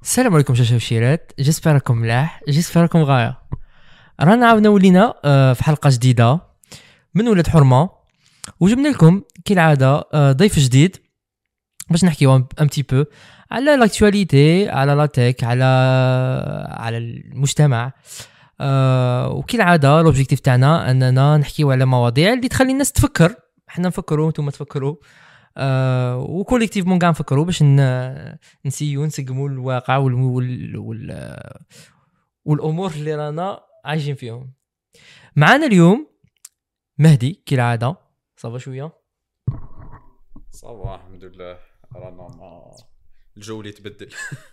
السلام عليكم شاشة وشيرات، جيسبر راكم ملاح، جيسبر راكم غاية. رانا عاودنا ولينا في حلقة جديدة من ولاد حرمة، وجبنا لكم كالعادة ضيف جديد باش نحكيو ان تي بو على لاكتواليتي، على لا تيك، على المجتمع. وكالعادة لوبجيكتيف تاعنا اننا نحكيو على مواضيع اللي تخلي الناس تفكر، احنا نفكروا نتوما تفكروا، وكوليكتيفمون كاع نفكروا باش نسيو نسقموا الواقع والامور اللي رانا عايشين فيهم. معنا اليوم مهدي كالعاده. صافا شويه صباح الحمد لله. رانا مع الجو اللي تبدل.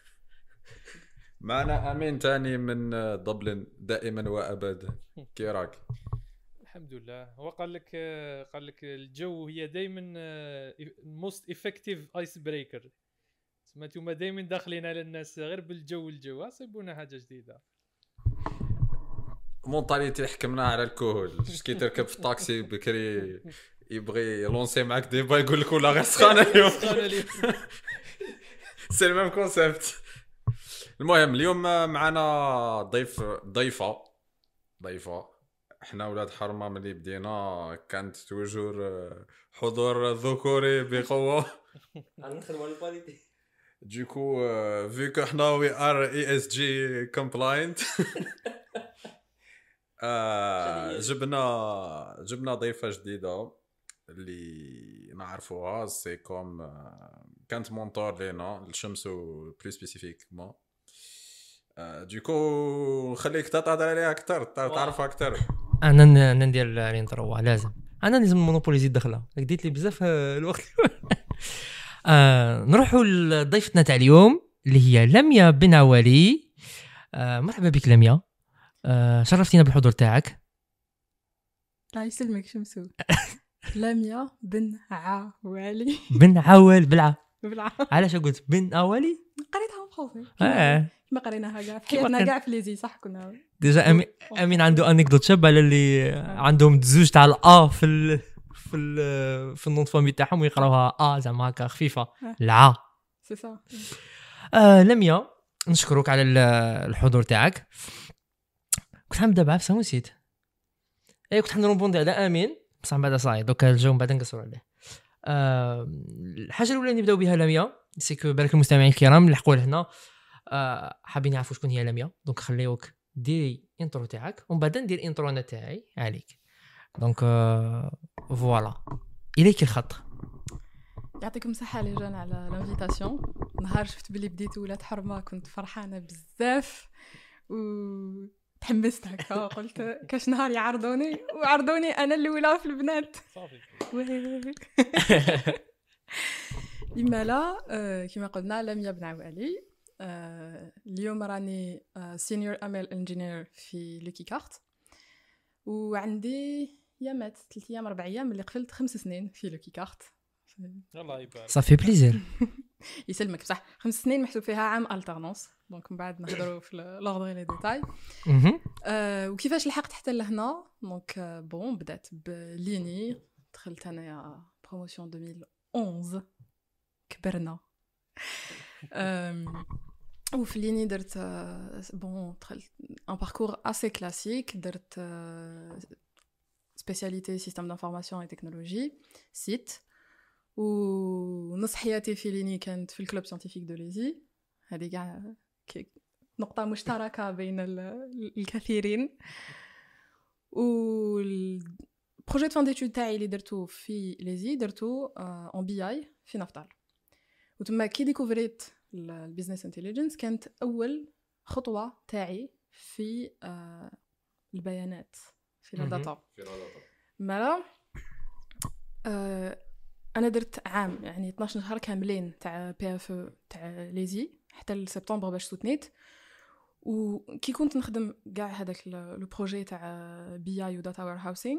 معنا امين تاني من دبلن دائما وابدا. كي راك؟ الحمد لله. هو قال لك الجو هي دائما موست افكتيف ايس بريكر. سمعتوا دائما داخلين على الناس غير الجو صيبونا حاجه جديده. مونطاليتي حكمناها على الكهول. كي تركب في الطاكسي بكري يبغي يلونسي معك ديبا يقول لك ولا غير سخانه اليوم. سي الميم كونسيبت. المهم اليوم معنا ضيفه. احنا ولاد حرمه ملي بدينا كانت توجور حضور ذكوري بقوه. غنخدموا على الكواليتي. دوكو vu que احنا we are ESG compliant. جبنا ضيفة جديدة اللي نعرفوها، سي كوم كانت مونتور لينا الشمس بلو سبيسيفيكمون. دوكو نخليك تهضر عليها اكثر، تعرفها اكثر. انا ندير الانترو لازم، انا لازم مونوبوليزي الدخله، ديت لي بزاف الوقت. نروحوا لضيفتنا تاع اليوم اللي هي لميا بن عوالي. مرحبا بك لميا، شرفتينا بالحضور تاعك. الله يسلمك شمسو. لميا بن عوالي. بن عوال بلعه. بالعا علاش قلت بن عوالي؟ قريتها بخوفي ما قريناها كاع في حياتنا كاع في ليزي، صح؟ كنا ديجا امين عنده انيكدوت شابه على اللي عندهم زوج تاع الا في النون فامي تاعهم ويقراوها زعما هكا خفيفه الع. سي صح. لميا نشكرك على الحضور تاعك. كنت حنبدا بعفسه ونسيت. كنت حنروبوندي على امين بصح بعدا صاي دوكا الجو بعد نقصروا عليه. الحاجه الاولى اللي نبداو بها لميا سيكو بالك المستمعين الكرام اللي حقوا لهنا حابين يعرفوا شكون هي لميا، دونك خليوك ديري انترو تاعك ومن بعد ندير انترو انا تاعي عليك. دونك فوالا اليك الخط. يعطيكم الصحه لي جان على لانفيتاسيون. نهار شفت بلي بديتوا ولاد حرمه كنت فرحانه بزاف و تحمست هكا، قلت كاش نهار يعرضوني وعرضوني انا الاولى في البنات. صافي. لما لا كما قلنا لميا بن عوالي. اليوم راني سينيور امل انجينير في لوكي كارت، وعندي يامات 3 ايام 4 ايام اللي قفلت 5 سنين في لوكي كارت. الله يبارك. صافي بليزير. يسلمك بصح 5 سنين محسوب فيها عام الترنونس، دونك من بعد نهضروا في لوردر لي ديتاي. وكيفاش لحقت حتى لهنا؟ دونك بون بدات بليني، دخلت انايا بروموسيون 2011 كبرنا. وفي ليني درت بون دخلت ان باركور اسي كلاسيك، درت سبيسياليتي سيستم دانفورماسيون اي تكنولوجي سيت، ونص حياتي في ليني كانت في الكلوب ساينتيفيك دو ليزي. هذه كاع نقطة مشتركة بين الكثيرين. والبروجي فان ديتود تاعي اللي درتو في ليزي درتو اون بي اي في نفطال، وتما كي ديكوفريت البيزنس انتليجنس كانت اول خطوة تاعي في البيانات في الداتا. مالا انا درت عام يعني 12 شهر كاملين تاع بي اف تاع ليزي حتى لسبتمبر باش سوتنيت. وكي كنت نخدم كاع هذاك لو بروجي تاع بي اي وداتا وير هاوسينغ،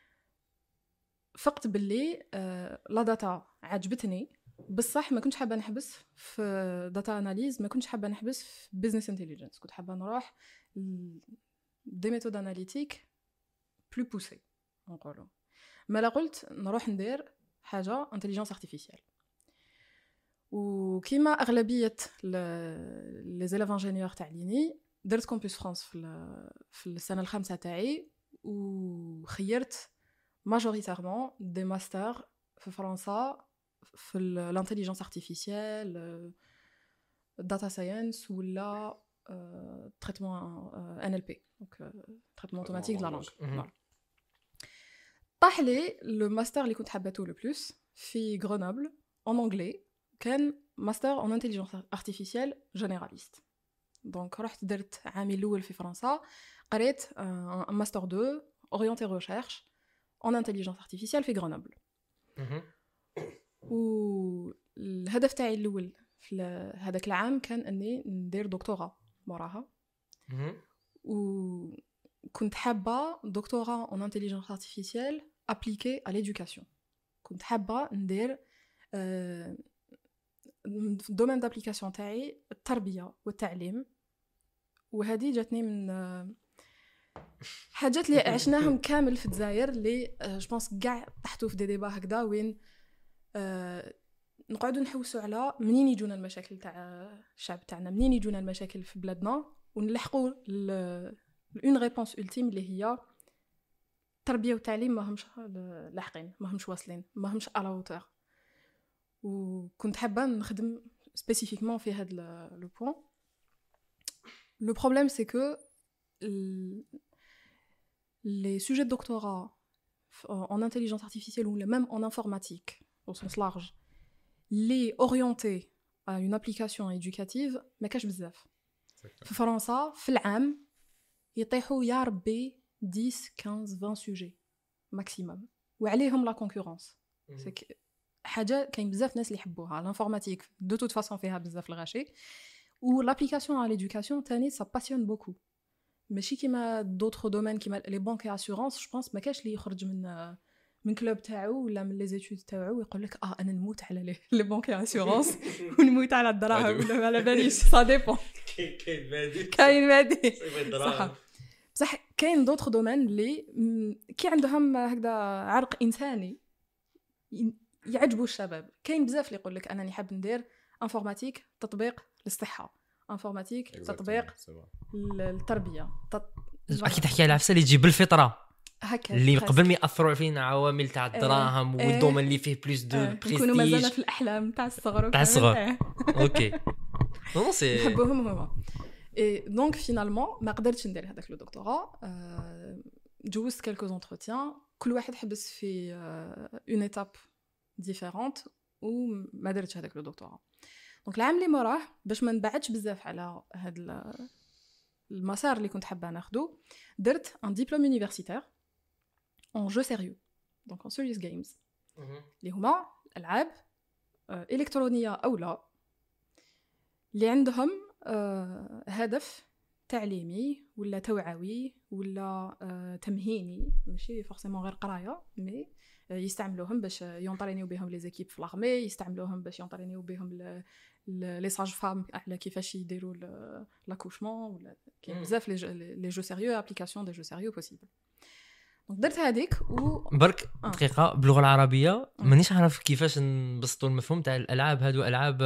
فقت باللي لا داتا عجبتني بصح ما كنتش حابه نحبس في داتا اناليز، ما كنتش حابه نحبس في بزنس انتليجنس، كنت حابه نروح دي ميثود اناليتيك بلو بوسي نقولوا. ما لا قلت نروح ندير حاجه انتليجنس ارتيفيسيال. وكيما اغلبيه لي زيليف انجينيور تاع ليني درت كومبوس فرانس في السنه الخامسه تاعي وخيرت ماجوريتيرمون دي ماستر في فرنسا في الانتيليجنس ارتيفيسيال داتا ساينس ولا تريتمون ان ال بي دونك تريتمون اوتوماتيك دو لا لانغ طاح لي لو ماستر اللي كنت حبيته لو بلوس في غرونوبل en anglais كان ماستر en intelligence artificielle généraliste دونك رحت درت عامي الاول في فرنسا قريت ماستر 2 orienté recherche en intelligence artificielle في غرونوبل والهدف تاعي الاول في هذاك العام كان اني ندير دكتوراه موراها وكنت حابه دكتوراه en intelligence artificielle appliquée à l'éducation كنت حابه ندير في الدومين دابليكاسيون تاعي التربيه والتعليم وهذه جاتني من حاجات اللي عشناهم كامل في الجزائر اللي جو بونس كاع طحتوا في دي ديبا هكذا وين نقعدوا نحوسوا على منين يجونا المشاكل تاع الشعب تاعنا منين يجونا المشاكل في بلادنا ونلحقوا اون ريبونس ultime اللي هي التربيه والتعليم ماهمش لاحقين ماهمش واصلين ماهمش على هوتور وكنت حابه نخدم سبيسيفيكمون في هذا لو بوين لو بروبليم سي كو les sujets de doctorat en intelligence artificielle ou même en informatique au sens large les orientés à une application éducative ما كاش بزاف في فرنسا في العام يطيحوا يا ربي 10 15 20 سوجي ماكسيموم وعليهم لا كونكورونس حاجه كاين بزاف ناس اللي يحبوها الانفورماتيك دو توت فاصون فيها بزاف الغاشي و لابليكاسيون على ليدوكاسيون تاني سا باسيون بوكو ماشي كيما دوطخ دومين كيما لي بانك اي اسيورونس جو بونس ما كاش اللي يخرج من كلوب تاعو ولا من لي زيتود تاعو ويقول لك انا نموت على لي بانك اي اسيورونس ونموت على الدراهم ولا على باليش سا ديبون كاين مادي صح بصح كاين دوطخ دومين اللي كي عندهم هكذا عرق انساني يعجبوا الشباب كاين بزاف اللي يقول لك انا نحب ندير انفورماتيك تطبيق للصحه انفورماتيك تطبيق للتربيه اكيد تحكي على عفسه اللي تجي بالفطره هكا اللي قبل ما ياثروا فينا عوامل تاع الدراهم والدومين اللي فيه بلوس دو بريستيج نكونوا مازلنا في الاحلام تاع الصغر اوكي نو سي نحبوهم هما دونك فينالمون ما قدرتش ندير هذاك لو دكتوراه جوزت كالكو زونتروتيان كل واحد حبس في اون ايتاب ديفيرونت وما درتش هذاك لو دكتوراه دونك العام اللي موراه باش ما نبعدش بزاف على هذا المسار اللي كنت حابه ناخذه درت ان ديبلوم يونيفرسيتير en jeu sérieux donc en serious games اللي هما العاب الكترونيه او لا اللي عندهم هدف تعليمي ولا توعوي ولا تمهيني ماشي فورسيمون غير قرايه مي يستعملوهم باش يونطرينيو بهم لي زيكيب في لاغمي يستعملوهم باش يونطرينيو بهم لي ساج فام على كيفاش يديروا لاكوشمون ولا كاين بزاف لي جو سيريو ابليكاسيون دي جو سيريو بوسيبل دونك درت هذيك برك دقيقه باللغه العربيه مانيش عارف كيفاش نبسطوا المفهوم تاع الالعاب هادو العاب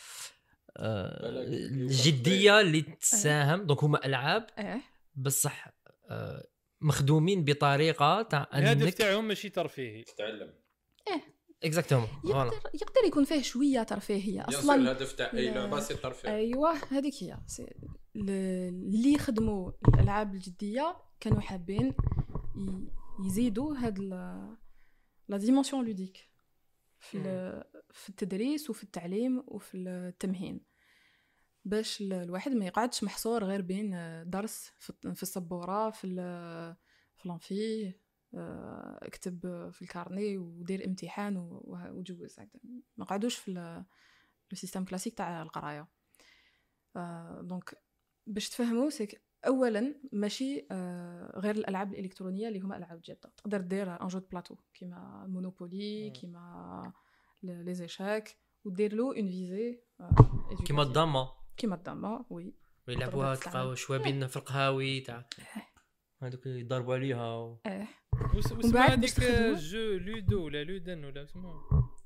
الجديه اللي تساهم دونك هما العاب بصح مخدومين بطريقه تاع الهدف تاعهم ماشي ترفيهي تتعلم اكزاكتومون يقدر يكون فيه شويه ترفيهيه اصلا الهدف تاع اي لعبه سي الترفيه ايوه هذيك هي اللي خدموا الالعاب الجديه كانوا حابين يزيدوا هاد لا ديمونسيون لوديك في التدريس وفي التعليم وفي التمهين باش الواحد ما يقعدش محصور غير بين درس في السبوره في الانفي اكتب في الكارني ودير امتحان وجوز هكذا ما قعدوش في لو سيستم كلاسيك تاع القرايه دونك باش تفهموا سيك اولا ماشي غير الالعاب الالكترونيه اللي هما العاب جاده تقدر دير ان جو بلاطو كيما مونوبولي كيما لي زيشاك ودير له اون فيزي كيما الضامه وي ويلعبوها تلقاو شوابين في القهاوي تاع هذوك يضربوا عليها واسمها هذيك جو لودو ولا لودن ولا اسمه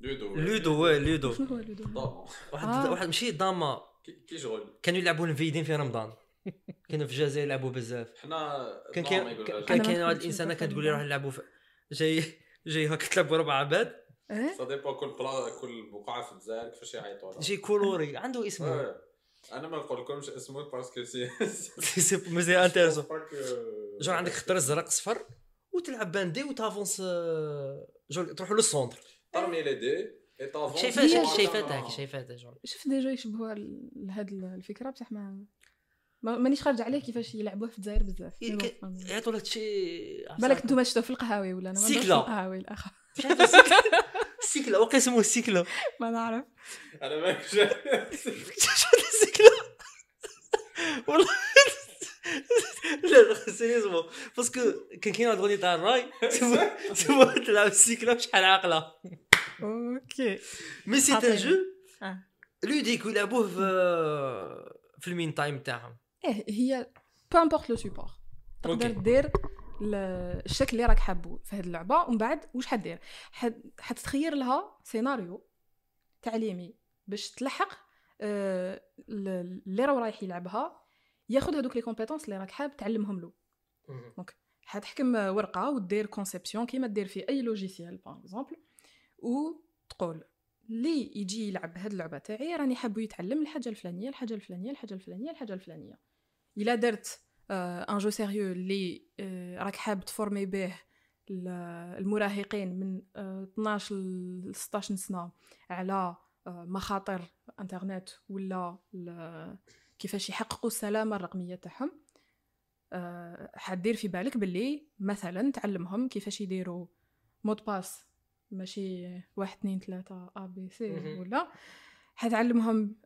لودو شنو هو لودو؟ ضامن واحد ماشي ضامه كي شغل كانوا يلعبوا الفيدين في رمضان كانوا في الجزائر يلعبوا بزاف حنا كان أنا كان ما واحد دخلتش الانسان في كتقول لي رمضان. روح نلعبوا جاي هكا تلعبوا 4 عباد سا ديبا كل بقعه في الجزائر كيفاش يعيطوا لها. جاي كولوري عنده اسمه انا ما نقول لكمش اسمه باسكو سي سي مزيان انتريسون باك جو عندك خضر زرق صفر وتلعب باندي وتافونس جو تروحوا للسونتر ترمي لي دي اي طافون شايفاتها جو شفت ديجا يشبهوها لهاد الفكره بصح مانيش خارج عليه كيفاش يلعبوه في الجزائر بزاف يعطوا لك شي بالك نتوما شفتوا في القهاوي ولا انا ما سيكلا. القهاوي الاخر السيكلا وقع اسمه السيكلا ما نعرف انا ما السيكلا والله لا سيريزمون باسكو كاين واحد الاغنيه تاع الراي سموها تلعب السيكلا بشحال عاقله اوكي مي سي ان جو آه. لوديك يلعبوه في المين تايم تاعهم هي بو امبورط لو سوبور تقدر دير الشكل اللي راك حابه في هذه اللعبه ومن بعد واش حدير حتتخير لها سيناريو تعليمي باش تلحق اللي راه رايح يلعبها ياخذ هذوك لي كومبيتونس اللي راك حاب تعلمهم له دونك حتحكم ورقه ودير كونسيبسيون كيما دير في اي لوجيسيال باغ اكزومبل وتقول لي يجي يلعب هاد اللعبه تاعي راني حابو يتعلم الحاجه الفلانيه الحاجه الفلانيه الحاجه الفلانيه الحاجه الفلانيه الا درت ان جو سيريو اللي راك حاب تفورمي به المراهقين من 12 ل 16 سنه على مخاطر انترنت ولا كيفاش يحققوا السلامه الرقميه تاعهم حدير في بالك باللي مثلا تعلمهم كيفاش يديروا مود باس ماشي 1 2 3 ا بي سي ولا حتعلمهم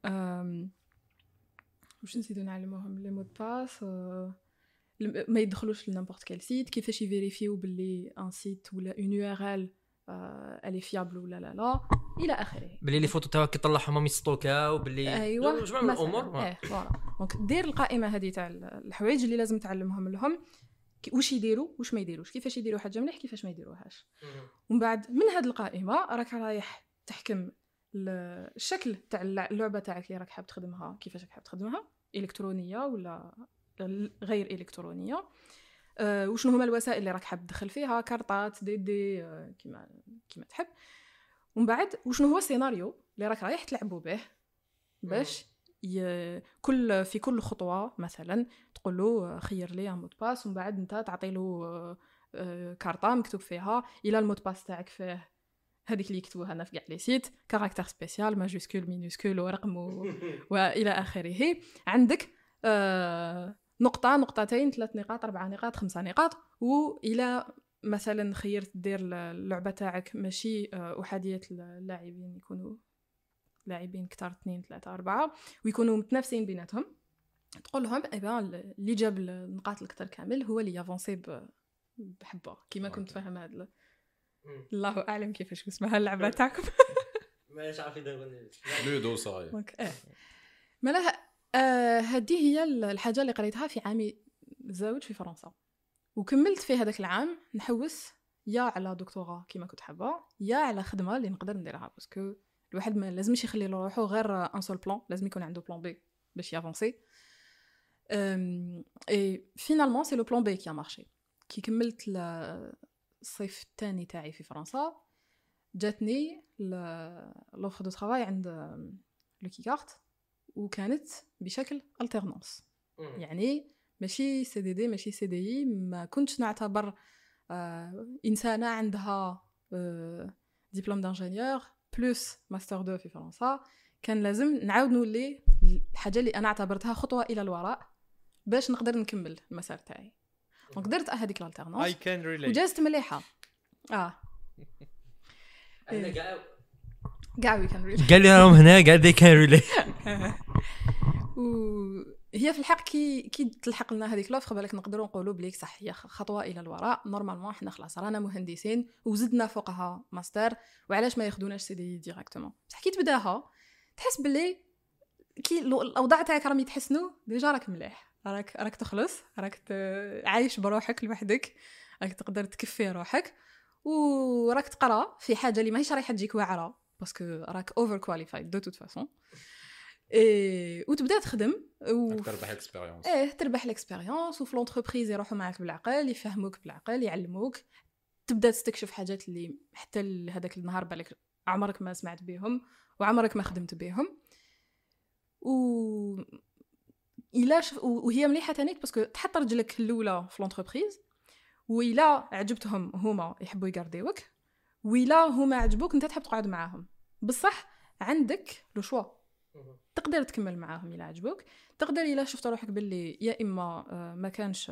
واش نسيتو نعلموهم لي مود باس ما يدخلوش لنيمبورط كال سيت كيفاش يفيريفيو باللي ان سيت ولا اون يو ار ال الي فيابل ولا لا الى اخره باللي لي فوتو تاعك يطلعهم ما يسطوكاو باللي ايوا جمع من الامور فوالا دونك دير القائمه هذه تاع الحوايج اللي لازم تعلمهم لهم واش يديروا واش ما يديروش كيفاش يديروا حاجه مليح كيفاش ما يديروهاش ومن بعد من هذه القائمه راك رايح تحكم الشكل تاع اللعبه تاعك اللي راك حاب تخدمها كيفاش راك حاب تخدمها الكترونيه ولا غير الكترونيه وشنو هما الوسائل اللي راك حاب تدخل فيها كارطات دي كيما تحب ومن بعد وشنو هو السيناريو اللي راك رايح تلعبوا به باش في كل خطوه مثلا تقول له خير لي مود باس ومن بعد انت تعطي له كارطه مكتوب فيها الى المود باس تاعك فيه هذيك اللي يكتبوها هنا في كاع لي سيت كاركتر سبيسيال ماجيسكول مينوسكول ورقم والى اخره عندك نقطه نقطتين 3 نقاط 4 نقاط 5 نقاط والى مثلا خيرت دير اللعبه تاعك ماشي احاديه اللاعبين يكونوا لاعبين كتار 2 3 4 ويكونوا متنافسين بيناتهم تقول لهم اللي جاب النقاط الكثر كامل هو اللي يافونسي بحبه كيما كنت فاهم هذا الله اعلم كيفاش اسمها اللعبه تاعكم ماشي عارف يدير لودو صاي مالا هذه هي الحاجه اللي قريتها في عامي الزوج في فرنسا وكملت في هذاك العام نحوس يا على دكتوراه كيما كنت حابه يا على خدمه اللي نقدر نديرها باسكو الواحد ما لازمش يخلي روحو غير ان سول بلان لازم يكون عنده بلان بي باش يافونسي اي فينالمون سي لو بلان بي كي مارشي كي كملت الصيف الثاني تاعي في فرنسا جاتني لوفر دو ترافاي عند لو كيكارت وكانت بشكل الترنانس يعني ماشي سي دي دي ماشي سي دي ما كنتش نعتبر انسانه عندها دبلوم دانجينيور بلس ماستر 2 في فرنسا كان لازم نعاود نولي الحاجه اللي انا اعتبرتها خطوه الى الوراء باش نقدر نكمل المسار تاعي وقدرت هذيك الالترنانس وجازت مليحه انا كاع وي كان ريلي قال لي راهم هنا قاعد دي كان ريلي وهي في الحق كي تلحق لنا هذيك لوفر بالك نقدروا نقولوا بليك صح هي خطوه الى الوراء نورمالمون حنا خلاص رانا مهندسين وزدنا فوقها ماستر وعلاش ما ياخذوناش سي دي ديريكتومون بصح كي تبداها تحس باللي كي الاوضاع تاعك راهم يتحسنوا ديجا راك مليح راك تخلص راك عايش بروحك لوحدك راك تقدر تكفي روحك وراك تقرا في حاجه اللي ماهيش رايحه تجيك واعره باسكو راك اوفر كواليفايد دو توت فاسون اي وتبدا تخدم تربح اكسبيريونس. تربح الاكسبيريونس وفي لونتربريز يروحوا معاك بالعقل يفهموك بالعقل يعلموك تبدا تستكشف حاجات اللي حتى هذاك النهار بالك عمرك ما سمعت بهم وعمرك ما خدمت بهم وهي مليحه تانيك باسكو تحط رجلك الاولى في لونتربريز وإلا عجبتهم هما يحبوا يقارديوك وإلا هما عجبوك انت تحب تقعد معاهم بصح عندك لو شوا تقدر تكمل معاهم إلا عجبوك تقدر إلا شفت روحك باللي يا إما ما كانش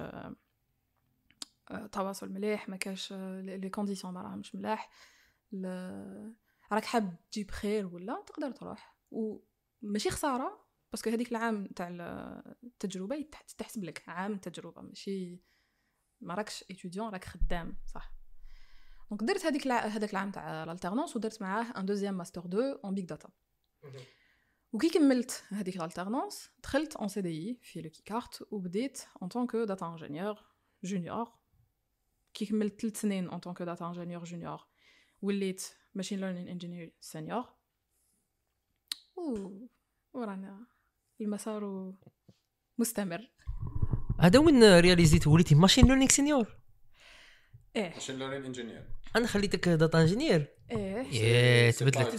تواصل مليح ما كانش لي كونديسيون ما راهمش ملاح راك حاب تجيب خير ولا تقدر تروح وماشي خساره باسكو هذيك العام تاع التجربه تحسب لك عام تجربه ماشي ما راكش ايتوديون راك خدام صح دونك درت هذاك العام تاع الالتيرنونس ودرت معاه ان دوزيام ماستر 2 اون بيج داتا وكي كملت هذيك الالتيرنونس دخلت اون سي دي في لو كيكارت وبديت ان طونك داتا انجينيور جونيور كي كملت 3 سنين ان طونك داتا انجينيور جونيور وليت ماشين ليرنين انجينيور سينيور ورانا المسار مستمر. هذا وين رياليزيت وليتي ماشين ليرنينغ سينيور؟ ماشين ليرنين انجينير. انا خليتك داتا انجينير. تبدلت.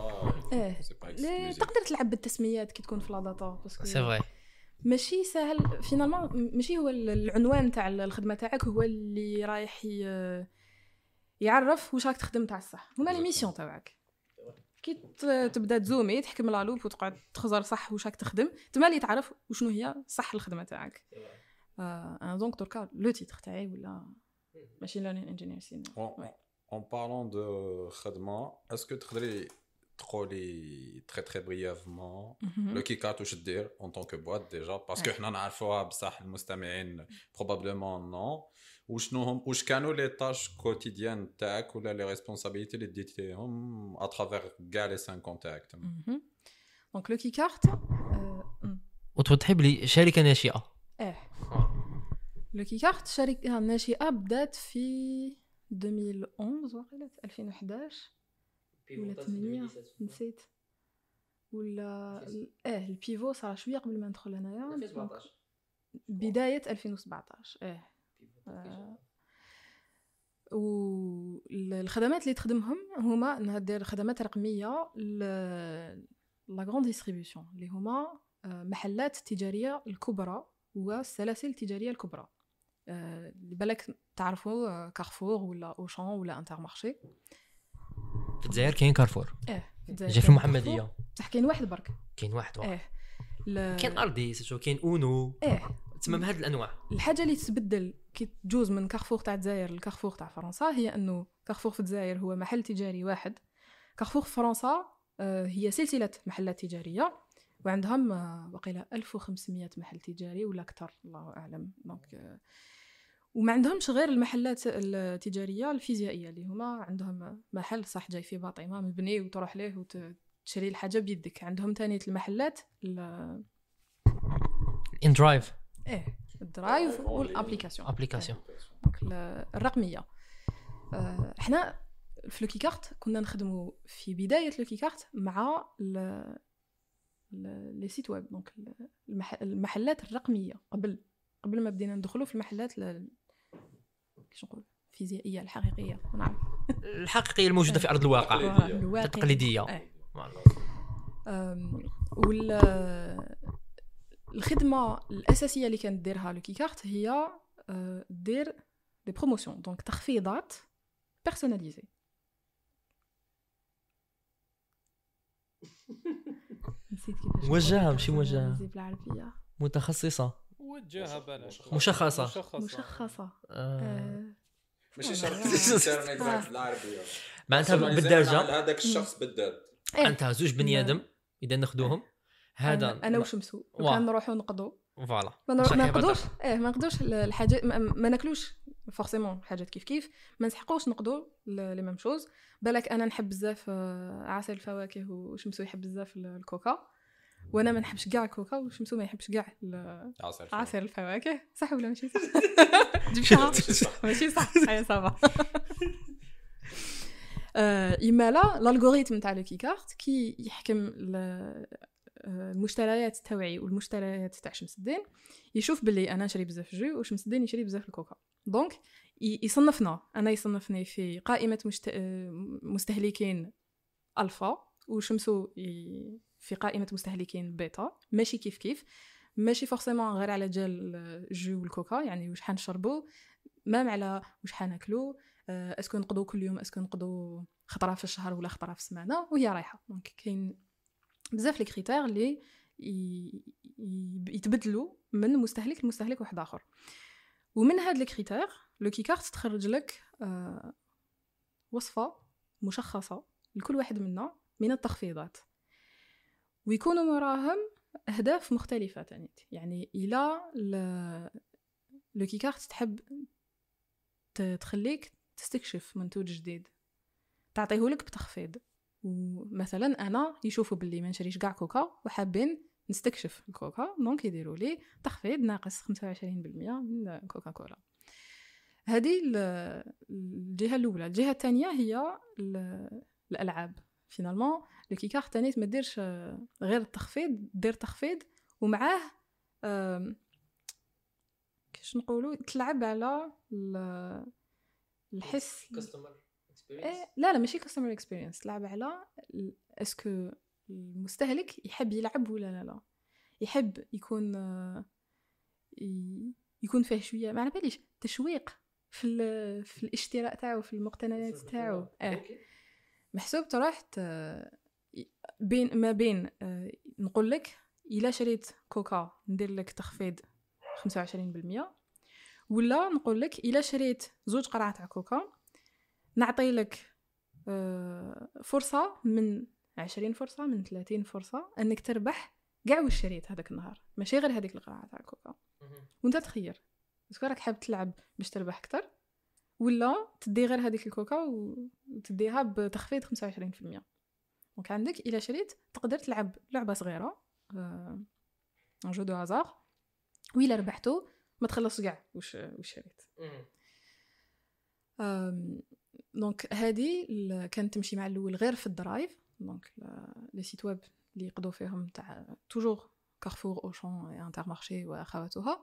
تقدر تلعب بالتسميات كي تكون في لا داتا باسكو سي فري ماشي سهل فينالمون ماشي هو العنوان تاع الخدمه تاعك هو اللي رايح يعرف واش راك تخدم تاع الصح هما لي ميسيون تاعك كي تبدا تزومي تحكم لا لوب وتقعد تخزر صح واش راك تخدم تما اللي تعرف وشنو هي صح الخدمه تاعك انا دونك دركا لو تيتر تاعي ولا ماشين ليرنين انجينير سينيور. En parlant de خدمة, est-ce que تقدري تقولي très brièvement le كيكارت واش دير en tant que boîte déjà parce que حنا نعرفوها بصح المستمعين probablement non وشنو هم واش كانوا لي تاش كوتيديان تاعك ولا لي ريسبونسابيلتي اللي ديتيهم à travers كاع لي 5 كونتاكت. دونك لو كيكارت وتوضحي بلي شركة ناشئة. لو كيكارت شركة ناشئة بدات في 2011 وقيلة 2011 ولا 8 نسيت ولا البيفو صار شويه قبل ما ندخل هنايا 2017 بدايه 2017 والخدمات اللي تخدمهم هما انها دير خدمات رقميه لا غران ديستريبيوشن اللي هما محلات تجاريه الكبرى والسلاسل التجاريه الكبرى اللي بالك تعرفوا كارفور ولا اوشان ولا انترمارشي. في الجزائر كاين كارفور جا في المحمديه بصح كاين واحد برك كاين واحد كاين ارديس كاين اونو تمام هاد الانواع. الحاجه اللي تتبدل كي تجوز من كارفور تاع الجزائر لكارفور تاع فرنسا هي انه كارفور في الجزائر هو محل تجاري واحد كارفور في فرنسا هي سلسله محلات تجاريه وعندهم وقيله 1500 محل تجاري ولا اكثر الله اعلم. دونك وما عندهمش غير المحلات التجاريه الفيزيائيه اللي هما عندهم محل صح جاي فيه باطمه مبني وتروح ليه وتشري الحاجه بيدك. عندهم ثاني المحلات ان درايف الدرايف والابليكاسيون دونك الرقميه. احنا في لو كيكارت كنا نخدموا في بدايه لو كيكارت مع لي سيت ويب دونك المحلات الرقميه قبل ما بدينا ندخلوا في المحلات كيش نقول الفيزيائيه الحقيقيه نعم الحقيقيه الموجوده في ارض الواقع التقليديه. الخدمه الاساسيه اللي كانت ديرها لو كيكارت هي دير دي بروموسيون دونك تخفيضات بيرسوناليزي. نسيت كيفاش موجهه ماشي موجهه بالعربيه متخصصه وجهها بلاش مشخصه ماشي شرط الانترنت بالعربيه معناتها بالدرجه هذاك الشخص بالذات انت زوج بني ادم اذا ناخذوهم هذا انا وشمسو وكان نروحوا نقضوا فوالا ما نقدوش الحاجات ما ناكلوش فورسيمون حاجات كيف ما نسحقوش نقضوا لي ميم شوز. بالك انا نحب بزاف عسل الفواكه وشمسو يحب بزاف الكوكا وانا ما نحبش كاع الكوكا وشمسو ما يحبش كاع عصير الفواكه صح ولا ماشي صح؟ ماشي صح هيا صافا. اما لا الالغوريثم تاع لو كي كارت كي يحكم المشتريات تاعي والمشتريات تاع شمس الدين، يشوف باللي انا نشري بزاف جو وشمس الدين يشري بزاف الكوكا، دونك يصنفني في قائمه مستهلكين الفا، وشمسو في قائمه مستهلكين بيتا. ماشي كيف ماشي فورسيمون غير على جال الجو والكوكا، يعني واش حنشربوا مام على واش حناكلوا، اسكو نقضوا كل يوم، اسكو نقضوا خطره في الشهر ولا خطره في السمانه وهي رايحه. دونك كاين بزاف لي كريتير اللي يتبدلوا من مستهلك لمستهلك واحد اخر، ومن هاد لي كريتير لو كي كارت تخرج لك وصفه مشخصه لكل واحد منا من التخفيضات، ويكونوا وراهم اهداف مختلفه تاني. يعني الى لو كي كارت تحب تخليك تستكشف منتوج جديد تعطيهولك بتخفيض، ومثلا انا يشوفوا باللي ما نشريش كاع كوكا وحابين نستكشف الكوكا، دونك يديروا لي تخفيض ناقص 25% من كوكا كولا. هذه الجهه الاولى. الجهه الثانيه هي الالعاب. فينالمون لو كي كارت تاني ما ديرش غير التخفيض، دير تخفيض ومعاه كيش نقولوا تلعب على الحس لا ماشي كاستمر اكسبيرينس، تلعب على اسكو المستهلك يحب يلعب ولا لا، يحب يكون فيه شويه ما على باليش تشويق في الاشتراء تاعو، في المقتنيات تاعو. محسوب تروح بين نقول لك الا شريت كوكا ندير لك تخفيض 25%، ولا نقول لك الا شريت 2 قرعه تاع كوكا نعطي لك فرصه من 20 فرصه من 30 فرصه انك تربح كاع واش شريت هذاك النهار، ماشي غير هذيك القرعه تاع كوكا. وانت تخير اسكو راك حاب تلعب باش تربح اكثر، ولا تدي غير هذيك الكوكا وتديها بتخفيض 25%. دونك عندك الا شريت تقدر تلعب لعبه صغيره ان جو دو هازار، وإلا ربحتو ما تخلصش كاع واش شريت. دونك هذه كانت تمشي مع الاول غير في الدرايف، دونك لي سيت ويب اللي يقضوا فيهم تاع توجور كارفور اوشون انتر مارشي واخواتها.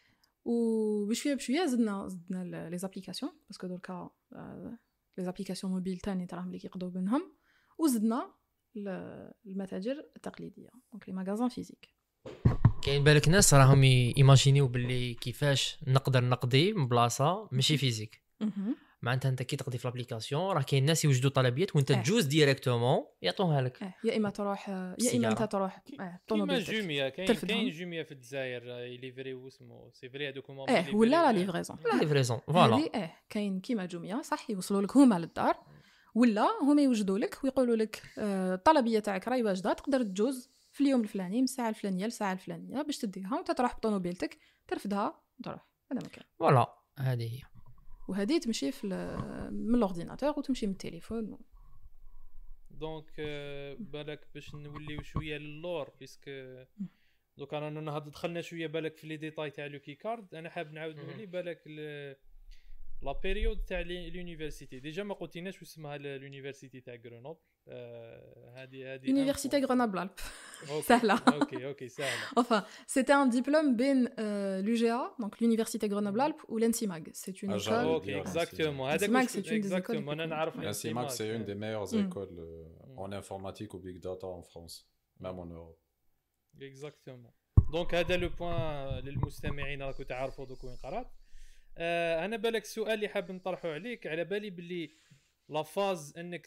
وبشويه زدنا لي زابليكاسيون، باسكو دركا لي زابليكاسيون موبيل تاني تراهم اللي كيقضوا بينهم، وزدنا المتاجر التقليديه دونك لي ماغازان فيزيك. كاين بالك ناس راهم ايماجينيو باللي كيفاش نقدر نقضي من بلاصه ماشي فيزيك. معناتها انت كي تقضي في الابليكاسيون راه كاين ناس يوجدوا طلبيات وانت تجوز ديريكتومون يعطوها لك. يا اما تروح يا اما انت تروح كيما جوميا. كاين جوميا في الجزائر يليفري واسمو سي فري هذوك هما ولا لا ليفريزون فوالا. كاين كيما جوميا صح، يوصلوا لك هما للدار، ولا هما يوجدوا لك ويقولوا لك الطلبيه تاعك راهي واجده، تقدر تجوز في اليوم الفلاني من الساعه الفلانيه للساعه الفلانيه باش تديها وانت تروح بطونوبيلتك ترفدها وتروح. هذا مكان فوالا. هذه هي. وهذه تمشي من الاورديناتور وتمشي من التليفون. دونك بالك باش نوليو شويه للور بيسك دوك انا دخلنا شويه بالك في لي ديتاي تاع لو كي كارد. انا حاب نعاود نولي بالك لا بيريود تاع لونيفرسيتي. ديجا ما قلتيناش واش اسمها لونيفرسيتي تاع غرونوبل. هذه Université Grenoble Alpes. سهلة. اوكي سهلة. Enfin, c'était un diplôme بين l'UGA, donc l'Université Grenoble Alpes, ou l'ENSIMAG. C'est une école. Ok, exactement. l'ENSIMAG, c'est une des écoles. l'ENSIMAG, c'est une des meilleures écoles en informatique ou big data en France, même en Europe. Exactement. Donc هذا لو بوين للمستمعين راكم تعرفوا دوك وين قرات. انا بالك السؤال اللي حاب نطرحه عليك، على بالي باللي لا فاز انك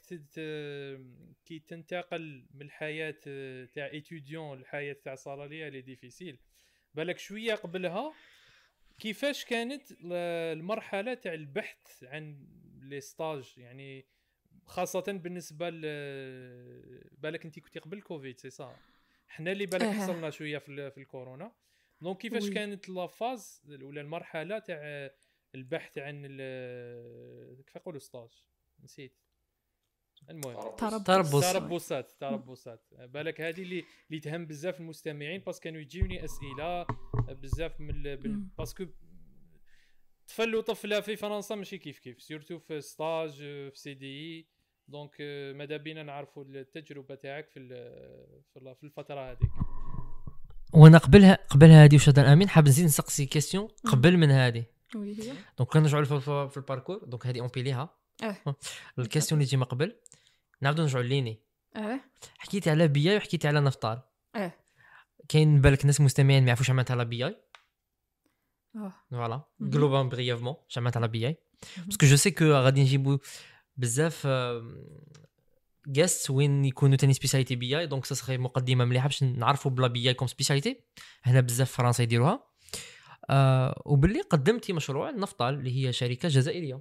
كي تنتقل من الحياه تاع ايتوديون للحياه تاع صالاليه لي ديفيسيل، بالك شويه قبلها كيفاش كانت المرحله تاع البحث عن لي ستاج، يعني خاصه بالنسبه بالك انت كنتي قبل كوفيد سي صح، حنا اللي بالك حصلنا شويه في الكورونا. دونك كيفاش كانت لا فاز ولا المرحله تاع البحث عن كيف يقولوا ستاج نسيت، المهم تربصات. بالك هذه اللي تهم بزاف المستمعين، باسكو كانوا يجيوني اسئله بزاف من باسكو طفل وطفله في فرنسا ماشي كيف سورتو في ستاج في سي دي دونك ماذا بينا نعرفوا التجربه تاعك في الفتره هذيك. وانا قبل هذه وش هذا امين حاب نزيد نسقسي كيسيون قبل من هذه. واللي هي دونك كنرجعوا في الباركور. دونك هذه اونبيليها الكيسيون اللي تجي قبل نعاودو نرجعوا ليني. حكيتي على بي اي وحكيتي على نفطال. كاين بالك ناس مستمعين ما يعرفوش عملت على بي اي. فوالا جلوبال بريفمون عملت على بي اي باسكو جو سي كو غادي نجيبو بزاف جاست وين يكونوا تاني سبيساليتي بي اي. دونك سا مقدمه مليحه باش نعرفوا بلا بي اي كوم سبيساليتي. هنا بزاف فرنسا يديروها. وباللي قدمتي مشروع نفطال اللي هي شركه جزائريه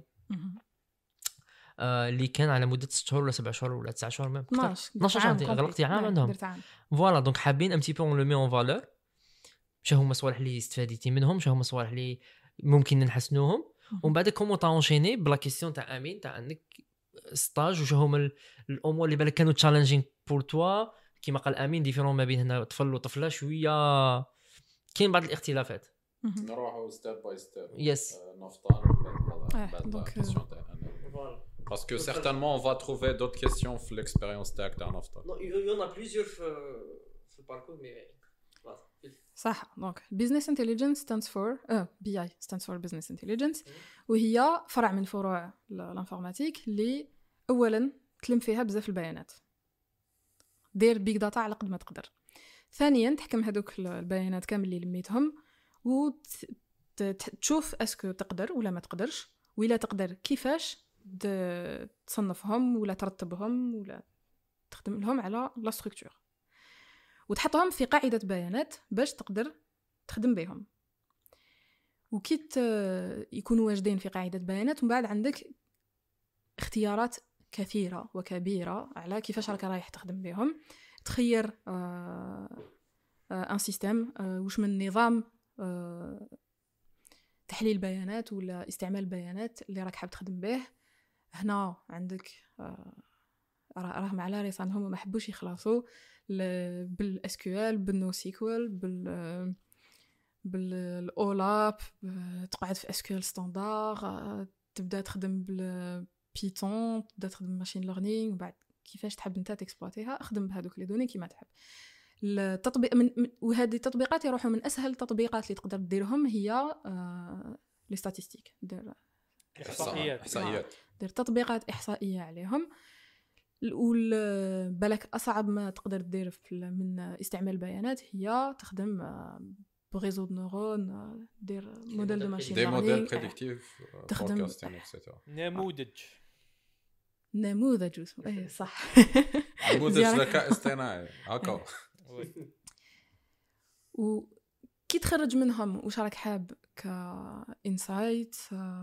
اللي كان على مده 6 شهور ولا 7 شهور ولا 9 شهور ميم 12 شهر غلقتي عام عندهم. فوالا دونك حابين ام تي بو اون لو مي اون فالور شنو هما الصوالح اللي استفاديتي منهم شنو هما الصوالح اللي ممكن نحسنوهم. ومن بعد كومون طونشيني بلا كيسيون تاع امين تاع عندك ستاج وشنو هما الامور اللي بالك كانوا تشالنجينغ بور توا كيما قال امين ديفيرون ما بين هنا طفل وطفله شويه كاين بعض الاختلافات. نروحوا ستيب باي ستيب. يس نفطر بعد كيسيون تاع parce que certainement on va trouver d'autres questions في l'expérience تاعك تاع نفطر. non il y en a plusieurs في الباركور mais صح. دونك business intelligence stands for BI stands for business intelligence وهي فرع من فروع الانفورماتيك اللي اولا تلم فيها بزاف البيانات دير بيج داتا على قد ما تقدر. ثانيا تحكم هذوك البيانات كامل اللي لميتهم وتشوف اسكو تقدر ولا ما تقدرش ولا تقدر كيفاش تصنفهم ولا ترتبهم ولا تخدم لهم على لا ستركتور وتحطهم في قاعدة بيانات باش تقدر تخدم بهم. وكيت يكونوا واجدين في قاعدة بيانات ومن بعد عندك اختيارات كثيرة وكبيرة على كيفاش رايح تخدم بهم. تخير ان سيستم واش من نظام تحليل بيانات ولا استعمال بيانات اللي راك حاب تخدم به. هنا عندك راهم على ريسانهم وما حبوش يخلصوا بالاس كيو ال بالنو سيكوال بالاولاب تقعد في اس كيو ال ستاندار تبدا تخدم بالبيتون تبدا تخدم ماشين ليرنينغ وبعد كيفاش تحب انت تكسبلوتيها اخدم بهذوك لي دوني كيما تحب. التطبيق وهذه التطبيقات يروحوا من اسهل التطبيقات اللي تقدر ديرهم هي لي ستاتستيك دير احصائيات دير تطبيقات احصائيه عليهم. بالك اصعب ما تقدر دير من استعمال البيانات هي تخدم بريزو دو نورون دير موديل دو ماشين ليرنينغ دي موديل بريديكتيف تخدم نموذج اسمه ايه صح نموذج ذكاء اصطناعي هكا. وكي تخرج منهم واش راك حاب كانسايت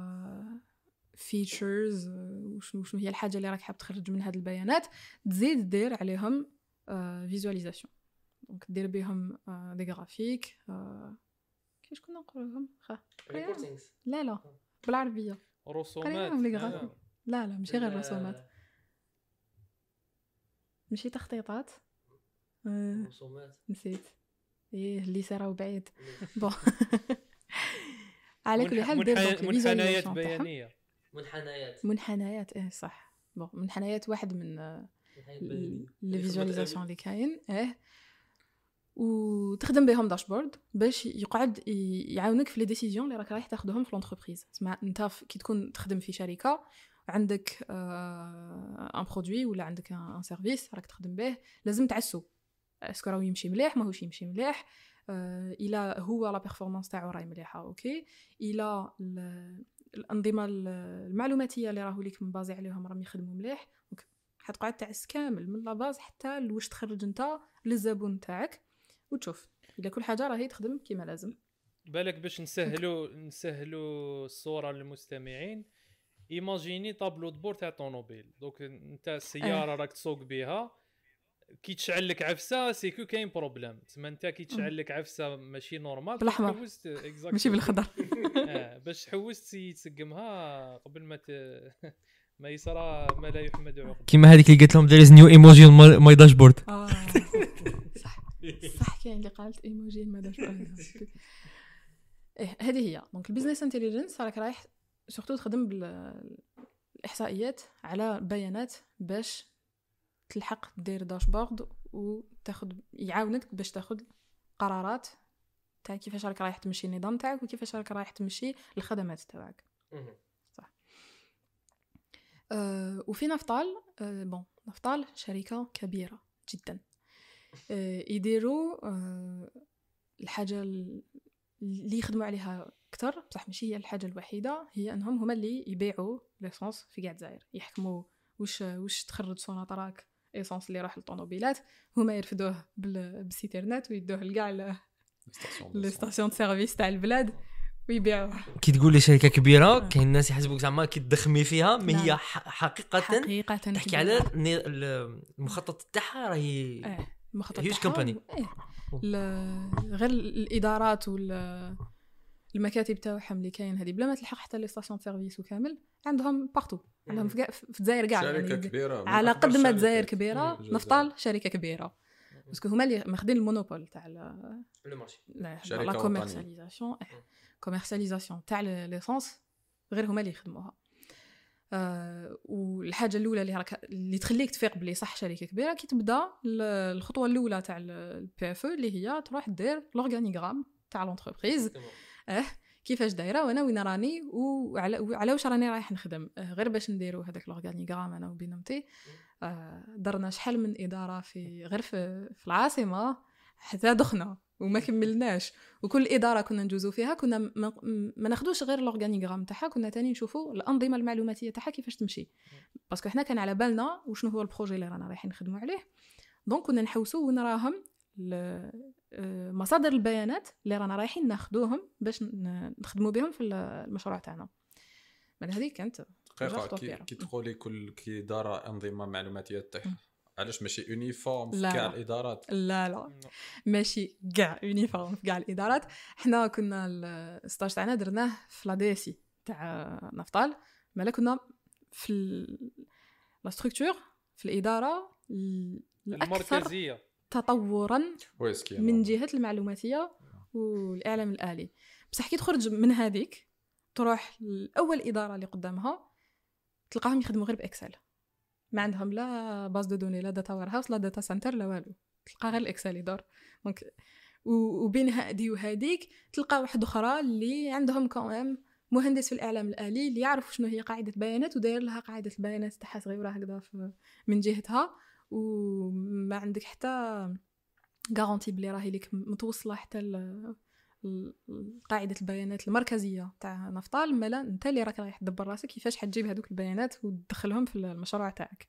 فيتشرز وشنو هي الحاجه اللي راك حاب تخرج من هاد البيانات تزيد دير عليهم فيزواليزاسيون. دونك دير بهم دي غرافيك كيفاش كنا نقولوهم ريبورتينغز لا بالعربيه رسومات. لا ماشي غير رسومات ماشي تخطيطات رسومات نسيت اللي سراو بعيد بون على كل حال دير منحنيات بيانيه منحنيات صح. بون منحنيات واحد من لي فيزواليزاسيون اللي كاين وتخدم بهم داشبورد باش يقعد يعاونك في لي ديسيزيون اللي راك رايح تاخذهم في لونتربريز. تسمع انت كي تكون تخدم في شركه عندك ان برودوي ولا عندك ان سيرفيس راك تخدم به لازم تعسو اسكو راهو يمشي مليح ماهوش يمشي مليح الى هو لا بيرفورمانس تاعو راهي مليحه اوكي الى الانظمه المعلوماتيه اللي راهو ليك مبازي عليهم راهم يخدموا مليح. دونك حتقعد تعس كامل من لا باز حتى لواش تخرج انت للزبون تاعك وتشوف اذا كل حاجه راهي تخدم كما لازم. بالك باش نسهلوا الصوره للمستمعين. ايماجيني طابلو دبور تاع طونوبيل. دونك انت السياره راك تسوق بها كي تشعل لك عفسه سيكو كاين بروبليم. تما انت كي تشعل لك عفسه ماشي نورمال بالاحمر ماشي بالخضر باش تحوس تسقمها قبل ما يصرى ما لا يحمد عقبه كيما هذيك اللي قلت لهم there is new emoji on my dashboard. صح كاين اللي قالت ايموجي ما داشبورد هذه هي. دونك البيزنس انتليجنس راك رايح سورتو تخدم الاحصائيات على بيانات باش تلحق دير داشبورد وتاخذ يعاونك باش تاخذ قرارات تاع كيفاش راك رايح تمشي النظام تاعك وكيفاش راك رايح تمشي الخدمات تاعك. صح. وفي نفطال بون نفطال شركه كبيره جدا يديروا الحاجه اللي يخدموا عليها اكثر بصح ماشي هي الحاجه الوحيده، هي انهم هما اللي يبيعوا ليسونس في كاع الجزائر، يحكموا واش تخرج سوناطراك ايسونس اللي راح للطوموبيلات، هما يرفدوه بالسيترنات ويدوه لكاع لي ستاسيون دو سيرفيس تاع البلاد ويبيعوه. كي تقول لي شركه كبيره كاين الناس يحسبوك زعما كي تدخمي فيها، ما هي حقيقه تحكي على المخطط تاعها راهي هيوج كومباني. غير الادارات والمكاتب تاعهم اللي كاين هذه بلا ما تلحق حتى لي ستاسيون سيرفيس وكامل عندهم بارتو، عندهم في الجزائر كاع شركه كبيره على قد ما الجزائر كبيره نفطال شركه كبيره باسكو هما اللي ماخذين المونوبول تاع لو مارشي لا كوميرسياليزاسيون تاع ليسونس، غير هما اللي يخدموها. والحاجه الاولى اللي تخليك تفيق بلي صح شركه كبيره كي تبدا الخطوه الاولى تاع البي اف اللي هي تروح دير لورغانيغرام تاع لونتربريز، كيفاش دايره وانا وين راني وعلى واش راني رايح نخدم. غير باش نديروا هذاك لورغانيغرام انا وبينومتي درنا شحال من اداره غير في العاصمه حتى دخنا وما كملناش، وكل اداره كنا ندوزو فيها كنا ما ناخذوش غير لورغانيغرام تاعها، كنا تاني نشوفوا الانظمه المعلوماتيه تاعها كيفاش تمشي، باسكو حنا كان على بالنا وشنو هو البروجي اللي رانا رايحين نخدموا عليه. دونك كنا نحوسوا ونراهم مصادر البيانات اللي رانا رايحين ناخذوهم باش نخدموا بهم في المشروع تاعنا. من هذه كانت كي تقولي كل اداره انظمه معلوماتيه تاعها، علاش ماشي يونيفورم في كاع الادارات؟ لا ماشي كاع يونيفورم في كاع الادارات. حنا كنا الستاج تاعنا درناه في لا دي سي تاع نفطال، مالا كنا في لا ستركتور في الاداره المركزيه تطورا من جهه المعلوماتيه والاعلام الالي. بصح كي تخرج من هذيك تروح الاول اداره اللي قدامها تلقاهم يخدموا غير باكسل، ما عندهم لا باز دو دوني لا داتا وير هاوس لا داتا سنتر لا والو، تلقى غير الاكسل يدور. دونك وبين هذه وهذيك تلقى واحد اخرى اللي عندهم كمان مهندس في الاعلام الالي اللي يعرف شنو هي قاعده بيانات وداير لها قاعده البيانات تاعها صغيره هكذا من جهتها، وما عندك حتى غارانتي بلي راهي لك متوصله حتى قاعده البيانات المركزيه تاع نفطال، مالا انت اللي راك رايح تدبر راسك كيفاش حتجيب هذوك البيانات وتدخلهم في المشروع تاعك.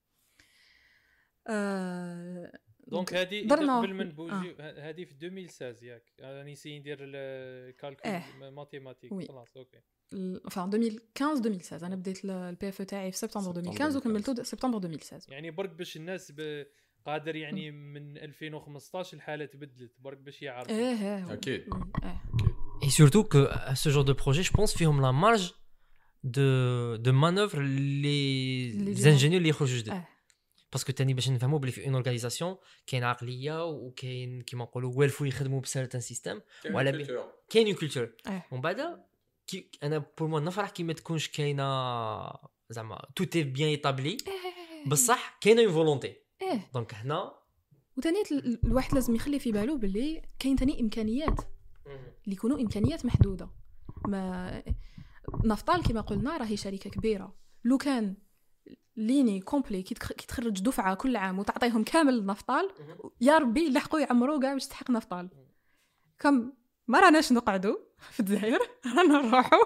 دونك هذه قبل من بوجي هذه في 2016 ياك راني سي ندير الكالكول ماتيماتيك خلاص اوكي enfin 2015 انا بديت البي اف تاعي في سبتمبر 2015 وكملته سبتمبر 2016. يعني برك باش الناس قادر يعني من 2015 الحاله تبدلت برك باش يعرفوا. اكيد et surtout que ce genre de projet je pense فيهم la marge de manœuvre les ingénieurs اللي يخرجوا جدد، باسكو تاني باش نفهموا بلي في اون اورغانيزاسيون كاين عقليه وكاين كيما نقولوا والفو يخدموا بسيرتان سيستم وعلى كاين اون كولتور. ومن بعد كي انا بور مو نفرح كي ما تكونش كاينه زعما توت اي بيان ايطابلي بصح كاينه اون فولونتي. دونك هنا وثاني الواحد لازم يخلي في باله باللي كاين ثاني امكانيات اللي يكونوا امكانيات محدوده. ما نفطال كما قلنا راهي شركه كبيره، لو كان ليني كومبلي كي تخرج دفعه كل عام وتعطيهم كامل نفطال يا ربي يلحقوا يعمروا كاع باش تحق نفطال. كم ما راناش نقعدوا في الجزائر رانا نروحوا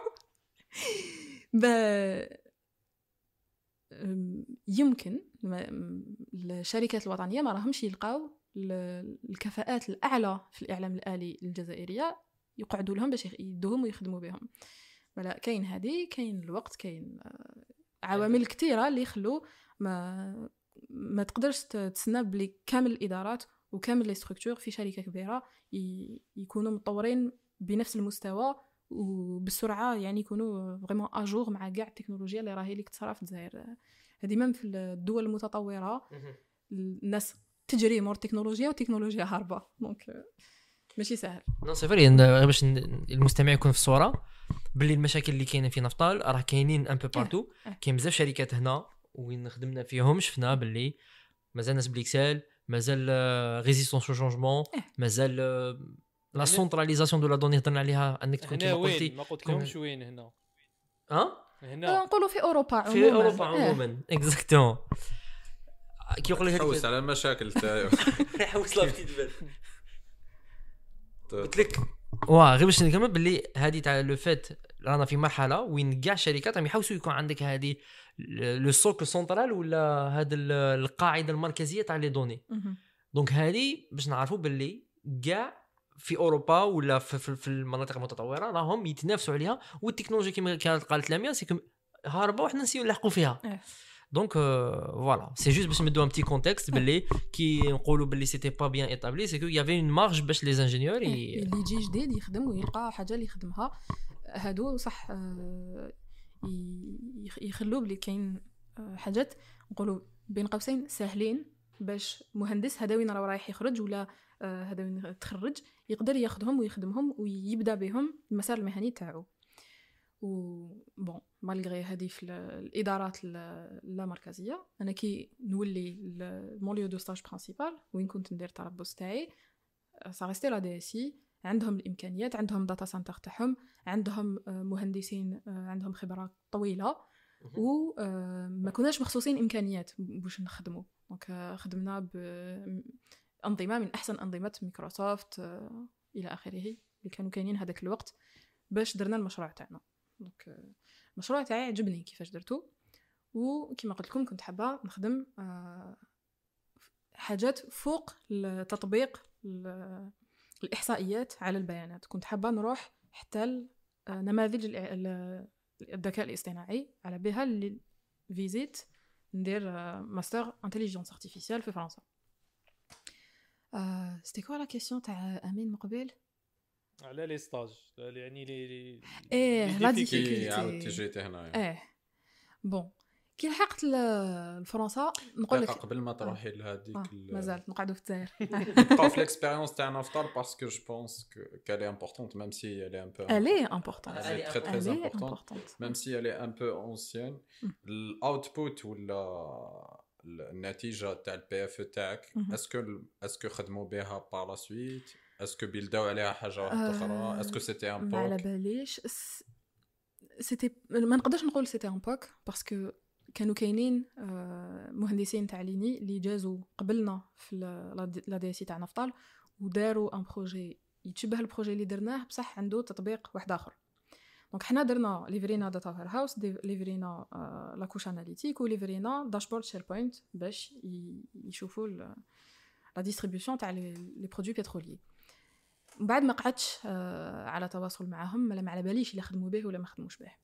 يمكن الشركات الوطنيه ما راهمش يلقاو الكفاءات الاعلى في الاعلام الالي الجزائريه يقعدوا لهم باش يدوهم ويخدموا بهم. ولا كاين هذه كاين الوقت كاين عوامل كثيره اللي يخلوا ما تقدرش تسنى بلي كامل الادارات وكامل لي ستركتور في شركه كبيره يكونوا متطورين بنفس المستوى وبالسرعه، يعني يكونوا فريمون اجور مع كاع التكنولوجيا اللي راهي لك تصرا في الجزائر. هذه من في الدول المتطوره الناس تجري مور التكنولوجيا والتكنولوجيا هاربه، دونك ماشي سهل. نو سي فري باش المستمع يكون في الصوره. باللي المشاكل اللي كاينه في نفطال راه كاينين ان بو بارتو. كاين بزاف شركات هنا وين خدمنا فيهم شفنا باللي مازال ناس بليكسل مازال ريزيستونس او شونجمون مازال لا سونتراليزاسيون دو لا دوني هضرنا عليها انك تكون هنا كيما قلتي وين ما قلت لهمش وين هنا هنا نقولوا في اوروبا عموما في اوروبا عموما اكزاكتومون كيقول لك حوس على المشاكل تاعو حوس لا بتيت بال قلت لك غير باش نكمل باللي هذه تاع لو فيت رانا في مرحله وين كاع الشركات راهم يحاولوا يكون عندك هذه لو سوك سنترال ولا هذا القاعده المركزيه تاع لي دوني. دونك هذه باش نعرفوا باللي كاع في اوروبا ولا في المناطق المتطوره راهم يتنافسوا عليها والتكنولوجيا كما قالت لاميا سي هاربه وحنا نسيو نلحقوا فيها. دونك فوالا سي جوست باش نمدو ان بتي كونتكست باللي كي نقولوا باللي سيتي با بيان ايتابلي سي كو يافي اون مارج باش لي انجينيور اللي يجي جديد يخدم ويلقى حاجه اللي يخدمها هادو صح يخلوا بلي كاين حاجات نقولوا بين قوسين سهلين باش مهندس هذا وين راه رايح يخرج ولا هذا وين تخرج يقدر ياخذهم ويخدمهم ويبدا بهم المسار المهني تاعو. و بون مالغري هذه في الادارات لا مركزيه انا كي نولي مون ليو دو ستاج برينسيبال وين كنت ندير التربص تاعي سا ريستي لا دي سي عندهم الامكانيات عندهم داتا سنتر تاعهم عندهم مهندسين عندهم خبره طويله وما كناش مخصوصين امكانيات باش نخدموا. دونك خدمنا بانظمه من احسن انظمه مايكروسوفت الى اخره اللي كانوا كاينين هذاك الوقت باش درنا المشروع تاعنا. دونك المشروع تاعي عجبني كيفاش درتو وكما قلت لكم كنت حابه نخدم حاجات فوق التطبيق الاحصائيات على البيانات. كنت حابه نروح حتى نماذج الذكاء الاصطناعي على بها فيزيت ندير ماستر انتيليجنس ارتيفيسيال في فرنسا. سيتي كوا لا كيسيون تاع امين مقبل على لي ستاج يعني لي لا ديفيكولتي عاودت جيت هنايا بون كي لحقت لفرنسا نقول لك قبل ما تروحي لهذيك مازال نقعدوا في الجزائر نبقاو في ليكسبيريونس تاع نفطر باسكو جو بونس كالي امبورطونت ميم سي elle est un peu elle est importante elle est très très importante même si elle est un peu ancienne الاوتبوت ولا النتيجه تاع البي اف تاعك اسكو خدموا بها بار لا سويت اسكو بيلداو عليها حاجه واحده اخرى اسكو سيتي ان بوك على باليش سيتي ما نقدرش نقول سيتي ان بوك باسكو كانوا كاينين مهندسين تاع ليني اللي جازوا قبلنا في لا دي سي تاع نفطال وداروا ان بروجي يتشبه البروجي اللي درناه بصح عنده تطبيق واحد اخر. دونك حنا درنا ليفرينا داتا وير هاوس ليفرينا لا كوش اناليتيك وليفرينا داشبورد شير بوينت باش يشوفوا لا ديستريبيوشن تاع لي برودوي بتروليي. من بعد ما قعدتش على تواصل معهم ولا ما على باليش الا خدموا به ولا ما خدموش به.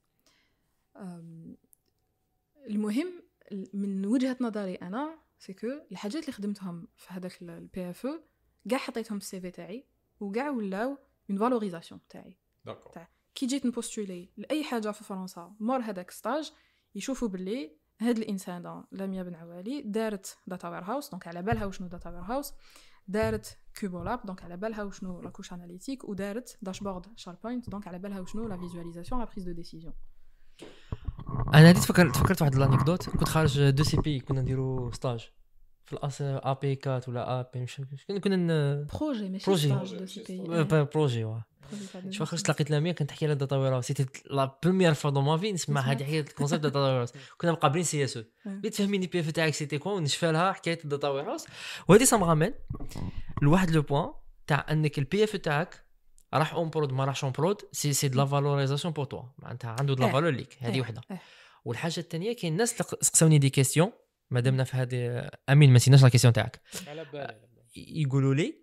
المهم من وجهة نظري انا سيكو الحاجات اللي خدمتهم في هذاك البي اف او كاع حطيتهم في السي في تاعي وكاع ولاو اون فالوريزاسيون تاعي. كي جيت نبوستولي لاي حاجه في فرنسا مور هذاك ستاج يشوفوا باللي هاد الانسان لاميا بن عوالي دارت داتا وير هاوس دونك على بالها وشنو داتا وير هاوس دارت كوبولاب دونك على بالها وشنو لا كوش اناليتيك ودارت داشبورد شاربوينت دونك على بالها وشنو لا فيزواليزاسيون لا بريز دو ديسيزيون. انا هادي تفكرت واحد الانكدوت كنت خارج دو سي بي كنا نديرو ستاج في الاس ا بي 4 ولا ا بي مش كنا بروجي ماشي ستاج دو سي بي بروجي شو خرجت لقيت لاميا كنت تحكي على داتا وير سيتي لا بروميير فوا دو ما في نسمع هذه حكايه الكونسيبت داتا وير كنا مقابلين سي اس او بغيت تفهميني بي اف تاعك سيتي كون ونشفى لها حكايه الداتا وير وهذه سا مغامل لواحد لو بوين تاع انك البي اف تاعك راح اون برود ما راحش اون برود سي دو لا فالوريزاسيون بور توا معناتها عنده دو لا فالور ليك هذه وحده. والحاجه الثانيه كاين الناس سقسوني دي كيسيون مادامنا في هذه امين ما نسيناش لا كيسيون تاعك على بالي يقولوا لي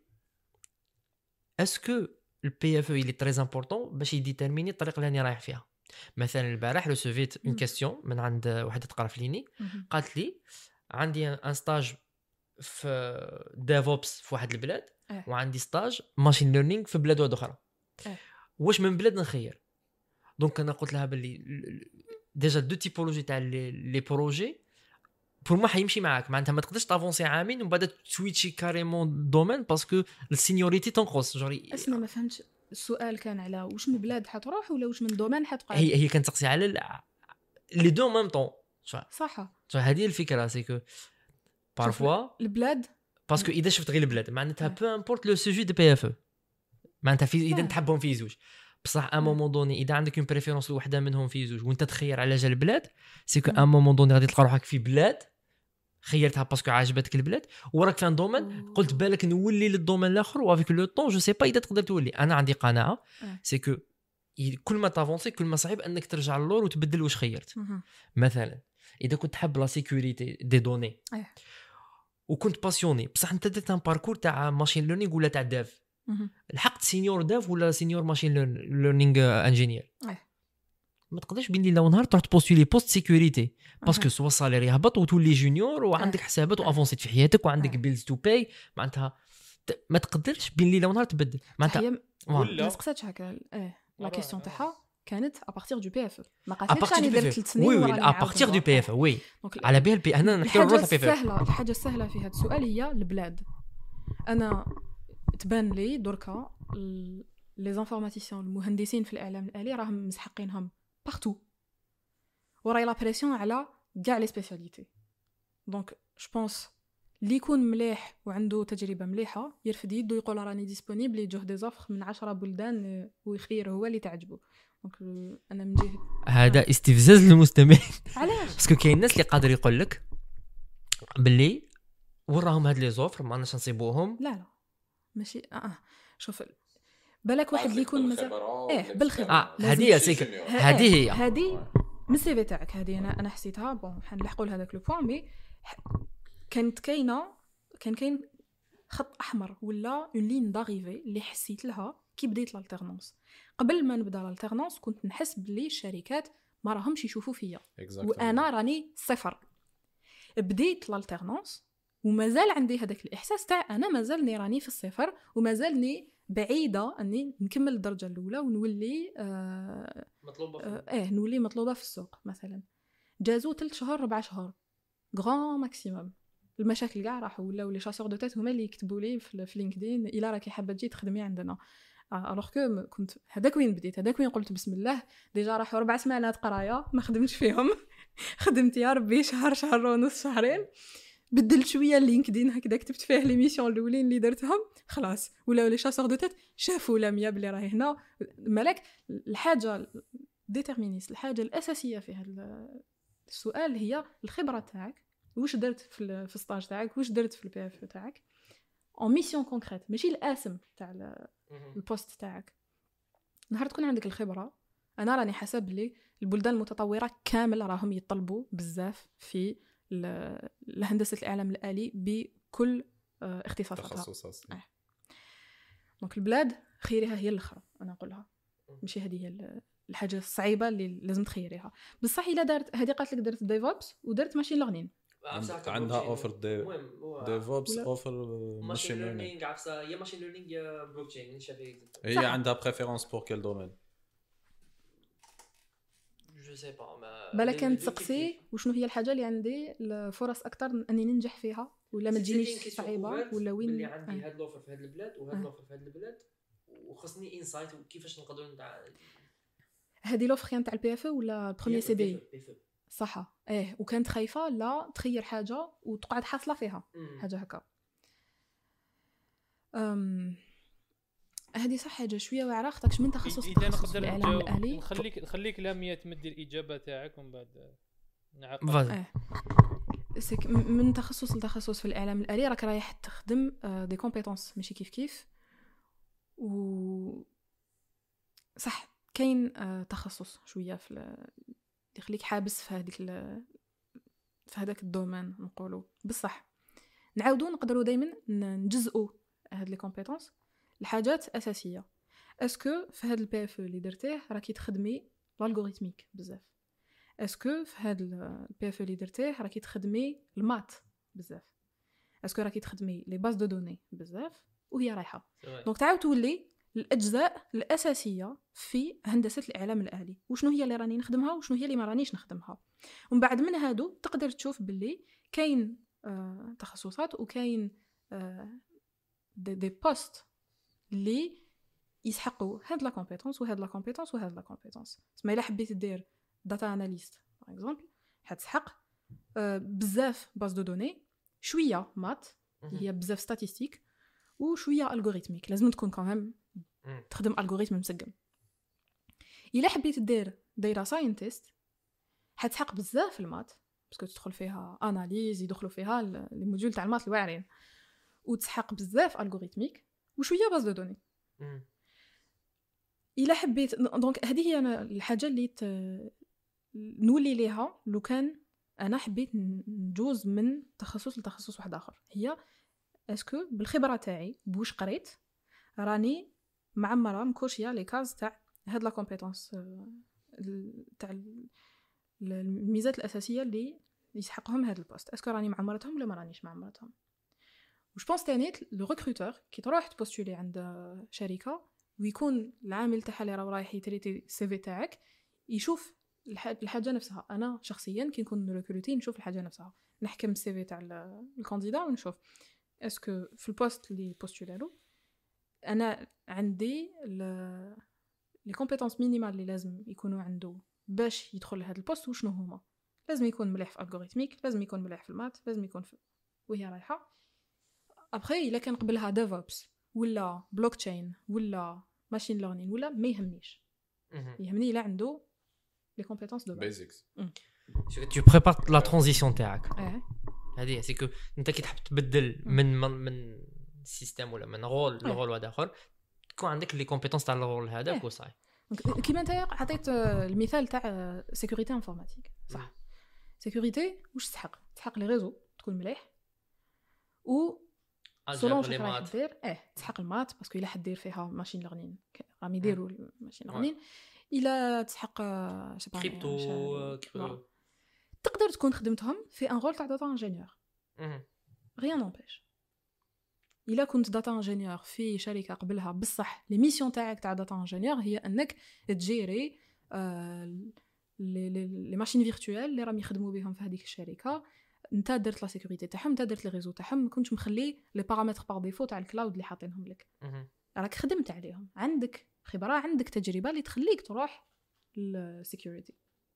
اسكو البي اف اللي تري امبورطون باش يديتيرميني الطريق اللي راني رايح فيها. مثلا البارح ريسيفيت اون كيسيون من عند وحده تقرا في ليني قالت لي عندي ان ستاج في ديفوبس في واحد البلاد وعندي ستاج ماشين ليرنينغ في بلاد واحده اخرى واش من بلاد نخير. دونك انا قلت لها باللي ديجا دو تيبولوجي تاع لي بروجي بور ما حيمشي معاك معناتها ما تقدرش تافونسي عامين ومن بعد تويتشي كاريمون دومين باسكو السينيوريتي تنقص جوري. اسمع ما فهمتش السؤال كان على واش من بلاد حتروح ولا واش من دومين حتقعد. هي كانت تقصي على لي دو ميم طون. صح هذه الفكره سيكو بارفوا البلاد باسكو اذا شفت غير البلاد معناتها بو امبورت لو سوجي دو بي اف او معناتها في اذا تحبهم في زوج بصح ا مومون دوني اذا عندك اون بريفيرونس لوحده منهم في زوج وانت تخير على جال البلاد سيكو ا مومون دوني غادي تلقى روحك في بلاد خيرتها باسكو عجبتك البلاد وراك في ان دومين قلت بالك نولي للدومين الاخر وافيك لو طون جو سي با اذا تقدر تولي. انا عندي قناعه سيكو كل ما تافونسي كل ما صعيب انك ترجع للور وتبدل واش خيرت. مثلا اذا كنت حاب لا سيكوريتي دي دوني وكنت باسيوني بصح انت درت ان باركور تاع ماشين ليرنينغ ولا تاع داف لحقت سينيور داف ولا سينيور ماشين ليرنينغ انجينير ما تقدرش بين ليله ونهار تروح تبوستولي بوست سيكوريتي باسكو سوا الصالير يهبط وتولي جونيور وعندك حسابات وافونسيت في حياتك وعندك بيلز تو باي معناتها ما تقدرش بين ليله ونهار تبدل معناتها ولا ما سقساتش هكا لا كيسيون تاعها كانت ا بارتير دو بي اف ما قالتش راني درت 3 سنين وي ا بارتير دو بي اف وي على بالي بي انا نحكي الروح بي اف الحاجه السهله في هذا السؤال هي البلاد. انا تبان لي دركا لي زانفورماتيسيون المهندسين في الاعلام الالي راهم مسحقينهم بارتو وراي لا بريسيون على كاع لي سبيسياليتي. دونك جو بونس اللي يكون مليح وعنده تجربه مليحه يرفد يدو يقول راني ديسپونيبل يجوه دي زوفر من 10 بلدان ويخير هو اللي تعجبه. دونك انا من جهه هذا استفزاز للمستمعين. علاش؟ باسكو كاين الناس اللي قادر يقول لك باللي وراهم هاد لي زوفر ما ناش نصيبوهم. لا ماشي شوف بالك واحد اللي يكون مثلا بالخبره هذه هذه من السي في تاعك هذه انا حسيتها بون حنلحقوا لهذاك لو بوين مي كان كاين خط احمر ولا اون لين داريفي اللي حسيت لها كي بديت الالتيرنونس. قبل ما نبدا الالتيرنونس كنت نحس بلي الشركات ما راهمش يشوفوا فيا وانا راني صفر. بديت الالتيرنونس ومازال عندي هذاك الاحساس تاع انا مازالني راني في الصفر ومازالني بعيده اني نكمل الدرجه الاولى ونولي مطلوبه نولي مطلوبه في السوق. مثلا جازو 3 شهور 4 شهور غران ماكسيموم. المشاكل كاع راحوا ولاو لي شاسور دو تيت هما اللي يكتبوا لي في لينكدين الا راكي حابه تجي تخدمي عندنا. الوغ كو كنت هذاك وين بديت هذاك وين قلت بسم الله ديجا راحوا 4 سمانات قرايه ما خدمتش فيهم خدمت يا ربي شهر ونص شهرين بدلت شويه اللينكدين هكذا كتبت فيه لي ميسيون الاولين اللي درتهم خلاص ولاو لي شاسور دو تيت شافوا لميا بلي راهي هنا. مالك الحاجه ديتيرمينيس الحاجه الاساسيه في هذا السؤال هي الخبره تاعك. واش درت في الستاج تاعك واش درت في البي اف تاعك اون ميسيون كونكريت ماشي الاسم تاع البوست تاعك. نهار تكون عندك الخبره انا راني حسب لي البلدان المتطوره كامل راهم يطلبوا بزاف في الهندسه الاعلام الالي بكل اختصاصاتها. دونك البلاد خيرها هي الاخرى انا نقولها ماشي هذه هي الحاجه الصعيبه اللي لازم تخيريها. بصح الا دارت هذه قالت لك درت ديفوبس ودرت ماشين ليرنين عندها اوفر ديفوبس اوفر ماشين ليرنينغ عفسه يا ماشين ليرنينغ يا بلوك تشين هي عندها بريفيرونس بور كيل دومين جو سي با بالك كانت تسقسي وشنو هي الحاجه اللي عندي الفرص اكثر اني ننجح فيها ولا ما تجينيش صعيبه ولا وين اللي عندي هاد لوفر في هاد البلاد وهاد لوفر في هاد البلاد وخصني انسايت وكيفاش نقدروا هذه لوفر كانت تاع البي اف ولا البروميير سي دي صح وكانت خايفه لا تخير حاجه وتقعد حاصله فيها حاجه هكا. هذه صح حاجه شويه واعره خاطرش من تخصص في الاعلام الالي نخليك لاميه تمدي الاجابه تاعك ومن بعد نعاود من تخصص لتخصص في الاعلام الالي راك رايح تخدم دي كومبيتونس ماشي كيف و صح كاين تخصص شويه في يخليك حابس في هذاك الدومين نقولوا بصح نعاودوا نقدروا دائما نجزئوا هاد لي كومبيتونس الحاجات اساسيه. اسكو في هاد البي اف اللي درتيه راكي تخدمي الالغوريثميك بزاف اسكو في هاد البي اف اللي درتيه راكي تخدمي المات بزاف اسكو راكي تخدمي لي باز دو دوني بزاف وهي رايحه. دونك تعاود تولي الاجزاء الاساسيه في هندسه الاعلام الالي وشنو هي اللي راني نخدمها وشنو هي اللي ما رانيش نخدمها. ومن بعد من هادو تقدر تشوف باللي كاين تخصصات وكاين دي بوست اللي يسحقوا هاد لا كومبيتونس وهاد لا كومبيتونس وهاد لا كومبيتونس. تسمى الا حبيت دير داتا اناليست باغ اكزومبل حتسحق بزاف باز دو دوني، شويه مات هي بزاف ستاتستيك وشويه الغوريثميك، لازم تكون كمان تخدم الغوريثم مسقم. الا حبيت دير داتا ساينتست حتسحق بزاف المات باسكو تدخل فيها اناليز، يدخلوا فيها لي موديول تاع المات الواعرين، وتسحق بزاف الغوريثميك وشويه باز دو دوني. الا حبيت دونك هذه هي أنا الحاجه اللي نولي ليها لو كان انا حبيت نجوز من تخصص لتخصص واحد اخر، هي اسكو بالخبره تاعي بوش قريت راني معمره مكوشيه لي كاز تاع هاد لا كومبيتونس تاع الميزات الاساسيه اللي يسحقهم هاد البوست، اسكو راني معمرتهم ولا ما رانيش معمرتهم. وش بونس تاني لو ريكروتور كي تروح تبوستولي عند شركه ويكون العامل تاعها اللي رايح يتريتي السي في تاعك يشوف الحاجه نفسها. انا شخصيا كي نكون ريكروتي نشوف الحاجه نفسها، نحكم السي في تاع الكانديدا ونشوف اسكو في البوست اللي بوستولالو انا عندي لي كومبيتونس مينيمال اللي لازم يكونوا عنده باش يدخل لهذا البوست وشنو هما. لازم يكون مليح في الالغوريثميك، لازم يكون مليح في المات، لازم يكون في وهي رايحه. ابري الا كان قبلها ديفوبس ولا بلوك تشين ولا ماشين ليرنين ولا ما يهمنيش، يهمني الا عنده لي كومبيتونس دو بيزكس. tu prépares la transition تاعك. هذه سي كو انت كي تحب تبدل من سيستم ولا من رول لرول واحد اخر تكون عندك لي كومبيتونس تاع الرول هذاك وصاي. كيما انت عطيت المثال تاع سيكوريتي انفورماتيك صح. سيكوريتي واش تسحق لي ريزو تكون مليح و سولون شنو راح دير تسحق المات باسكو الا حد دير فيها ماشين ليرنين راهم يديروا الماشين ليرنين. الا تسحق كريبتو تقدر تكون خدمتهم في ان رول تاع داتا انجينيور غيان نومبيش. الا كنت داتا انجينيور في شركه قبلها بصح لي ميسيون تاعك تاع داتا انجينيور هي انك تجيري لي ماشين فيرتوال اللي راهم يخدموا بهم في هذيك الشركه، انت درت لا سيكوريتي تاعهم، انت درت لي ريزو تاعهم، ما كنتش مخلي لي بارامتر بار ديفو تاع الكلاود اللي حاطينهم لك، راك خدمت عليهم، عندك خبره، عندك تجربه اللي تخليك تروح للسيكوريتي.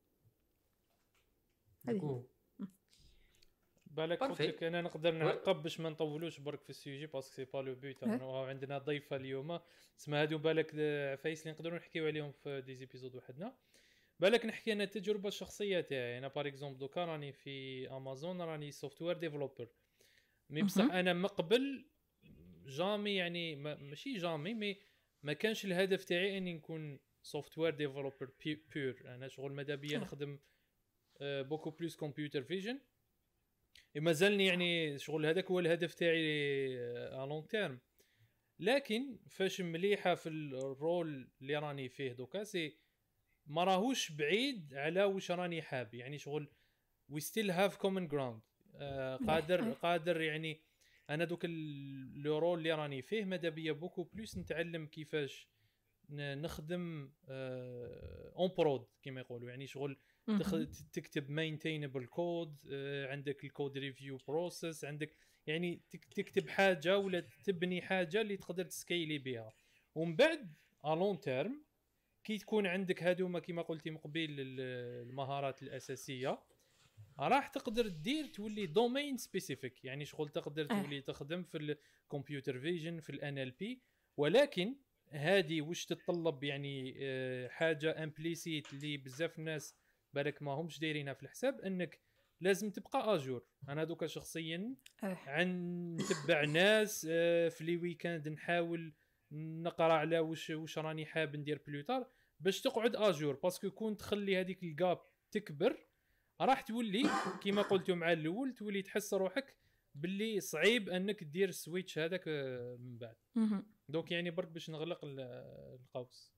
هذه بالك قلت لك انا نقدر نعقب باش ما نطولوش برك في السوجي باسكو سي با لو بوت. عندنا ضيفه اليوم اسمها هادو بالك عفايس اللي نقدروا نحكيو عليهم في دي زيبيزود وحدنا. بالك نحكي انا التجربه الشخصيه تاعي. انا بار اكزومبل دوكا راني في امازون راني سوفتوير ديفلوبر مي بصح انا مقبل جامي يعني ماشي جامي مي ما كانش الهدف تاعي اني نكون سوفتوير ديفلوبر بيور. انا شغل ماذا بيا نخدم بوكو بلوس كمبيوتر فيجن مازالني يعني شغل هذاك هو الهدف تاعي على لونغ تيرم. لكن فاش مليحه في الرول اللي راني فيه دوكا سي ما راهوش بعيد على واش راني حاب يعني شغل وي ستيل هاف كومن جراوند. قادر يعني انا دوك لو رول اللي راني فيه ماذا بيا بوكو بلوس نتعلم كيفاش نخدم اون برود كما يقولوا يعني شغل تكتب مينتينبل كود، عندك الكود ريفيو بروسيس، عندك يعني تكتب حاجه ولا تبني حاجه اللي تقدر تسكيلي بها. ومن بعد الون تيرم كي تكون عندك هادوما كما قلتي مقبل المهارات الاساسيه راح تقدر دير تولي دومين سبيسيفيك يعني شغل تقدر تولي تخدم في الكمبيوتر فيجن في الان ال بي. ولكن هذه واش تتطلب يعني حاجه امبليسيت اللي بزاف الناس بالك ما همش دايرينها في الحساب انك لازم تبقى اجور. انا دوكا شخصيا نتبع ناس في لي ويكاند نحاول نقرا على واش راني حاب ندير بلوتار باش تقعد اجور باسكو كون تخلي هذيك الجاب تكبر راح تولي كما قلتوا مع الاول تولي تحس روحك باللي صعيب انك دير السويتش هذاك من بعد. دونك يعني برك باش نغلق القوس.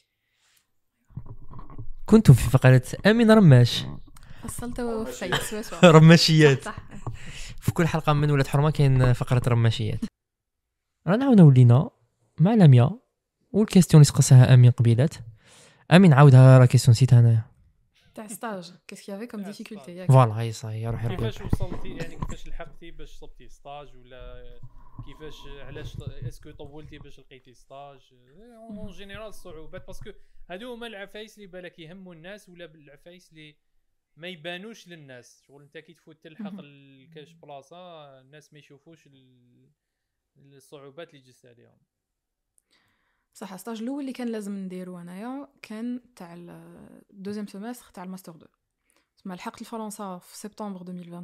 كنتم في فقرة أمين رماش. وصلتوا في رماشيات. في كل حلقة من ولاد حرمة كاين فقرة رماشيات. رانا عاودنا ولينا مع لميا والكيستيون اللي سقسها أمين قبيلات. أمين عاودها راه كيستيون نسيتها أنايا. تاع ستاج كيس كي افي كوم تاع ديفيكولتي stage. ياك فوالا هي صاي روحي كيفاش ربي. وصلتي يعني كيفاش لحقتي باش صبتي ستاج ولا كيفاش علاش اسكو طولتي باش لقيتي ستاج اون جينيرال الصعوبات باسكو هادو هما العفايس اللي بالك يهموا الناس ولا العفايس اللي ما يبانوش للناس شغل انت كي تفوت تلحق الكاش بلاصه الناس ما يشوفوش الصعوبات اللي جست عليهم. صح ستاج الاول اللي كان لازم نديرو انايا كان تاع الدوزيام سيمستر تاع الماستر 2 تما لحقت الفرنسا في سبتمبر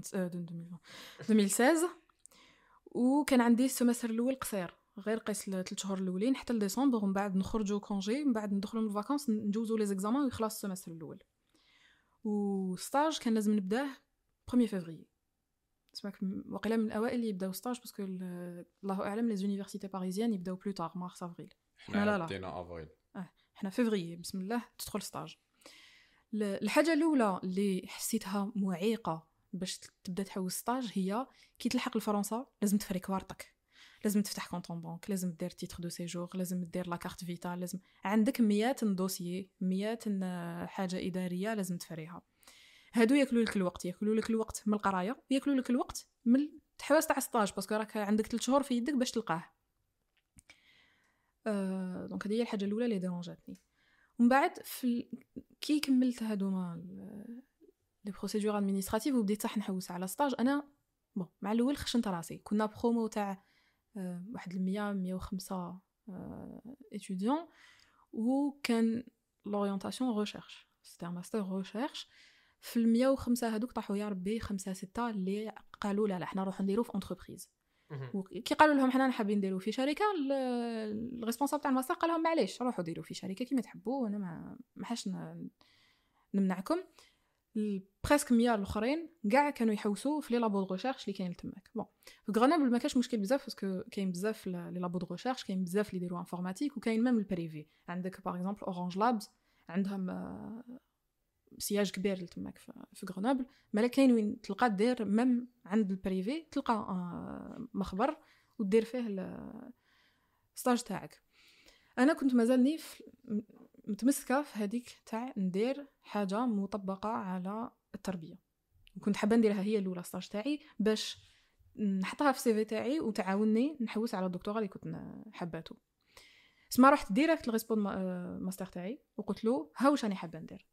2016 وكان عندي السيمستر الاول قصير غير قيس 3 شهور الاولين حتى لديسمبر ومن بعد نخرجوا كونجي من بعد ندخلوا للفاكونس نجوزوا لي زيكزامان ويخلص السيمستر الاول وستاج كان لازم نبداه 1 فيفري اسمك وقيله من الاوائل اللي يبداو ستاج باسكو الله اعلم لي زونيفرسيتي باريزيان يبداو بلو تار مارس افريل احنا بدينا افريل احنا فيفري بسم الله تدخل ستاج. الحاجه الاولى اللي حسيتها معيقه باش تبدا تحوس ستاج هي كي تلحق لفرنسا لازم تفري كوارتك لازم تفتح كونطون بانك لازم دير تيتر دو سيجور لازم دير لا كارت فيتا لازم عندك مئات دوسيي مئات حاجه اداريه لازم تفريها هادو ياكلوا لك الوقت من القرايه وياكلوا لك الوقت من التحواس تاع ستاج باسكو راك عندك 3 شهور في يدك باش تلقاه. دونك هذه هي الحاجه الاولى اللي ديرونجاتني. ومن بعد كي كملت هادوما لي بروسيدور ادمينستراتيف وبديت صح نحوس على ستاج انا مع الاول خشنت راسي كنا برومو تاع واحد 105 étudiants وكان لورينتاسيون ريشيرش سيتي ماستر ريشيرش في 105 هذوك طاحوا يا ربي 5 6 اللي قالوا لا حنا نروحوا نديرو في انتربريز وكي قالوا لهم حنا حابين نديرو في شركه الريسبونسابل تاع الماستر قال لهم معليش روحوا ديروا في شركه كيما تحبوا وانا ما حاش نمنعكم. بريسك 100 الاخرين كاع كانوا يحوسوا في لي لابو دو ريشيرش اللي كاين تماك. في غرنابل ما كاش مشكل بزاف باسكو كاين بزاف لي لابو دو ريشيرش كاين بزاف اللي يديروا انفورماتيك وكاين ميم البريفي عندك باغ اكزومبل اورانج لابز عندهم سياج كبير تماك في غرنابل مالا كاين وين تلقى دير ميم عند البريفي تلقى مخبر ودير فيه الستاج تاعك. انا كنت مازالني متمسكه في هذيك تاع ندير حاجه مطبقه على التربيه وكنت حابه نديرها هي الاولى ستاج تاعي باش نحطها في CV تاعي وتعاونني نحوس على الدكتوراه اللي كنت حباته. اسمع رحت ديريكت للريسبون ماستر تاعي وقلت له ها واش راني حابه ندير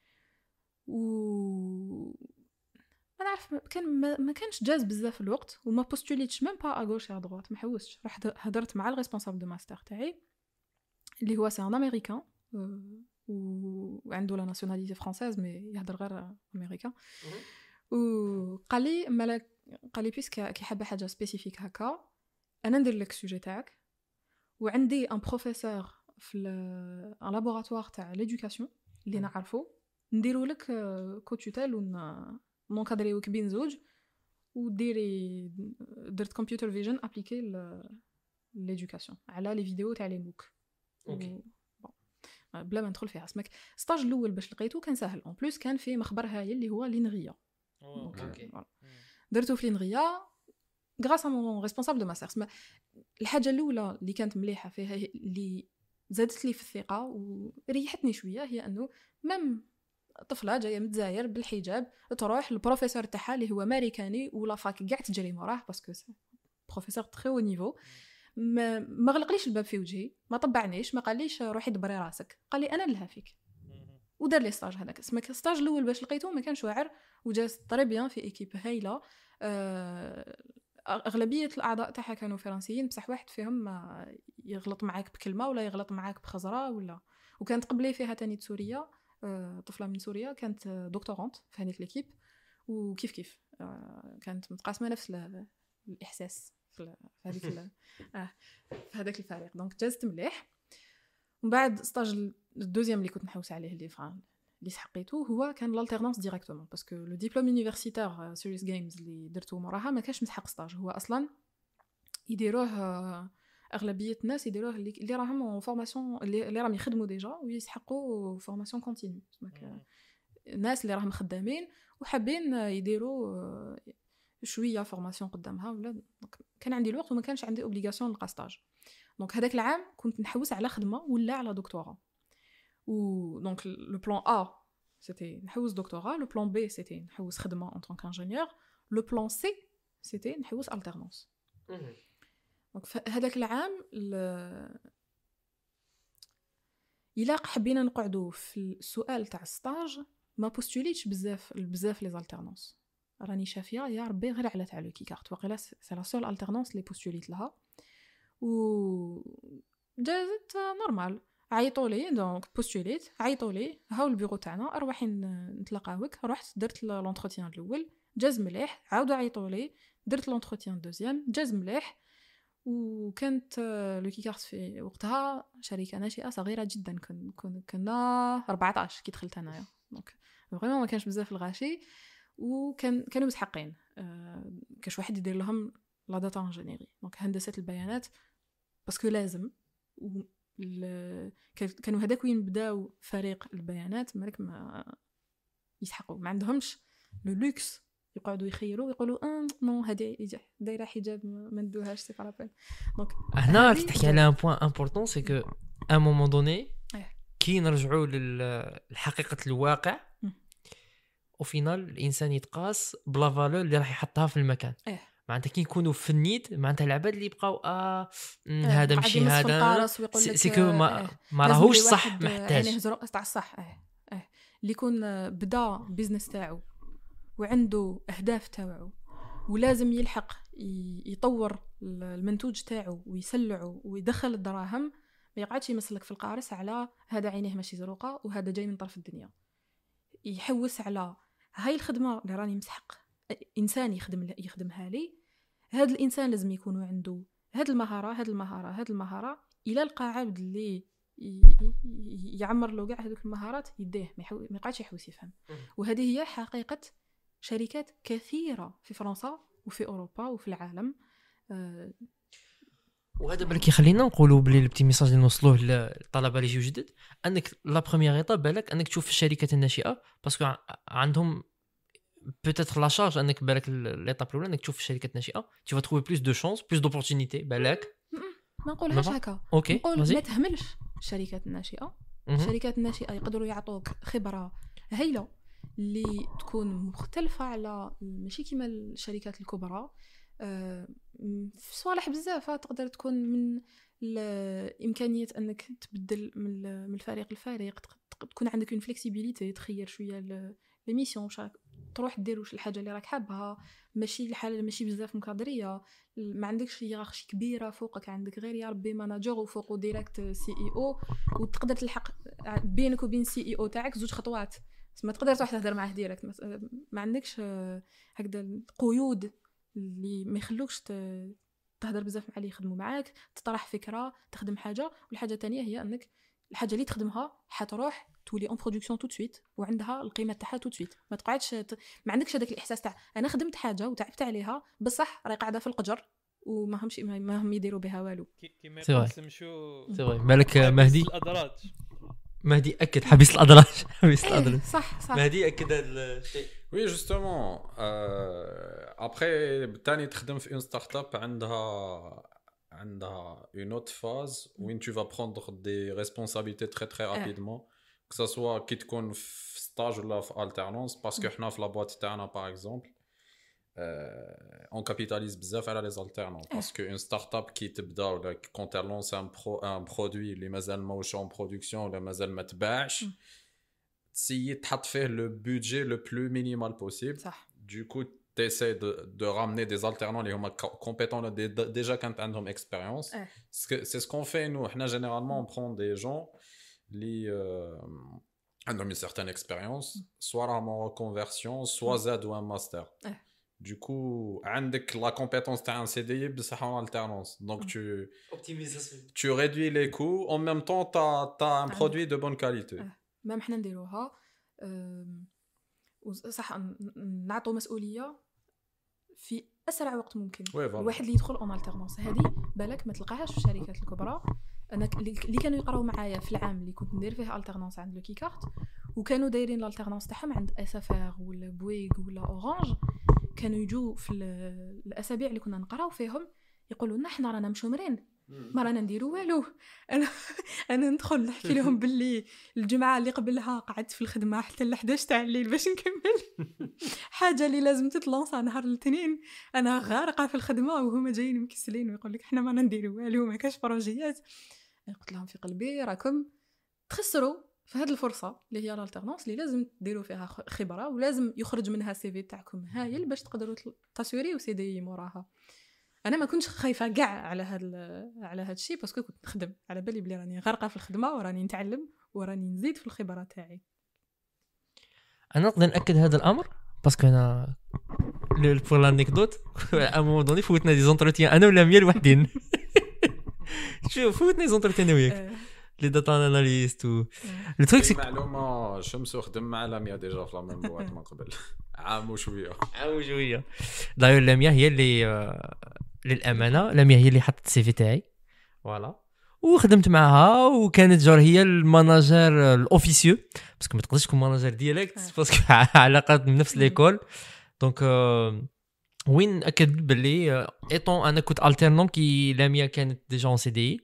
انا عارف ما كانش جاز بزاف الوقت وما بوستوليتش ميم با اغوش يا دروات ما حوستش رحت هضرت مع الريسبونسابل دو ماستر تاعي اللي هو سي ان امريكان وعنده لا ناسيوناليتي فرانسيز مي يهضر غير امريكان وقال لي بيسك كي حابه حاجه سبيسيفيك هكا انا ندير لك السوجي تاعك وعندي ان بروفيسور في ان لابوراتوار تاع ليدوكاسيون اللي نعرفو نديرو لك كوتوتال ونكادريوك بين زوج وديري درت كمبيوتر فيجن ابليكي ليدوكاسيون على لي فيديو تاع لي موك اوكي بلا ما ندخل فيها اسمك ستاج الاول باش لقيته كان سهل اون بليس كان فيه مخبر هايل اللي هو لينغيا اوكي درتو في لينغيا غراس ا مون ريسبونسابل دو ماستر. اسمع الحاجه الاولى اللي كانت مليحه فيها اللي زادت لي في الثقه وريحتني شويه هي انه ميم طفله جايه من الجزائر بالحجاب تروح للبروفيسور تاعها اللي هو امريكاني ولا فاك كاع تجري موراه باسكو بروفيسور تري او نيفو ما غلقليش الباب في وجهي ما طبعنيش ما قاليش روحي دبري راسك قال لي انا نلها فيك ودار لي ستاج هذاك اسمك ستاج الاول باش لقيته ما كانش واعر وجاز طري بيان في ايكيب هايله. اغلبيه الاعضاء تاعها كانوا فرنسيين بصح واحد فيهم يغلط معاك بكلمه ولا يغلط معاك بخزره ولا وكانت قبلي فيها تاني سوريا طفله من سوريا كانت دكتورانت في هذيك ليكيب وكيف كانت متقاسمه نفس الاحساس في هذيك في هذاك الفريق دونك جازت مليح. ومن بعد ستاج الدوزيام اللي كنت نحوس عليه اللي سحقيته هو كان لالتيرنانس ديريكتومون باسكو لو ديبلوم يونيفرسيتير سيريس جيمز اللي درتو موراها ما كانش مسحق ستاج هو اصلا يديروه اغلبيه الناس يديروه اللي راهم فورماسيون اللي راهم يخدموا ديجا ويسحقوا فورماسيون كونتينيو الناس اللي راهم خدامين وحابين يديروا شويه فورماسيون قدامها ولا كان عندي الوقت وما كانش عندي اوبليغاسيون نلقى ستاج دونك هذاك العام كنت نحوس على خدمه ولا على دكتوراه و دونك لو بلان ا c'était نحوس دكتوراه. Le plan B c'était نحوس خدمة en tant qu'ingénieur. Le plan C c'était نحوس alternance. Donc هذاك العام إلا حبينا نقعدوا في السؤال تاع الستاج ما بوستوليتش بزاف لي زالترنانس. راني شافيه يا ربي غير على تاع لو كيكارت وقيلا سي لا سول الترنانس لي بوستوليت لها و جازت نورمال. عيطوا لي دونك بوستوليت، عيطوا لي هاو البيرو تاعنا اروحي نتلاقاوك. رحت درت لونتروتيان الاول جاز مليح، عاودوا عيطوا لي درت لونتروتيان دوزيام جاز مليح. وكانت لو كيكارت في وقتها شركه ناشئه صغيره جدا، كنا 14 كي دخلت انايا، دونك فريمون ما كانش بزاف الغاشي. وكانوا مسحقين كاش واحد يدير لهم لا داتا انجينيري، دونك هندسه البيانات باسكو لازم. كانوا هذاك وين بداو فريق البيانات مالك ما يسحقوا، ما عندهمش لو لوكس يقعدوا يخيروا يقولوا نو هذه دايره حجاب ما ندوهاش سي بارابين. دونك هنا تحكي على ان بوين امبورطون سي كو ا مومون دوني كي نرجعوا للحقيقه الواقع وفينال الانسان يتقاس بلا فالور اللي راح يحطها في المكان. معناتها كي يكونوا في النيت معناتها العباد اللي يبقاو هذا ماشي هذا سيكو ما راهوش صح محتاج يعني هزرق تاع الصح. اللي يكون بدا بيزنس تاعو وعنده اهداف تاعو ولازم يلحق يطور المنتوج تاعو ويسلعه ويدخل الدراهم، ما يقعدش يمسلك في القارص على هذا عينيه ماشي زروقه وهذا جاي من طرف الدنيا. يحوس على هاي الخدمه اللي راني مسحق انسان يخدمها لي، هذا الانسان لازم يكون عنده هذه المهاره الى لقى عبد اللي يعمر له كاع هذوك المهارات يديه ما يقعدش يحوس يفهم. وهذه هي حقيقه شركات كثيره في فرنسا وفي اوروبا وفي العالم. وهذا بالك يخلينا نقولوا بلي البتي ميساج اللي نوصلوه للطلبه اللي يجيو جدد، انك لا بروميير ايطاب بالك انك تشوف الشركات الناشئه باسكو عندهم بوتيتر لا شارج انك بالك ليطاب الاولى انك تشوف الشركات الناشئه tu vas trouver plus de chance plus d'opportunités بالك. ما نقولهاش هكا، نقول ما تهملش الشركات الناشئه. الشركات الناشئه يقدروا يعطوك خبره هايله اللي تكون مختلفه على ماشي كيما الشركات الكبرى. في صوالح بزاف تقدر تكون من الامكانيه انك تبدل من الفريق للفريق، تكون عندك اون فليكسيبيليتي تخير شويه لي ميسيون تروح دير واش الحاجه اللي راك حابها، ماشي الحاله ماشي بزاف مكادريه، ما عندكش هيرارشي كبيره فوقك، عندك غير يا ربي ماناجر وفوقه ديريكت سي اي او، وتقدر تلحق بينك وبين سي اي او تاعك زوج خطوات، ما تقدر تروح تهضر معاه ديريكت. ما عندكش هكذا قيود اللي ما يخلوكش تهضر بزاف مع اللي يخدموا معاك، تطرح فكره، تخدم حاجه. والحاجه الثانيه هي انك الحاجه اللي تخدمها حتروح تولي اون برودكسيون تو سويت وعندها القيمه تاعها تو سويت. ما تقعدش ما عندكش هذاك الاحساس تاع انا خدمت حاجه وتعبت عليها بصح راهي قاعده في القجر وما هم يديروا بها والو. كيما يقسمشوا سي فري بالك مهدي الادراج. مهدي اكد حبيس الادراج حبيس الادراج صح مهدي اكد هذا الشيء. وي جوستومون ابري بالتالي تخدم في اون ستارت اب عندها une autre phase où tu vas prendre des responsabilités très rapidement, que ça soit qui تكون في stage ولا في alternance, parce que حنا في la boîte تاعنا par exemple on capitalise بزاف على les alternants, parce que une start-up qui تبدا ولا quand elle lance un produit اللي مازال ماهوش en production ولا مازال ما تباعش تسيي تحط فيه le budget le plus minimal possible. صح. Du coup t'essaies de ramener des alternants qui sont compétents déjà quand ils ont expérience. C'est ce qu'on fait nous. Généralement on prend des gens qui ont une certaine expérience, soit en reconversion, soit Z ou un master. Du coup, la compétence t'as un CDI, c'est en alternance. Donc tu réduis les coûts, en même temps t'as un produit de bonne qualité. Même حنا نديروها صح، نعطوا مسؤوليه في اسرع وقت ممكن. الواحد اللي يدخل اون الترنانس هذه بالك ما تلقاهاش في الشركات الكبرى. انا اللي كانوا يقراو معايا في العام اللي كنت ندير فيه الترنانس عند لو كيكارت وكانوا دايرين الالترنانس تاعهم عند اسفار ولا بويغ ولا اورانج، كانوا يجوا في الاسابيع اللي كنا نقراو فيهم يقولوا لنا حنا رانا مشومرين ما رانا نديرو والو. انا ندخل نحكي لهم باللي الجمعه اللي قبلها قعدت في الخدمه حتى ل 11 تاع الليل باش نكمل حاجه اللي لازم تتلونسا نهار الاثنين، انا غارقه في الخدمه وهما جايين مكسلين ويقول لك احنا ما نديرو والو ما كاش بروجيات. قلت لهم في قلبي راكم تخسروا في هذه الفرصه اللي هي الالترنانس اللي لازم تديروا فيها خبره ولازم يخرج منها السي في تاعكم هايل باش تقدروا تاسوري وسي دي موراها. انا ما كنتش خايفه كاع على هذا الشيء باسكو كنت نخدم على بالي بلي راني غارقه في الخدمه وراني نتعلم وراني نزيد في الخبره تاعي. انا نقدر ناكد هذا الامر باسكو انا بور لانيكدوت ا مومون دوني فوتنا دي زونتروتيان انا ولا ميا لوحدين. شوف فوتنا دي زونتروتيان وياك لي داتا اناليست و لو تريك سي معلومه شمسو خدم مع لاميا ديجا في لامين بوات من قبل عام وشويه. داير لاميا هي اللي للامانه لاميا هي اللي حطت السي في تاعي فوالا وخدمت معها وكانت جار هي الماناجر الاوفيسيو باسكو ما تقدرش تكون ماناجر ديريكت باسكو علاقات من نفس ليكول دونك وين اكد باللي ايطون انا كنت الترنون كي لاميا كانت ديجا اون سي دي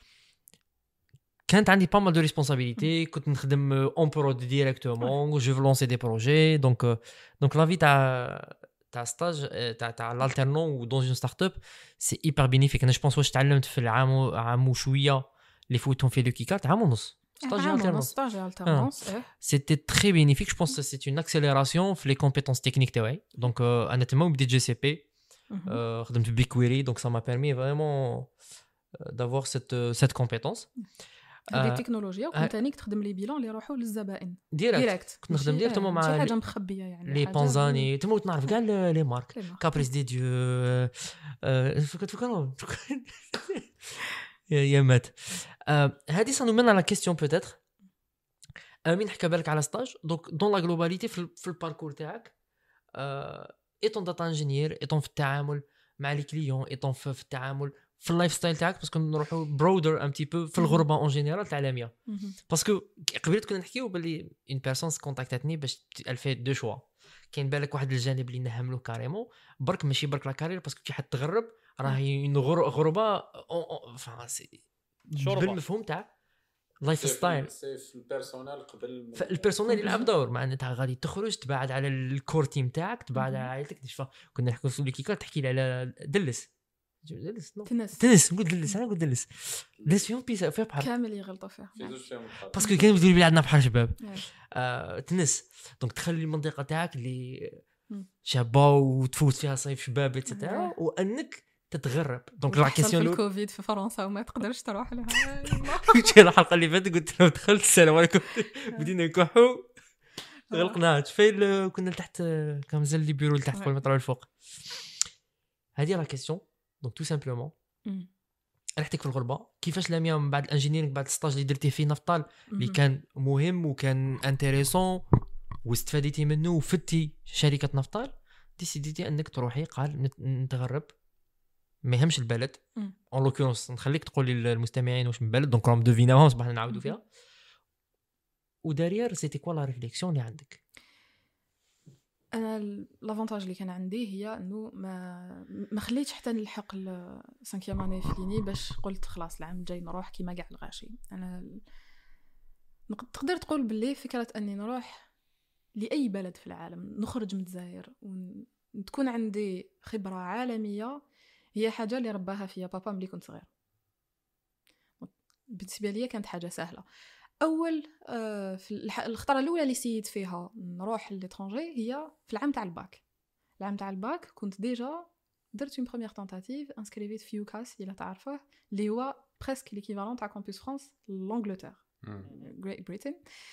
كانت عندي با مال دو ريسبونسابيلتي كنت نخدم اون برود ديريكتومون جو لونسي دي بروجي دونك لا في تاع ستاج تاع الالترنون و دون اون ستارت اب سي ايبر بينيفيك. انا جو بونس واش تعلمت في عام وشويه اللي فوتهم في لوكيكات عام ونص ستاج الترنونس سيتي تري بينيفيك. جو بونس سي اون اكسيليراسيون في لي كومبيتونس تكنيك تاعي دونك انا تما بديت جي سي بي خدمت بيكويري دونك سا ما بيرمي فريمون دافوار cette compétence. هذه التكنولوجيا وكنت انك تخدم لي بيلون اللي يروحوا للزبائن ديريكت كنت نخدم ديريكتومون مع حاجه مخبيه يعني لي بونزاني تما نعرف كاع لي مارك كابريس دي ديو فكروا يا مات. هذه سانو من على كيستيون بوتيتر امين حكى بالك على ستاج دونك دون لا غلوباليتي في الباركور تاعك ايطون داتا انجينير ايطون في التعامل مع لي كليون ايطون في التعامل في اللايف ستايل تاعك باسكو نروحوا برودر ان تي بو في الغربه اون جينيرال تاع لاميا باسكو قبيله كنا نحكيو باللي اون بيرسون كونتاكتاتني باش الفي دو شوا كاين بالك واحد الجانب اللي نهملو كاريمون برك ماشي برك لا كارير باسكو كي حد تغرب راهي اون غربه بالمفهوم تاع لايف ستايل سيف البيرسونال قبل البيرسونال يلعب دور معناتها غادي تخرج تبعد على الكور تيم تاعك تبعد على عائلتك كنا نحكوا في الكيكار تحكي لي على دلس نقول دلس انا نقول دلس فيهم بيسا فيها بحر كامل يغلطوا فيها باسكو كانوا يقولوا لي عندنا بحر شباب تنس دونك تخلي المنطقه تاعك اللي شابه وتفوت فيها صيف شباب ايتترا وانك تتغرب دونك لا كيسيون في الكوفيد في فرنسا وما تقدرش تروح لها. كنت الحلقه اللي فاتت قلت لهم دخلت السلام عليكم بدينا نكحوا غلقناها فين كنا تحت كان مازال لي بيرو تحت في المترو الفوق. هذه لا كيسيون دونك تو سامبلومون رحتك في الغربه كيفاش لاميا من بعد الانجينيرينغ بعد الستاج اللي درتي في نفطال اللي كان مهم وكان انتريسون واستفاديتي منه وفتي شركه نفطال ديسيديتي انك تروحي قال نتغرب ما يهمش البلد اون لوكونس نخليك تقول لي المستمعين واش من بلد دونك راهم دوفيناهم صباح نعاودوا فيها ودارير سيتي كوا لا ريفليكسيون اللي عندك. انا لافونتاج اللي كان عندي هي انه ما خليتش حتى نلحق السانكيام اني فيني باش قلت خلاص العام الجاي نروح كيما كاع الغاشي. انا تقدر تقول باللي فكره اني نروح لاي بلد في العالم نخرج من الجزائر وتكون عندي خبره عالميه هي حاجه اللي رباها فيا بابا ملي كنت صغير. بالنسبه لي كانت حاجه سهله. اول في الخطره الاولى اللي سيت فيها نروح للترونجي هي في العام تاع الباك كنت ديجا درت اون بروميير تونتاتيف انسكريفيت في يوكاس الا تعرفه اللي هو بريسك ليكيفالون تاع كامبوس فرانس لانجلتير غريت بريتن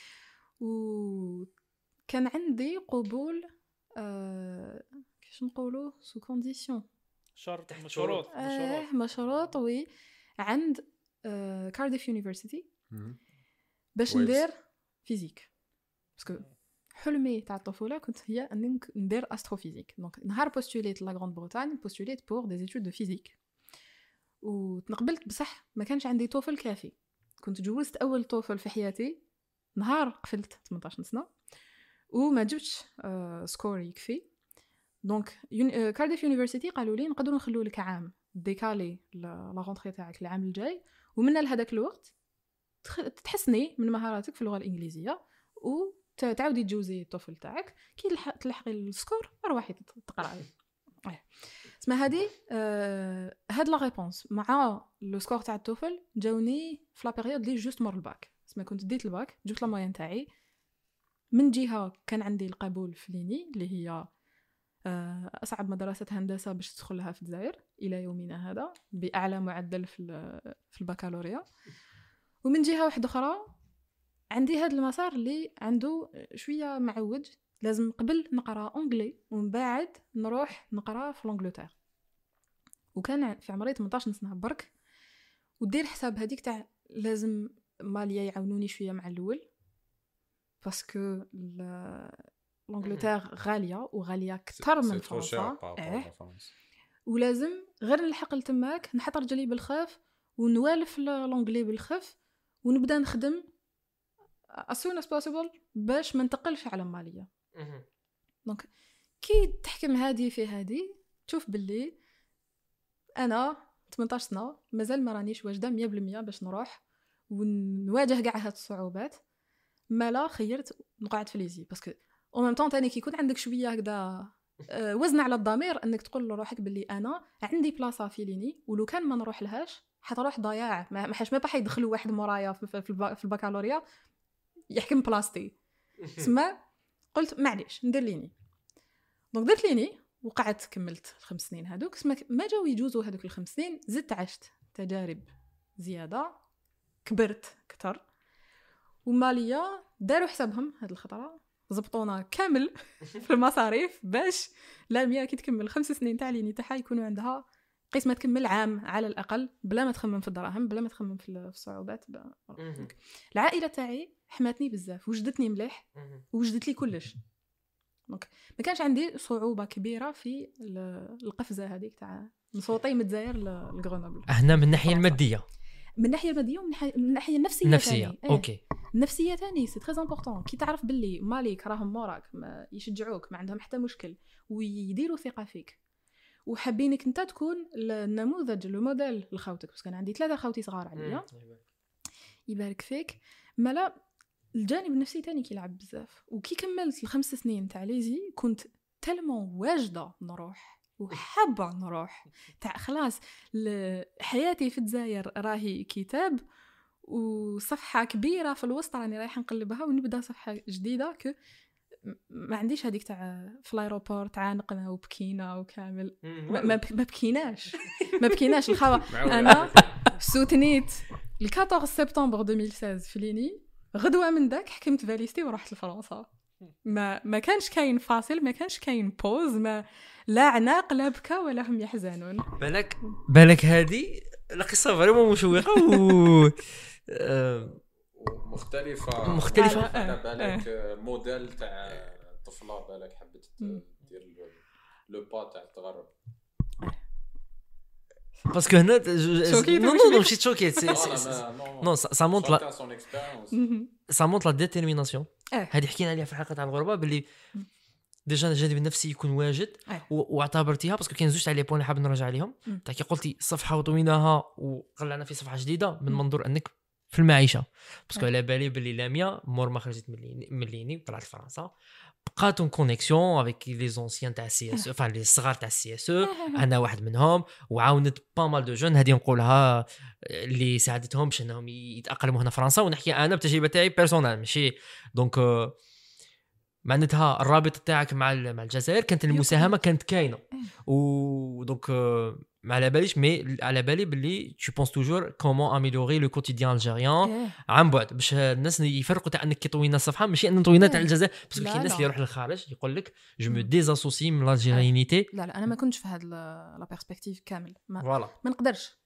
وكان عندي قبول كيفاش نقولوا سو كونديسيون شرط مشروط وي عند كارديف يونيفرسيتي باش ندير فيزيك باسكو حلمي تاع الطفوله كنت هي اني ندير استروفيزيك. دونك نهار بوستوليت لا غراند بريطانيا بوستوليت بور دي ايتود دو فيزيك وتنقبلت بصح ما كانش عندي توفل كافي. كنت جوزت اول توفل في حياتي نهار قفلت 18 سنه وما جبتش سكور يكفي. دونك كارديف يونيفرسيتي قالوا لي نقدروا نخلو لك عام ديكالي لا رونتري تاعك العام الجاي، ومن لهذاك الوقت تحسني من مهاراتك في اللغه الانجليزيه وتعاودي تجوزي الطفل تاعك كي تلحقي السكور روحي تقراي. اسمها هذه هاد لا ريبونس مع لو سكور تاع الطفل جاوني في لا بيريود لي جوست مور الباك. اسمها كنت ديت الباك جبت لا موين تاعي، من جهه كان عندي القبول في ليني اللي هي اصعب مدرسه هندسه باش تدخلها في الجزائر الى يومنا هذا باعلى معدل في البكالوريا، ومن جهه واحده اخرى عندي هذا المسار اللي عنده شويه معوج، لازم قبل نقرا اونغلي ومن بعد نروح نقرا في لانجلتير. وكان في عمري 18 سنه برك، ودير حساب هذيك تاع لازم ماليا يعاونوني شويه مع الاول باسكو لانجلتير غاليه وغاليه اكثر من فرنسا. ولازم غير نلحق لتماك نحط رجلي بالخف ونوالف لانجلي بالخف ونبدا نخدم as soon as possible باش ما ننتقلش على ماليه. دونك كي تحكم هذه في هذه تشوف باللي انا 18 سنه مازال ما رانيش واجده 100% باش نروح ونواجه كاع هاد الصعوبات. ما لا خيرت نقعد في ليزي باسكو او ميم طون ثاني كي يكون عندك شويه هكذا وزن على الضمير انك تقول لروحك باللي انا عندي بلاصه في ليني ولو كان ما نروح لهاش حتروح ضياع، ما حاش ما باح يدخلوا واحد مورايا في البكالوريا يحكم بلاصتي. سما قلت معليش ندير ليني. دونك درت ليني وقعدت كملت 5 سنين هذوك. ما جاو يجوزوا هذوك ال5 سنين زدت عشت تجارب زياده كبرت اكثر. وماليا داروا حسابهم هاد الخطره زبطونا كامل في المصاريف باش لاميا كي تكمل 5 سنين تاع ليني تاعها يكونوا عندها قسمه تكمل عام على الاقل بلا ما تخمم في الدراهم بلا ما تخمم في الصعوبات. العائله تاعي حماتني بزاف وجدتني مليح وجدت لي كلش. دونك ما كانش عندي صعوبه كبيره في القفزه هذيك تاع نصوتي من الجزائر لغرونوبل. هنا من الناحيه الماديه، من الناحيه الماديه ومن الناحيه النفسيه اوكي النفسيه ثاني سي تري امبورطون. كي تعرف باللي مالك راهم موراك ما يشجعوك ما عندهم حتى مشكل ويديروا ثقه فيك وحابينك انت تكون النموذج لو موديل لخوتك، بس كان عندي 3 خوتي صغار عليا يبارك فيك. مالا الجانب النفسي تاني كيلعب بزاف. وكي كملت ال5 سنين تاع ليزي كنت تلمون واجده نروح وحابه نروح تاع خلاص حياتي في الجزائر راهي كتاب وصفحه كبيره في الوسط راني رايحه نقلبها ونبدا صفحه جديده. ما عنديش هذيك تاع في الايروبورت عانقنا وبكينا وكامل ما بكيناش الخوا. انا سوتنيت ال 14 سبتمبر 2016 في ليني غدوه من داك حكمت فاليستي ورحت لفرنسا. ما كانش كاين فاصل ما كانش كاين بوز ما لا عناق لا بكى ولا هم يحزنون. بالك هذه القصه فريمون مشوقه مختلفه على بالك موديل تاع طفله بالك حبت دير لو با تاع التغرب باسكو هنا نو ماشي تشوكي نو سا مونط لا ديتيرميناسيون. هذه حكينا عليها في الحلقه تاع الغربه باللي ديجا الجانب النفسي يكون واجد واعتبرتيها باسكو كاين زوج تاع لي بوين حاب نرجع عليهم. تاع كي قلتي صفحه وطويناها وقلعنا في صفحه جديده من منظور انك في المعيشه باسكو على بالي باللي لاميا مور ما خرجت من ليني طلعت لفرنسا بقات اون كونيكسيون افيك لي زونسيان تاع سي اس او لي صغار تاع سي اس او انا واحد منهم وعاونت با مال دو جون هذه نقولها اللي ساعدتهم باش انهم يتاقلموا هنا فرنسا. ونحكي انا بتجربه تاعي بيرسونال ماشي دونك معناتها الرابط تاعك مع الجزائر كانت المساهمه كانت كاينه ودونك ما على باليش مي على بالي باللي tu penses toujours comment améliorer le quotidien algérien عن بعد باش الناس يفرقوا تاع انك طوينا الصفحه ماشي ان طوينا تاع الجزائر باسكو كاين الناس اللي يروح للخارج يقول لك جو مو ديزاسوسي من الالجيريانيتي. لا انا ما كنتش في هذا لا بيرسبكتيف كامل ما نقدرش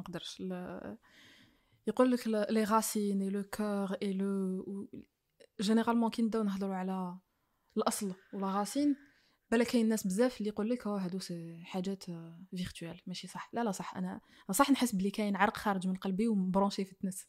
يقول لك لي راسين اي لو كور اي لو جينيرالمون كي نبداو نهضروا على الاصل ولا راسين بلا كاين الناس بزاف اللي يقول لك هادو حاجات فيرتوال ماشي صح. لا صح انا صح نحس بلي كاين عرق خارج من قلبي ومبرونشي في التنس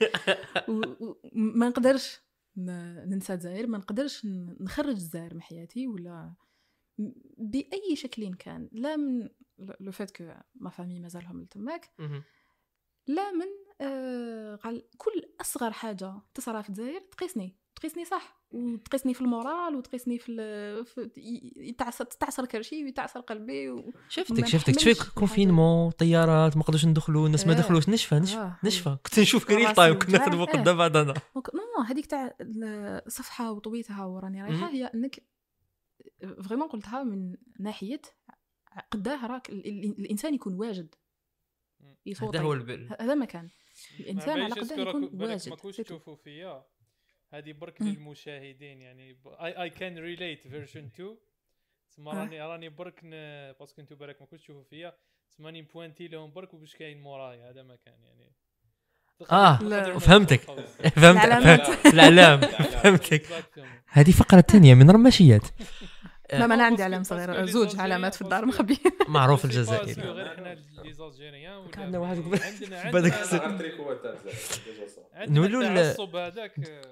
ما نقدرش ننسى الجزائر ما نقدرش نخرج الجزائر من حياتي ولا باي شكل كان، لا من لو فات كو ما فامي مازالهم لتماك، لا من قال كل اصغر حاجه تصرى في الجزائر تقيسني صح، وتقيسني في المورال، وتقيسني في تعصر كرشي ويتعصر قلبي شفتك تفيك كونفينمون، طيارات ما قدروش ندخلوا، الناس ما دخلوش، نشفى كنت نشوف كريم طايم كنا نخدموا قدام بعضنا. نو هذيك تاع الصفحه وطويتها وراني رايحه، هي انك فريمون قلتها من ناحيه قداه راك الانسان يكون واجد هذا هو هذا ما كان الانسان على قداه يكون واجد. ما كنتش تشوفوا فيا هذه برك للمشاهدين، يعني اي كان ريليت فيرجن 2 تما راني برك باسكو انتو بالك ما كنتش تشوفوا فيا، تماني بوينتي لهم برك وباش كاين مورايا، هذا ما كان يعني فهمتك الاعلام فهمتك. هذه فقره ثانيه من رماشيات. لا ما انا عندي علامه صغيره، زوج علامات في الدار مخبيه معروف الجزائري. غير احنا لي زالجيريان عندنا واحد عندنا نولوا العصب هذاك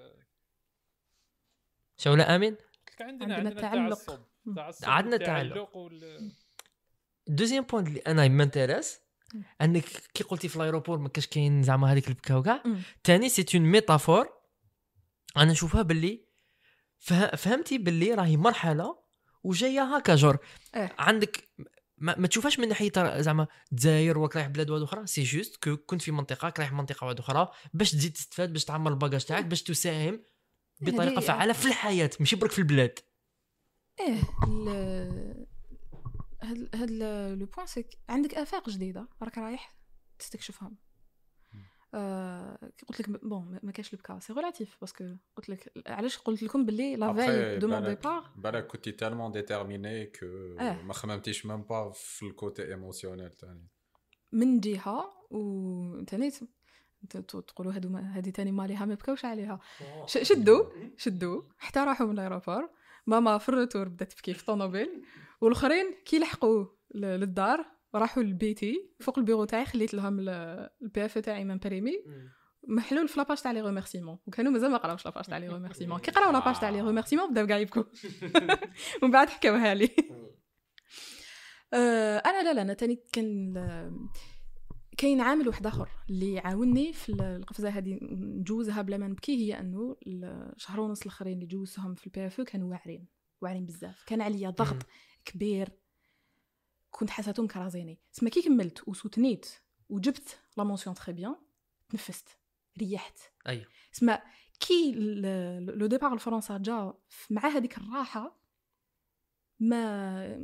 شوله امين. عندنا تعلق عندنا تعلق. دوزيام بوينت اللي انا مانتيريس انك كي قلتي في الايروبور ما كاش كاين زعما هذيك البكا وكاع، ثاني سي اون ميتافور. انا نشوفها باللي فهمتي باللي راهي مرحله وجايه هكا جور. عندك ما تشوفهاش من ناحيه زعما الجزائر ولا رايح بلاد واحده اخرى، سي جوست كنت في منطقه رايح منطقه واحده اخرى باش تزيد تستفاد، باش تعمر الباجاج تاعك، باش تساهم بطريقه فعاله في الحياه، ماشي برك في البلاد. هاد لو بوين سي عندك افاق جديده راك رايح تستكشفهم. قلت لك بون ما كاش البكا سي ريلاتيف، باسكو قلت لك علاش قلت لكم باللي لا فاي دو مون ديبار بالك كنتي تالمون ديتيرميني كو ما خممتيش ميم با في الكوتي ايموسيونيل تاني من جهه، وثاني تقولوا هذه ثاني ماليها ما بكاوش عليها. شدوا حتى راحوا من الايروبور، ماما في الروتور بدات تبكي في الطوموبيل، والاخرين كي لحقوا للدار راحوا لبيتي فوق البيرو تاعي، خليت لهم البي اف تاعي مامبريمي محلول في لاباج تاع لي ريميرسيمون، وكانوا مازال ما قراوش لاباج تاع لي ريميرسيمون. كي قراو لاباج تاع لي ريميرسيمون بداو كاع يبكوا ومن بعد حكاوها لي. انا لا انا تاني كاين عامل واحد اخر اللي عاونني في القفزه هذه نجوزها بلا ما نبكي، هي انه الشهر ونص الاخرين اللي جوزتهم في البي اف كانوا واعرين بزاف، كان عليا ضغط كبير، كنت حاساتهم كرازيني. اسمع كي كملت وسوتنيت وجبت لا مونسيون تري بيان، تنفست ريحت. ايوه اسمع كي لو ديبار الفرنسا جا مع هذيك الراحه، ما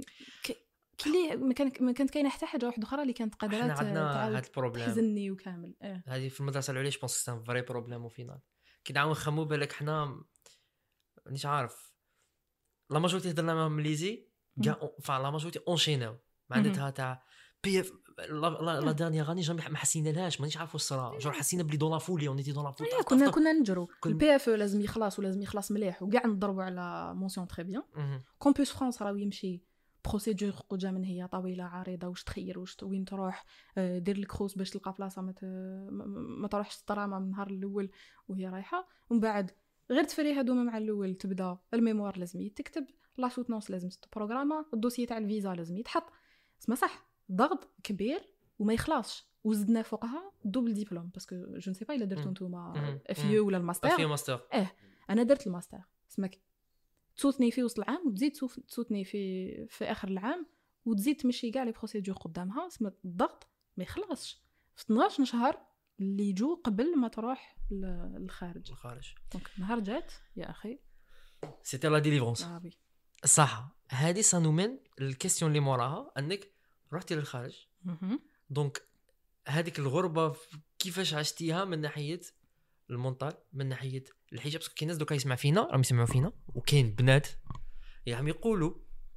كانت كاينه حتى حاجه واحده اخرى اللي كانت قادره تحزنني وكامل. هذه في المدرسه العليا جو بونس سان فري بروبليم وفينال كي نعاون نخمو بالك حنا مانيش عارف لا ماجورتي هضرنا معاهم مليزي كاع فا لا ماجورتي اونشيناو معناتها تاع بي اف لا دانيير غاني جامي ما حسينا لهاش، مانيش عارفوا الصرا جو حسينا بلي دون لا فولي اونيتي دون لا فولي، كنا نجرو البي اف لازم يخلص ولازم يخلص مليح، وكاع نضربوا على مونسيون تري بيان. كومبوس فرانس راه يمشي بروسيدور قدام من هي طويله عريضه، واش تخير واش وين تروح، دير الكروس باش تلقى بلاصه ما تروحش الطرامه من النهار الاول وهي رايحه، ومن بعد غير تفري هادوما مع الاول تبدا الميموار لازم يتكتب، لا سوتنونس لازم تبروغراما، الدوسيي تاع الفيزا لازم يتحط. اسمع صح ضغط كبير وما يخلصش، وزدنا فوقها دوبل ديبلوم باسكو جو نسي با الا درتو نتوما افيو ولا الماستر. انا درت الماستر. اسمك تصوتني في وسط العام وتزيد تصوتني في اخر العام وتزيد تمشي كاع لي بروسيدور قدامها. اسمع الضغط ما يخلصش في 12 شهر اللي يجوا قبل ما تروح للخارج. دونك نهار جات يا اخي سيتي لا ديليفرونس صح. هذه سانومين الكيستيون اللي موراها انك رحتي للخارج. دونك هذيك الغربه كيفاش عشتيها من ناحيه المونطال، من ناحيه الحجاب، باسكو كاين ناس دوكا يسمع فينا راهم يسمعوا فينا وكاين بنات يعني يقولوا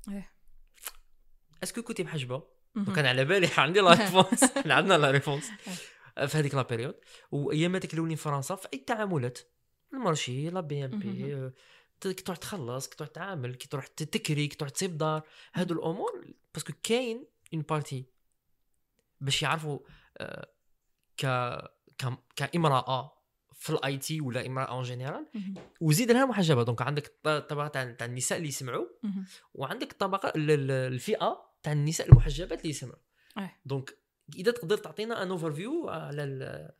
اسكو كنتي محجبه. كان على بالي عندي لا ريفونس عندنا لا ريفونس في هذيك لا بيريود. واياماتك الاولين في فرنسا في اي تعاملات المارشي لا بي ام بي كي تروح تخلص، كي تروح تعامل، كي تروح تكري، كي تروح تصيب دار، هادو الامور باسكو كاين اون بارتي باش يعرفوا كامراه في الاي تي ولا امراه اون جينيرال وزيد لها محجبه. دونك عندك الطبقه تاع النساء اللي يسمعوا وعندك الطبقه الفئه تاع النساء المحجبات اللي يسمعوا. دونك اذا تقدر تعطينا ان اوفر فيو على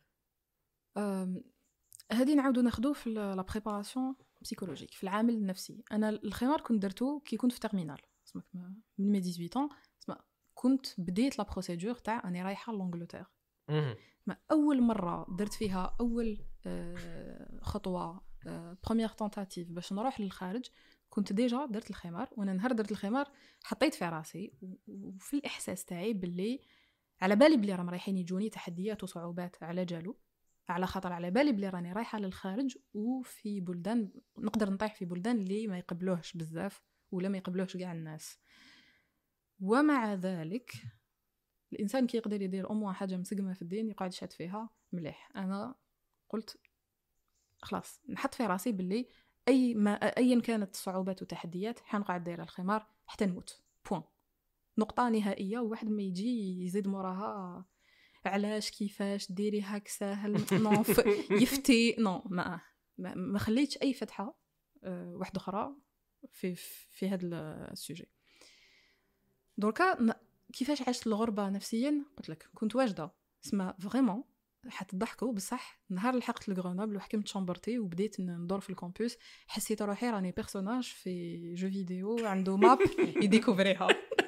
هذه نعاودو ناخذوه في لا بريباراسيون بسيكولوجيك في العامل النفسي. انا الخمار كنت درتو كي كنت في تيرمينال من مي 18 كنت بديت لا بروسيدور تاع اني رايحه لانجلتير. ما اول مره درت فيها اول خطوه بروميير تونتاتيف باش نروح للخارج كنت ديجا درت الخمار. وانا نهار درت الخمار حطيت في راسي وفي الاحساس تاعي باللي على بالي بلي راهم رايحين يجوني تحديات وصعوبات على جالو، على خاطر على بالي بلي راني رايحه للخارج وفي بلدان نقدر نطيح في بلدان اللي ما يقبلوهش بزاف ولا ما يقبلوهش كاع الناس. ومع ذلك الانسان كي يقدر يدير امو حاجه مسقمه في الدين يقعد يشهد فيها مليح. انا قلت خلاص نحط في راسي باللي ايا كانت الصعوبات والتحديات حنقعد دايره الخمار حتى نموت بوين، نقطه نهائيه. وواحد ما يجي يزيد موراها علاش كيفاش ديري هاك ساهل نو يفتي نو ما خليتش اي فتحه واحده اخرى في هذا السوجي. دركا كيفاش عشت الغربه نفسيا قلت لك كنت واجده اسمها فريمون حتضحكوا بصح. نهار لحقت لغرونوبل وحكمت شامبرتي وبديت ندور في الكامبوس حسيت روحي راني بيرسوناج في جو فيديو عنده ماب يديكوفريها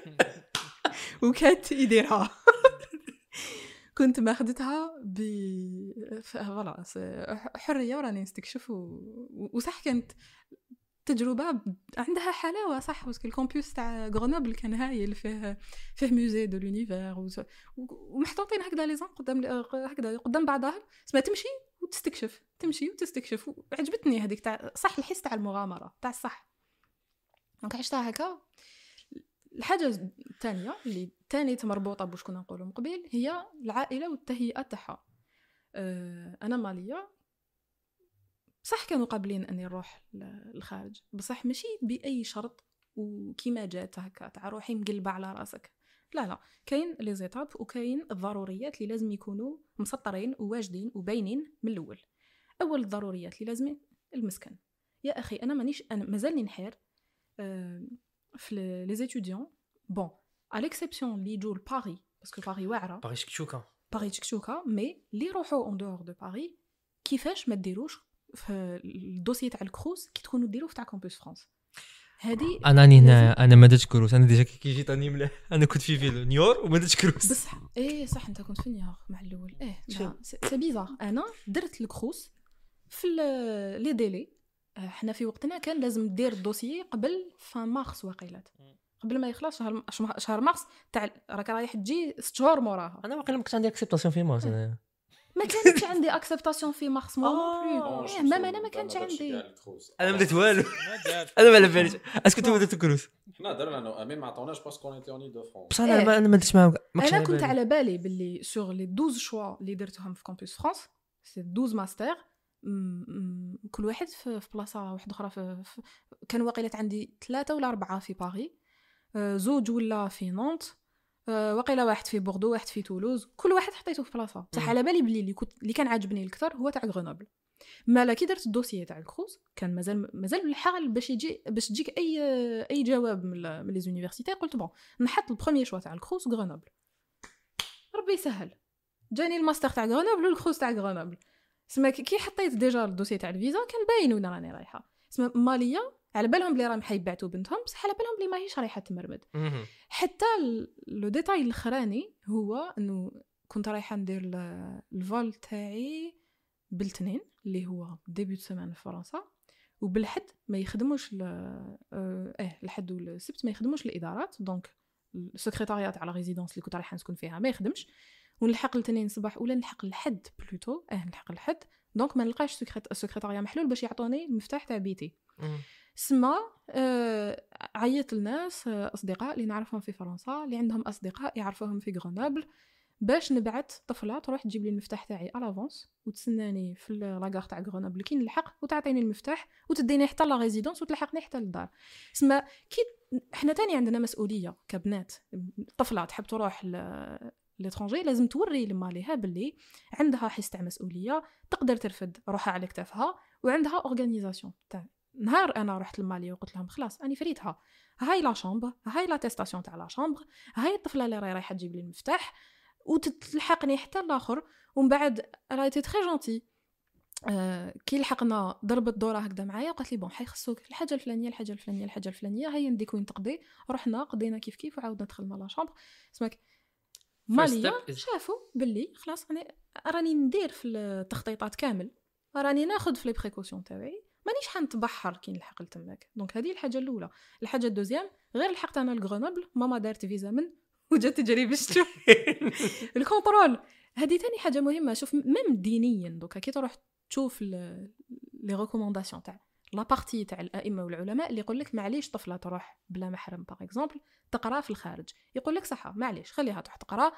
وكانت يديرها. كنت ماخدتها فوالا حريه وراني نستكشف وصح كانت تجربه عندها حلاوه صح. باسكو الكامبوس تاع غرونوبل كان هايل فيه موزي دو لونيفير ومحطوطين هكذا لي زون قدام بعضها اسمها تمشي وتستكشف وعجبتني هذيك تاع صح الحس تاع المغامره تاع الصح. دونك عشتها هكا. الحاجه الثانيه اللي ثاني مربوطه باش كنا نقولوا من قبل هي العائله والتهيئه تاعها. انا ماليه صح كانوا قابلين اني نروح للخارج بصح ماشي باي شرط وكيما جات هكا تاع روحي مقلبه على راسك. لا كاين لي زيتاب وكاين الضروريات اللي لازم يكونوا مسطرين وواجدين وباينين من الاول. اول الضروريات اللي لازم المسكن. يا اخي انا مازالني نحير في لي زيتوديون بون على اكسبسيون اللي يجوا لباري باسكو باري واعره باري تشكشوكا مي اللي يروحوا اون دور دو باري كيفاش ما ديروش في الدوسي تاع الكروز كي تكونوا ديروا في تاع كامبوس فرانس. هذه انا ما درتش كروز. انا ديجا كي جيت اني مليح انا كنت في فيلو نيور وما درتش كروز بصح صح انت كنت في نيور مع الاول سي بيزار. انا درت الكروز في لي ديلي. احنا في وقتنا كان لازم دير الدوسي قبل فان مارس واقيلات قبل ما يخلص شهر مارس تاع راك رايح تجي 6 شهور موراها. انا واقيلا ما كنتش عندي اكسبتاسيون في مارس. ما كانتش عندي اكسبتاسيون في مارس مو بلو مام انا ما كانش عندي. انا ما درت والو. انا ما على باليش اسكو انتم درتوا كروز. حنا درنا انا امين ما عطاوناش باسكو اونيتي اوني دو فرونس. بصح انا ما درتش معاهم. انا كنت على بالي باللي سور لي 12 شوا اللي درتهم في كامبوس فرانس سي 12 ماستر كل واحد في بلاصه واحده اخرى كان واقيلات عندي 3 ولا 4 في باريس 2 ولا في نونت وقيله واحد في بوردو واحد في تولوز كل واحد حطيته في بلاصه. بصح على بالي بلي اللي كان عاجبني اكثر هو تاع غرونوبل. مالا كي درت الدوسيه تاع الكروز كان مازال بالحال باش تجيك اي جواب من لي زونيفرسيتي. قلت بون نحط البروميير شوا تاع الكروز غرونوبل ربي يسهل. جاني الماستر تاع غرونوبل والكروز تاع غرونوبل. سما كي حطيت ديجا الدوسيه تاع الفيزا كان باين وين راني رايحه. سما ماليه على بالهم بلي راهم حيبعتوا بنتهم بصح على بالهم بلي ماهيش رايحه تمرمد. حتى لو ديتاي الاخراني هو انه كنت رايحه ندير الفول تاعي بالاثنين اللي هو ديبيو سيمان في فرنسا وبالحد ما يخدموش الحد والسبت ما يخدموش الادارات. دونك السكرتاريات على ريزيدونس اللي كنت رايحه نسكن فيها ما يخدمش ونلحق الاثنين صباح ولا نلحق الحد بلوتو نلحق الحد. دونك ما نلقاش السكرتاريا محلول باش يعطوني المفتاح تاع بيتي. سما عيط الناس اصدقاء اللي نعرفهم في فرنسا اللي عندهم اصدقاء يعرفوهم في غرونوبل باش نبعث طفله تروح تجيب لي المفتاح تاعي على لافونس وتسناني في لاغار تاع غرونوبل كي نلحق وتعطيني المفتاح وتديني حتى لا ريزيدونس وتلحقني حتى للدار. سما كي احنا تاني عندنا مسؤوليه كبنات. طفله تحب تروح ليترونجي لازم توري لماليها باللي عندها حس تاع مسؤوليه، تقدر ترفد روحها على كتافها، وعندها اورغانيزاسيون تاع نهار انا رحت لماليا وقلت لهم خلاص اني فريتها، هاي لا شامبر، هاي لا تيستاسيون تاع لا شامبر، هاي الطفله اللي رايحه تجيب لي المفتاح وتلحقني حتى الاخر، ومن بعد رايتي تري جونتي. كي لحقنا ضربت دوره هكذا معايا قالت لي بون حيخصوك الحاجه الفلانيه الحاجه الفلانيه الحاجه الفلانيه، هيا نديك وين تقضي. رحنا قضينا كيف كيف وعاودنا دخلنا لا شامبر. اسمك ماليا شافوا باللي خلاص انا راني ندير في التخطيطات كامل، راني ناخذ في لي بريكوسيون تاعي، مانيش حنتبحر كي نلحق لتماك. دونك هذه الحاجه الاولى. الحاجه الدوزيام غير لحقت انا لغرونوبل، ماما دارت فيزا من وجات تجري باش تشوف الكونترول. هذه ثاني حاجه مهمه. شوف ميم دينيا دوكا كي تروح تشوف لي ريكومونداسيون تاع لا بارتي تاع الائمه والعلماء اللي يقول لك معليش طفله تروح بلا محرم باغ اكزومبل تقرا في الخارج، يقول لك صح معليش خليها تروح تقرا.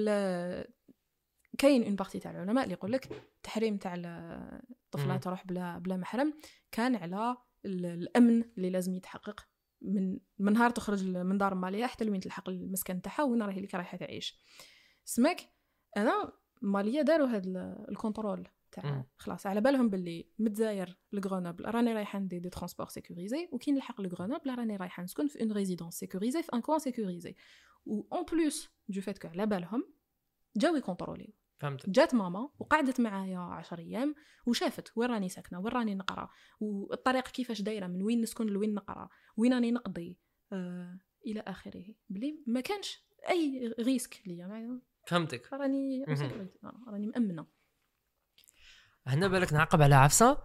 كاين اون بارتي تاع العلماء اللي يقول لك تحريم تاع الطفله تروح بلا محرم كان على الامن اللي لازم يتحقق من نهار تخرج من دار ماليا حتى لوين تلحق المسكن تاعها وين راهي لك رايحه تعيش. سمك انا ماليا داروا هذا الكنترول تاع خلاص على بالهم باللي متزاير لغرونوبل راني رايحه ندير دي ترونسبور سيكوريزي، وكي نلحق لغرونوبل راني رايحه نسكن في اون ريزيدونس سيكوريزي في ان كوان سيكوريزي، و اون بلوس دو فيت كو على بالهم جاو يكونتروليو. فهمت. جات ماما وقعدت معايا 10 ايام وشافت وين راني ساكنه وين راني نقرا والطريق كيفاش دايره من وين نسكن لوين نقرا وين راني نقضي الى اخره، بلي ما كانش اي ريسك ليا. فهمتك. راني مأمنه. هنا بالك نعقب على عفسه.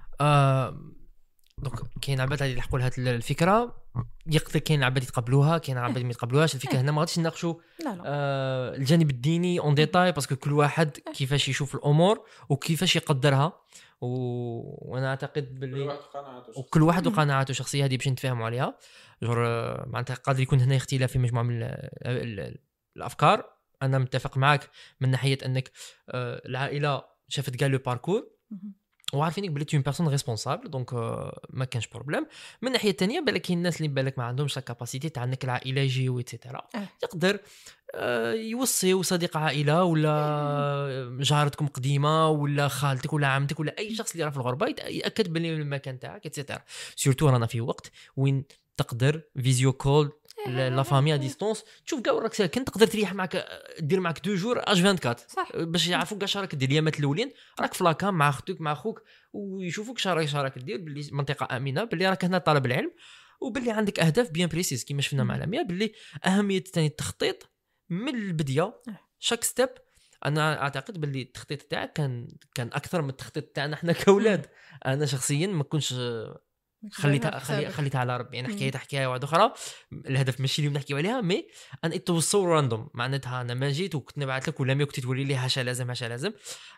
دونك كاين عباد اللي يلحقوا لها الفكره، يقدر كاين عباد يتقبلوها، كاين عباد ما يتقبلوهاش. الفكره هنا ما غاديش نناقشوا الجانب الديني اون ديتاي، باسكو كل واحد كيفاش يشوف الامور وكيفاش يقدرها، وانا اعتقد باللي وكل واحد وقناعاته الشخصيه هذه باش نتفاهموا عليها. معناتها قادر يكون هنا اختلاف في مجموعه من الافكار. انا متفق معك من ناحيه انك العائله شافت كاع لو باركور وعارفينك بلي تي اون بيرسون ريسبونسابل، دونك ما كانش بروبليم. من الناحيه الثانيه بالك كاين الناس اللي بالك ما عندهمش لا كاباسيتي تاع انك العائله يجيو ايتترا، يقدر يوصيو صديق عائله ولا جارتكم قديمه ولا خالتك ولا عمتك ولا اي شخص اللي راه في الغربه يتاكد بلي المكان تاعك ايتترا. سورتو رانا في وقت وين تقدر فيديو كول لا فامي ا ديستونس تشوف كاع راك ساكن، تقدر تريح معك دير معك 2 جور اش 24 صح. باش يعرفوك كاع شراك دير اليامات الاولين راك في لاكام مع اختك مع اخوك ويشوفوك شراك دير باللي منطقه امنه، باللي راك هنا طالب العلم وباللي عندك اهداف بيان بريسيس كيما شفنا مع العالميه، باللي اهميه ثاني التخطيط من البدايه شاك ستيب. انا اعتقد باللي التخطيط تاعك كان اكثر من التخطيط تاعنا احنا كاولاد. انا شخصيا ما كنتش خليتها على ربي، يعني حكايه واحده اخرى. الهدف ماشي اليوم نحكيو عليها، مي انا اتوصل راندوم معناتها انا ما جيت وكنت نبعث لك ولا مي كنت توري لي هاشا لازم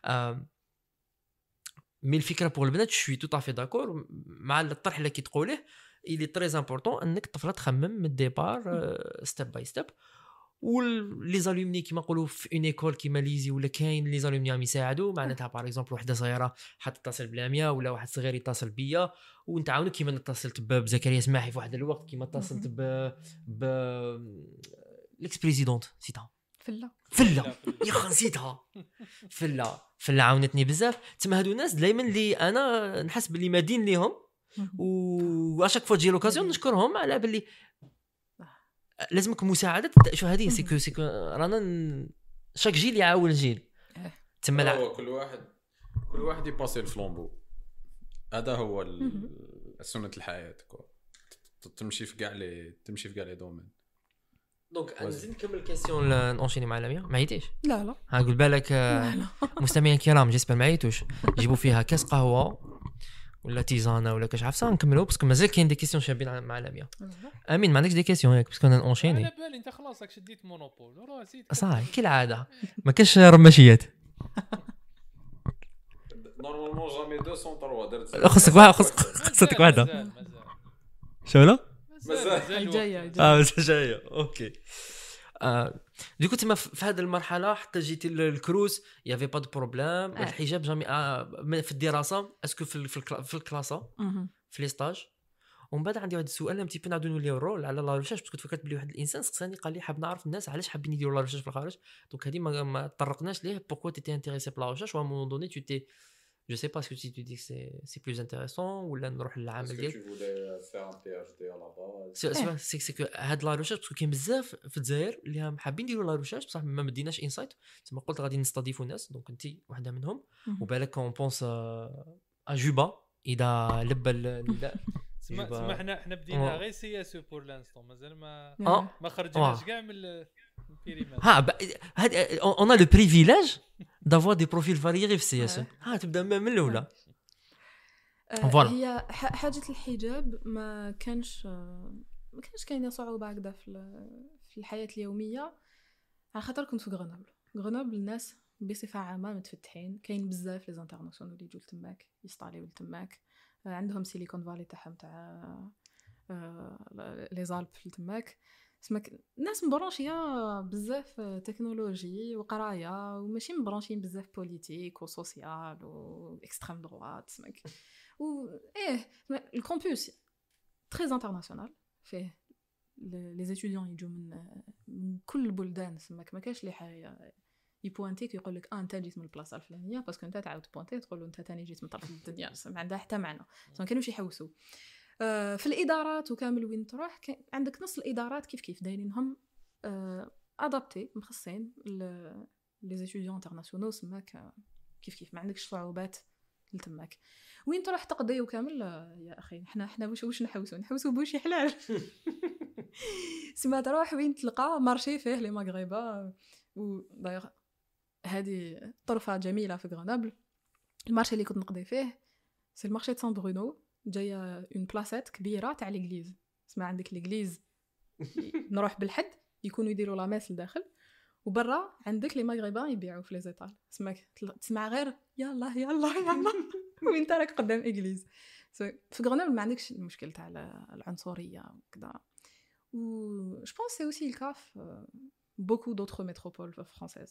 مي الفكره بور البنات شوي تو طافي داكور مع الطرح اللي كي تقوله. اللي تري امبورطون انك الطفله تخمم من الديبار ستيب باي ستيب. ولي زالومني كيما نقولوا في اون ايكول كيما ليزي ولا كاين لي زالومني عم يساعدوا معناتها باغ اكزومبل وحده صغيره حتتصل بلاميا ولا واحد صغير يتصل بيا ونتعاونوا كيما اتصلت بزكريا سماحي في واحد الوقت كيما اتصلت ب ليكس بريزيدونت نسيتها فلا يا خا نسيتها فلا عاونتني بزاف. تما هادو الناس دائما اللي انا نحس باللي مادين ليهم واشاك فوا تجي لوكازيون نشكرهم على باللي لازمك مساعده. شو هذه سيكو رانا شاك جيل يعاون جيل تما كل واحد يباسي الفلومبو. هذا هو سنه الحياه تمشي في كاع لي دومين. دونك انا نزيد نكمل كيسيون نونشيني مع لاميا. ما عيتيش؟ لا هنقول بالك مستمعين الكرام جيسبر ما عيتوش جيبوا فيها كاس قهوه ولا تيزانه ولا كاش عفسه نكملوا باسكو مازال كاين دي كيسيون شابين مع لاميا. امين ما عندكش دي كيسيون ياك باسكو انا اونشيني على بالي انت خلاص راك شديت مونوبول راه زيد صح كالعاده ما كاش رماشيات نورمالمون جامي 203 درت خصك واحده شو لا مازال جايه اوكي. ديكو تما في هذه المرحله حتى جيتي للكروز يافي با دو بروبليم. الحجاب جامي في الدراسه اسكو في الكلاسه في لي ستاج ومن بعد عندي واحد السؤال امتي بي نعاودو نوليو الرول على لا ريشيرش باسكو تفكرت بلي واحد الانسان سقساني قال لي حاب نعرف الناس علاش حابين يديروا لا ريشيرش في الخارج دونك هذه ما طرقناش ليه بوركو تي انتريسي بلا ريشيرش و مون دوني tu t'es je sais pas ce que tu dis que c'est plus intéressant ولا نروح للعمل ديالك tu voulais faire un PhD à la base سي كو هاد لا ريشيرش باسكو كاين بزاف في الجزائر اللي حابين يديروا لا ريشيرش بصح ما مديناش انسايت تما قلت غادي نستضيفوا ناس دونك انت واحده منهم وبالك كون بونس اجوبا اذا لبى النداء تسمى حنا بدينا غير سياسه بور لانستون مازال ما خرجناش كاع من البيريمات هاد اون ا لو بريفيليج دافوار دي بروفيل فاريي في السياسه تبدا من الاولى هي حاجه الحجاب ما كانش كاينه صعوبه هكذا في الحياه اليوميه على خاطر كنت في غرنابل الناس بصفه عامه متفتحين كاين بزاف لي زانترناسيونال اللي يجوا تماك يستاليو تماك عندهم سيليكون فالي تاعهم تاع لي زالب تماك سماك الناس مبرونشيه بزاف تكنولوجي وقرايه وماشي مبرونشين بزاف بوليتيك وسوسيال واكستريم دروات سماك و الكامبوس تري انترناسيونال فيه لي ستوديون يجوا من كل البلدان سماك ما كاش لي حاجه يبوانتيك يقول لك انت جيت من البلاصه الفلانيه باسكو انت تعاود بوانتي تقول له انت ثاني جيت من طرف الدنيا ما عندها حتى معنى ما كانوش يحوسوا في الادارات وكامل وين تروح عندك نص الادارات كيف دايرينهم ادابتي مخصصين لي ستوديون انترناسيونال سماك كيف ما عندكش صعوبات لتماك وين تروح تقضي وكامل يا اخي احنا واش نحوسوا بوشي حلال سما تروح وين تلقى مارشي فيه لي مغربا وداير هذه طرفه جميله في غرنابل المارشي اللي كنت نقضي فيه سي المارشي دو سان برونو جايه اون بلاصات كبيره تاع ليغليز اسمع عندك ليغليز نروح بالحد يكونوا يديروا لا ماس لداخل وبرا عندك لي مغربان يبيعوا في لي زيطال تسمع غير يلا وين انت راك قدام ايغليز في غرنابل ما عندكش المشكل تاع العنصريه وكذا و جو بونس سي اوسي الكاف beaucoup d'autres métropoles françaises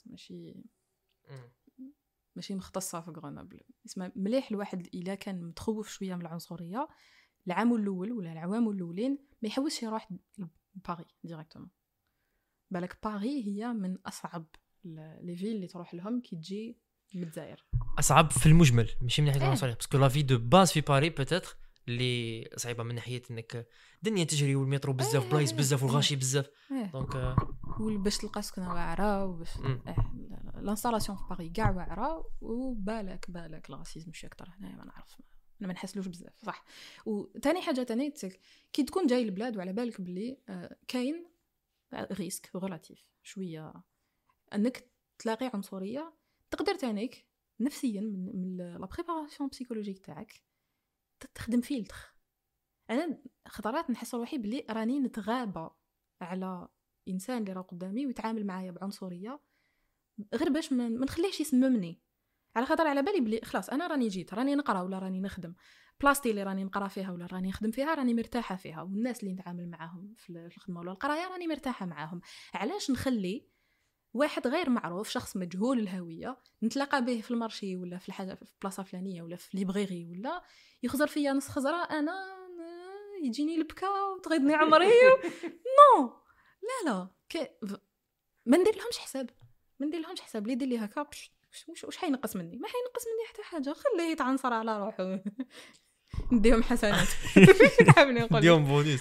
ماشي مختصه في غرنابل اسمها مليح الواحد الا كان متخوف شويه من العنصريه العام الاول ولا العوام الاولين ما يحوسش يروح لباريس ديريكتومون بالك باريس هي من اصعب لي فيل اللي تروح لهم كي تجي من الجزائر اصعب في المجمل ماشي من ناحيه العنصريه باسكو لا في دو باز في باريس بوتيتر اللي صعيبه من ناحيه انك الدنيا تجري والمترو بزاف بلايص بزاف والغاشي بزاف دونك باش تلقى سكنه واعره وباش لانستالاسيون في باريس كاع واعره وبالك الراسيزم شي اكثر هنايا ما نعرف انا ما نحسلوش بزاف صح وثاني حاجه ثاني كي تكون جاي البلاد وعلى بالك بلي كاين ريسك ريلاتيف شويه انك تلاقي عنصريه تقدر تانيك نفسيا من لا بريباراسيون بسيكولوجيك تاعك تخدم فيلتر انا خطرات نحس روحي بلي راني نتغابى على انسان اللي راه قدامي ويتعامل معايا بعنصريه غير باش ما نخليهش يسممني على خاطر على بالي بلي خلاص انا راني جيت راني نقرا ولا راني نخدم بلاصتي اللي راني نقرا فيها ولا راني نخدم فيها راني مرتاحه فيها والناس اللي نتعامل معاهم في الخدمه ولا القرايه راني مرتاحه معاهم علاش نخلي واحد غير معروف شخص مجهول الهويه نتلاقى به في المارشي ولا في الحاجه في بلاصه فلانيه ولا في ليبريري ولا يخزر فيا نص خزره انا يجيني البكا وتغيضني عمري نو لا ما ندير لهمش حساب اللي يدير لي هكا واش حينقص مني ما حينقص مني حتى حاجه خليه يتعنصر على روحه نديهم حسنات نديهم بونيس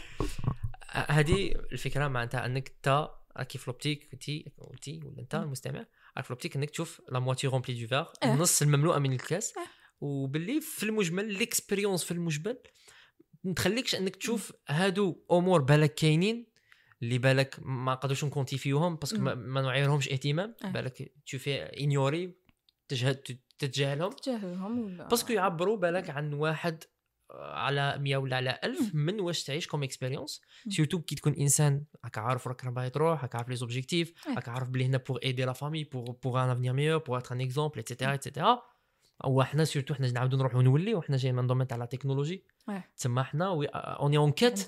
هذه الفكره معناتها انك انت كيف لوبتيك قلتي ولا انت المستمع عارف لوبتيك انك تشوف لا موتي رومبلي دو فار النص المملوءه من الكاس وباللي في المجمل ليكسبيريونس في المجمل ما تخليكش انك تشوف هادو امور بالك كاينين اللي بالك ما قدروش نكونتي فيهم باسكو ما نعيرهمش اهتمام بالك تشوفي انيوري تتجاهلهم باسكو يعبروا بالك عن واحد على 100 ولا على 1000 من واش تعيش كوم اكسبيريونس سورتو كي تكون انسان راك عارف راك باغي تروح راك عارف لي زوبجيكتيف راك عارف بلي هنا بور ايدي لا فامي بور ان افنير ميور بور اتر ان اكزومبل ايتترا او حنا سورتو حنا نعاودو نروحو نولي وحنا جايين من دومين تاع لا تكنولوجي تسمى حنا اوني اون كيت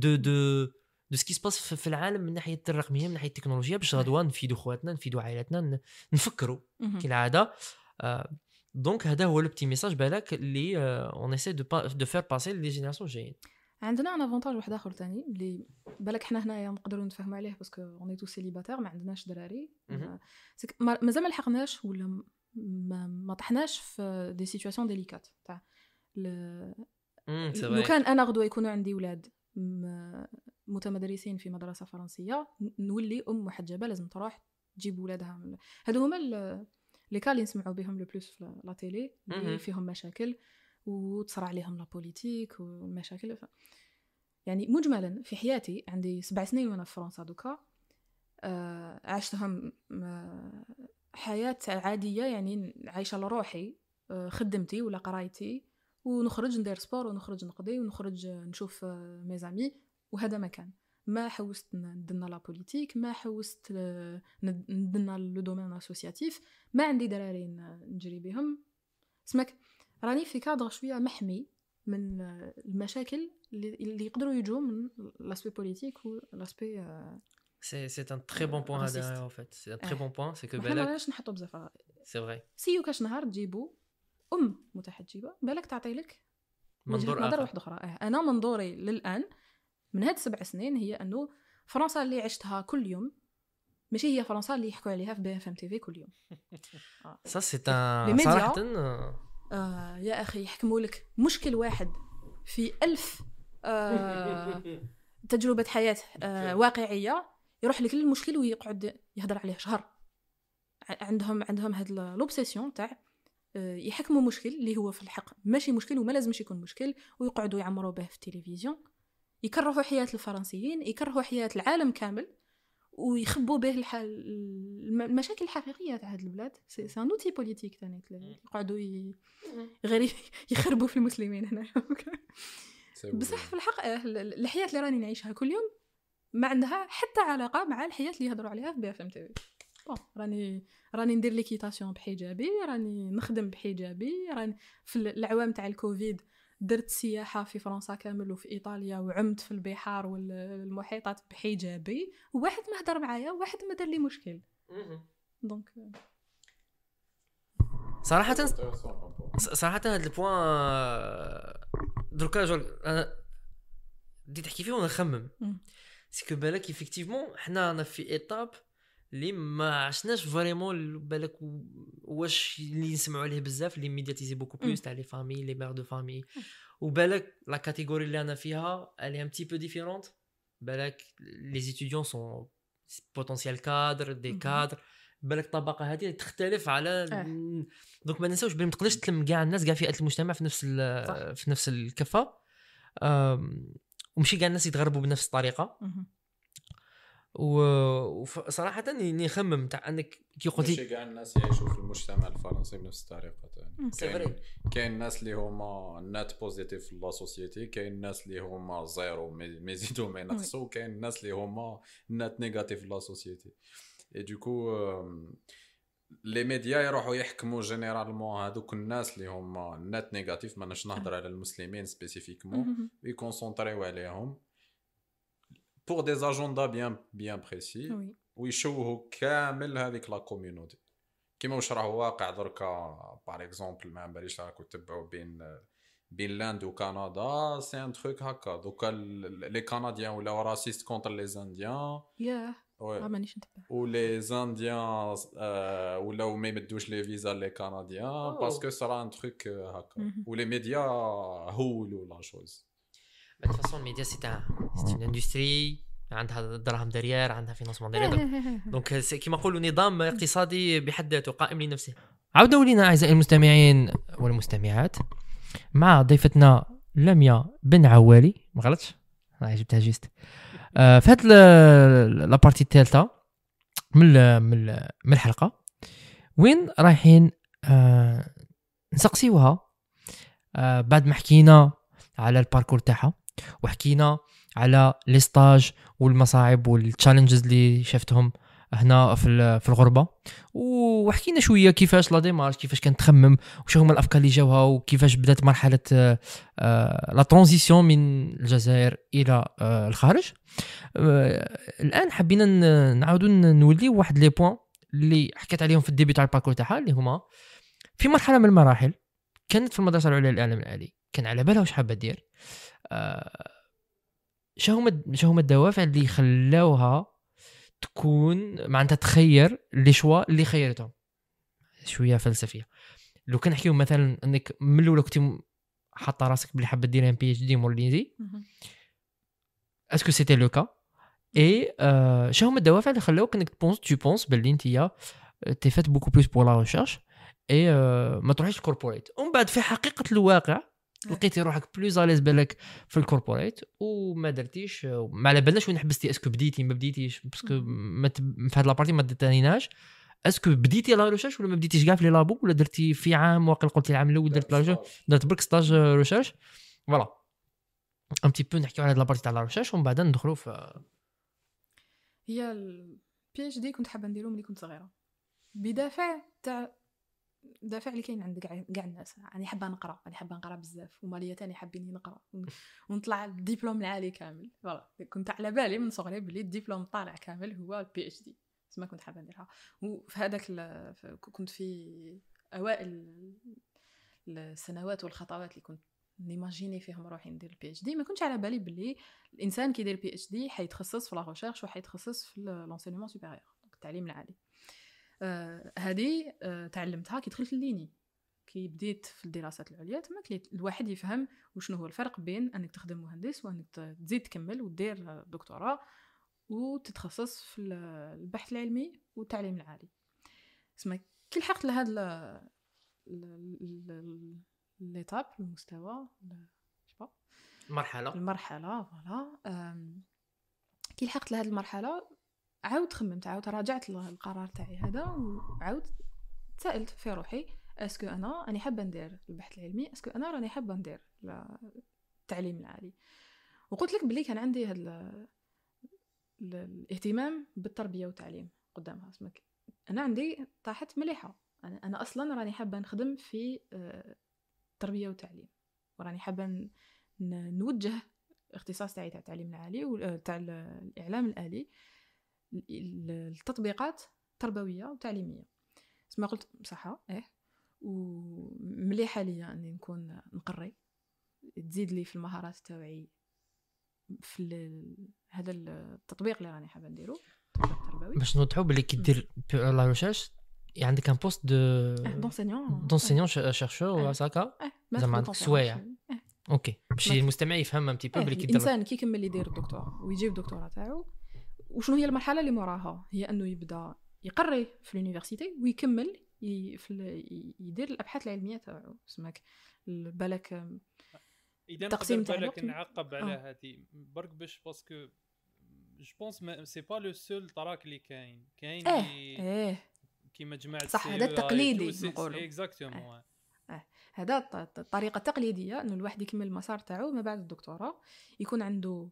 دو سكي سباس في العالم من ناحيه الرقميه من ناحيه التكنولوجيا باش غدوه نفيدو خواتنا نفيدو عائلاتنا نفكروا كالعاده دونك هذا هو لو بتي ميساج بالك اللي اون ايساي دو فير باسي لي جينيراسيون جايين عندنا ان افونتاج واحد اخر ثاني اللي بالك حنا هنايا نقدروا نتفاهموا عليه باسكو اوني تو سيليباتير ما عندناش دراري مازال ما لحقناش ولا ما طحناش في دي سيتوياسيون ديليكات تاع لو كان انا غدوه يكونوا عندي ولاد متمدرسين في مدرسه فرنسيه نولي محجبه لازم تروح تجيب ولادها هادو هما لي كالي نسمعوا بهم لو بلوس في لا تيلي اللي فيهم مشاكل وتصرع عليهم لا بوليتيك والمشاكل يعني مجملا في حياتي عندي 7 سنين وانا في فرنسا دوكا عشتهم حياة عادية يعني عايشة لروحي خدمتي ولا قرايتي ونخرج ندير سبور ونخرج نقضي ونخرج نشوف ميزامي وهذا مكان ما حوست ندنا لا بوليتيك ما حوست ندنا لو دومين اسوسياتيف ما عندي دراري نجري بهم اسمك راني في كادر شويه محمي من المشاكل اللي يقدروا يجوا من لاسبي بوليتيك و لاسبي c'est un très bon point هذا en fait c'est un très bon point c'est que بالك علاش نحطوا بزاف c'est vrai سيو كاش نهار تجيبوا متحجبه بالك تعطي لك منظور نظر واحد اخرى انا منظوري للان من هاد 7 سنين هي انه فرنسا اللي عشتها كل يوم ماشي هي فرنسا اللي يحكوا عليها في BFM TV كل يوم ça c'est un صراحه يا اخي يحكموا لك مشكل واحد في 1000 تجربه حياه واقعيه يروح لك المشكل ويقعد يهضر عليه شهر عندهم هاد لوبسيسيون تاع يحكموا مشكل اللي هو في الحق ماشي مشكل وما لازمش يكون مشكل ويقعدوا يعمروا به في التلفزيون يكرهوا حياة الفرنسيين يكرهوا حياة العالم كامل ويخبوا به المشاكل الحقيقية تاع هاد البلاد سي ان اوتي بوليتيك ثاني يقعدوا غير يخربوا في المسلمين هنا بصح في الحق الحياة اللي راني نعيشها كل يوم ما عندها حتى علاقة مع الحياة اللي يهضروا عليها في BFM TV راني ندير ليكيتاسيون بحجابي راني نخدم بحجابي راني في العوام تاع الكوفيد درت سياحة في فرنسا كامل وفي إيطاليا وعمت في البحار والمحيطات بحجابي وواحد ما هدر معايا وواحد ما دار لي مشكل دونك صراحة هذا البوان دركا انا بديت تحكي فيه وانا نخمم سكو بالك ايفيكتيفمون حنا انا في ايطاب اللي ما عشناش فريمون بالك واش اللي نسمعوا عليه بزاف اللي ميدياتيزي بوكو بلوس تاع لي فامي لي مير دو فامي وبالك لا كاتيجوري اللي انا فيها الي ان بتي بو ديفيرونت بالك لي ستوديون سون بوتونسيال كادر دي كادر بالك الطبقه هذه تختلف على دونك ما ننساوش بلي ما تقدرش تلم كاع الناس كاع فئات المجتمع في نفس الكفه ومشي كاع الناس يتغربوا بنفس الطريقه وصراحه نخمم تاع انك كي قلتي ماشي كاع الناس يعيشوا في المجتمع الفرنسي بنفس الطريقه ثاني كاين الناس اللي هما نات بوزيتيف في لا سوسيتي كاين الناس اللي هما زيرو ما يزيدوا ما ينقصوا كاين الناس اللي هما نات نيجاتيف في لا سوسيتي اي دوكو لي ميديا يروحوا يحكموا جينيرالمون هذوك الناس اللي هما نات نيجاتيف ما نش نهضر على المسلمين سبيسيفيكمون ويكونسونطريو عليهم pour des agendas bien précis ويشوهوا كامل هذيك لا كوميونيتي كيما واش راه واقع دركا باغ اكزومبل ما باليش راكم تتبعوا بين لاند وكندا سي ان تروك هكا دوكا لي كنديان ولاو راسيست كونتر لي زانديان مانيش نتبع ولي زانديان ولاو ما يمدوش لي فيزا لي كنديان باسكو صرا ان تروك هكا ولي ميديا هولوا لا شوز de toute façon الميديا c'est une industrie عندها دراهم دريار عندها فينانسمون دريار دونك كيما نقولوا نظام اقتصادي بحد ذاته قائم لنفسه. عودوا لينا اعزائي المستمعين والمستمعات مع ضيفتنا لميا بن عوالي ما غلطش جبتها جيست في هاد لابارتي الثالثه من الحلقه وين رايحين نسقسيوها بعد ما حكينا على الباركور تاعها وحكينا على لي ستاج والمصاعب والتشالنجز اللي شفتهم هنا في الغربه وحكينا شويه كيفاش لا ديمارش كيفاش كانت تخمم وش هما الافكار اللي جاوها وكيفاش بدات مرحله لا ترانزيسيون من الجزائر الى الخارج. الان حبينا نعاودوا نولي واحد لي بوين اللي حكيت عليهم في الديبي تاع الباركور تاعها اللي هما في مرحله من المراحل كانت في المدرسه العليا للاعلام الالي كان على بالها واش حابه دير شهما الدوافع اللي خلاوها تكون معناتها تخير لي شوا اللي خيرتهم؟ شويه فلسفيه. لو كان نحكيو مثلا انك من الاول كنتي حاطه راسك بلي حابه ديري ان بي اتش دي مورلينزي، اسكو سيتي لو كا؟ اي شهما الدوافع اللي خلاوك انك تبونس باللي انت تي فات بوكو بلوس بور لا ريشيرش اي ما تروحيش الكوربوريت، ومن بعد في حقيقه الواقع لقيتي روحك بلوز اليز بالك في الكوربوريت وما درتيش، ما على بالناش وين حبستي. اسكو بديتي ما بديتيش؟ باسكو في هاد لابارتي ما ديتانيناش. اسكو بديتي لا ريشيرش ولا ما بديتيش كاع في لي لابو، ولا درتي في عام واقيلا قلتي العام الاول درت لا ريشيرش، درت برك ستاج ريشيرش؟ فوالا ان تي بو نحكيو على هاد لابارتي تاع لا ريشيرش ومن بعد ندخلوا في هي البي اتش دي. كنت حابه نديرو ملي كنت صغيره بدافع تاع دافع اللي كاين عند كاع الناس. راني حابه نقرا، راني حابه نقرا بزاف، وماليا تاني حابين نقرا ونطلع الدبلوم العالي كامل. فوالا كنت على بالي من صغري بلي الدبلوم طالع كامل هو البي اتش دي، بس ما كنت حابه نديرها. وفي هذاك كنت في اوائل السنوات والخطوات اللي كنت نيماجيني فيهم روحي ندير البي اتش دي، ما كنتش على بالي بلي الانسان كيدير البي اتش دي حيتخصص في لا ريشيرش وحيتخصص في لونسينمون سوبيريور، التعليم العالي. هذه تعلمتها كي دخلت الليني، كي بديت في الدراسات العليا. تما الواحد يفهم وشنو هو الفرق بين انك تخدم مهندس وانك تزيد تكمل ودير دكتوراه وتتخصص في البحث العلمي والتعليم العالي. اسمع كي لحقت لهذا ليتاب المستوى المرحله فوالا، كي لحقت لهذه المرحله عاود خممت، عاود راجعت القرار تاعي هذا، وعاود سألت في روحي اسكو انا راني حابه ندير البحث العلمي، اسكو انا راني حابه ندير التعليم العالي. وقلت لك بلي كان عندي هذا الاهتمام بالتربيه والتعليم قدامها. اسمك انا عندي طاحت مليحه، انا اصلا راني حابه نخدم في التربيه والتعليم، وراني حابه نوجه الاختصاص تاعي تاع التعليم العالي وتاع الاعلام الالي التطبيقات تربويه وتعليميه. اسمع قلت بصحه ومليحه ليا اني نكون نقري، تزيد لي في المهارات تاعي في هذا التطبيق اللي راني حابه نديرو، التربوي. باش نوضحوا بلي كي دير لا ريشيرش عندك ان بوست دونسينيون شيرشور ولا ساكا زعما عندك سوايع. اوكي باش المستمع يفهم ان تي بو بلي كي الانسان كي يكمل يدير الدكتوراه ويجيب الدكتوراه تاعو، وشنو هي المرحله اللي موراها؟ هي انه يبدا يقري في اليونيفرسيتي ويكمل يدير الابحاث العلميه تاعو. اسمك بالك اذا تقسيم تاع بالك نعقب على هذه برك باش باسكو جو بونس سي با لو سول طراك اللي كاين كيما جماعه صح. هذا التقليدي نقولوا اكزاكتومون. هذا الطريقه التقليديه انه الواحد يكمل المسار تاعو ما بعد الدكتوراه، يكون عنده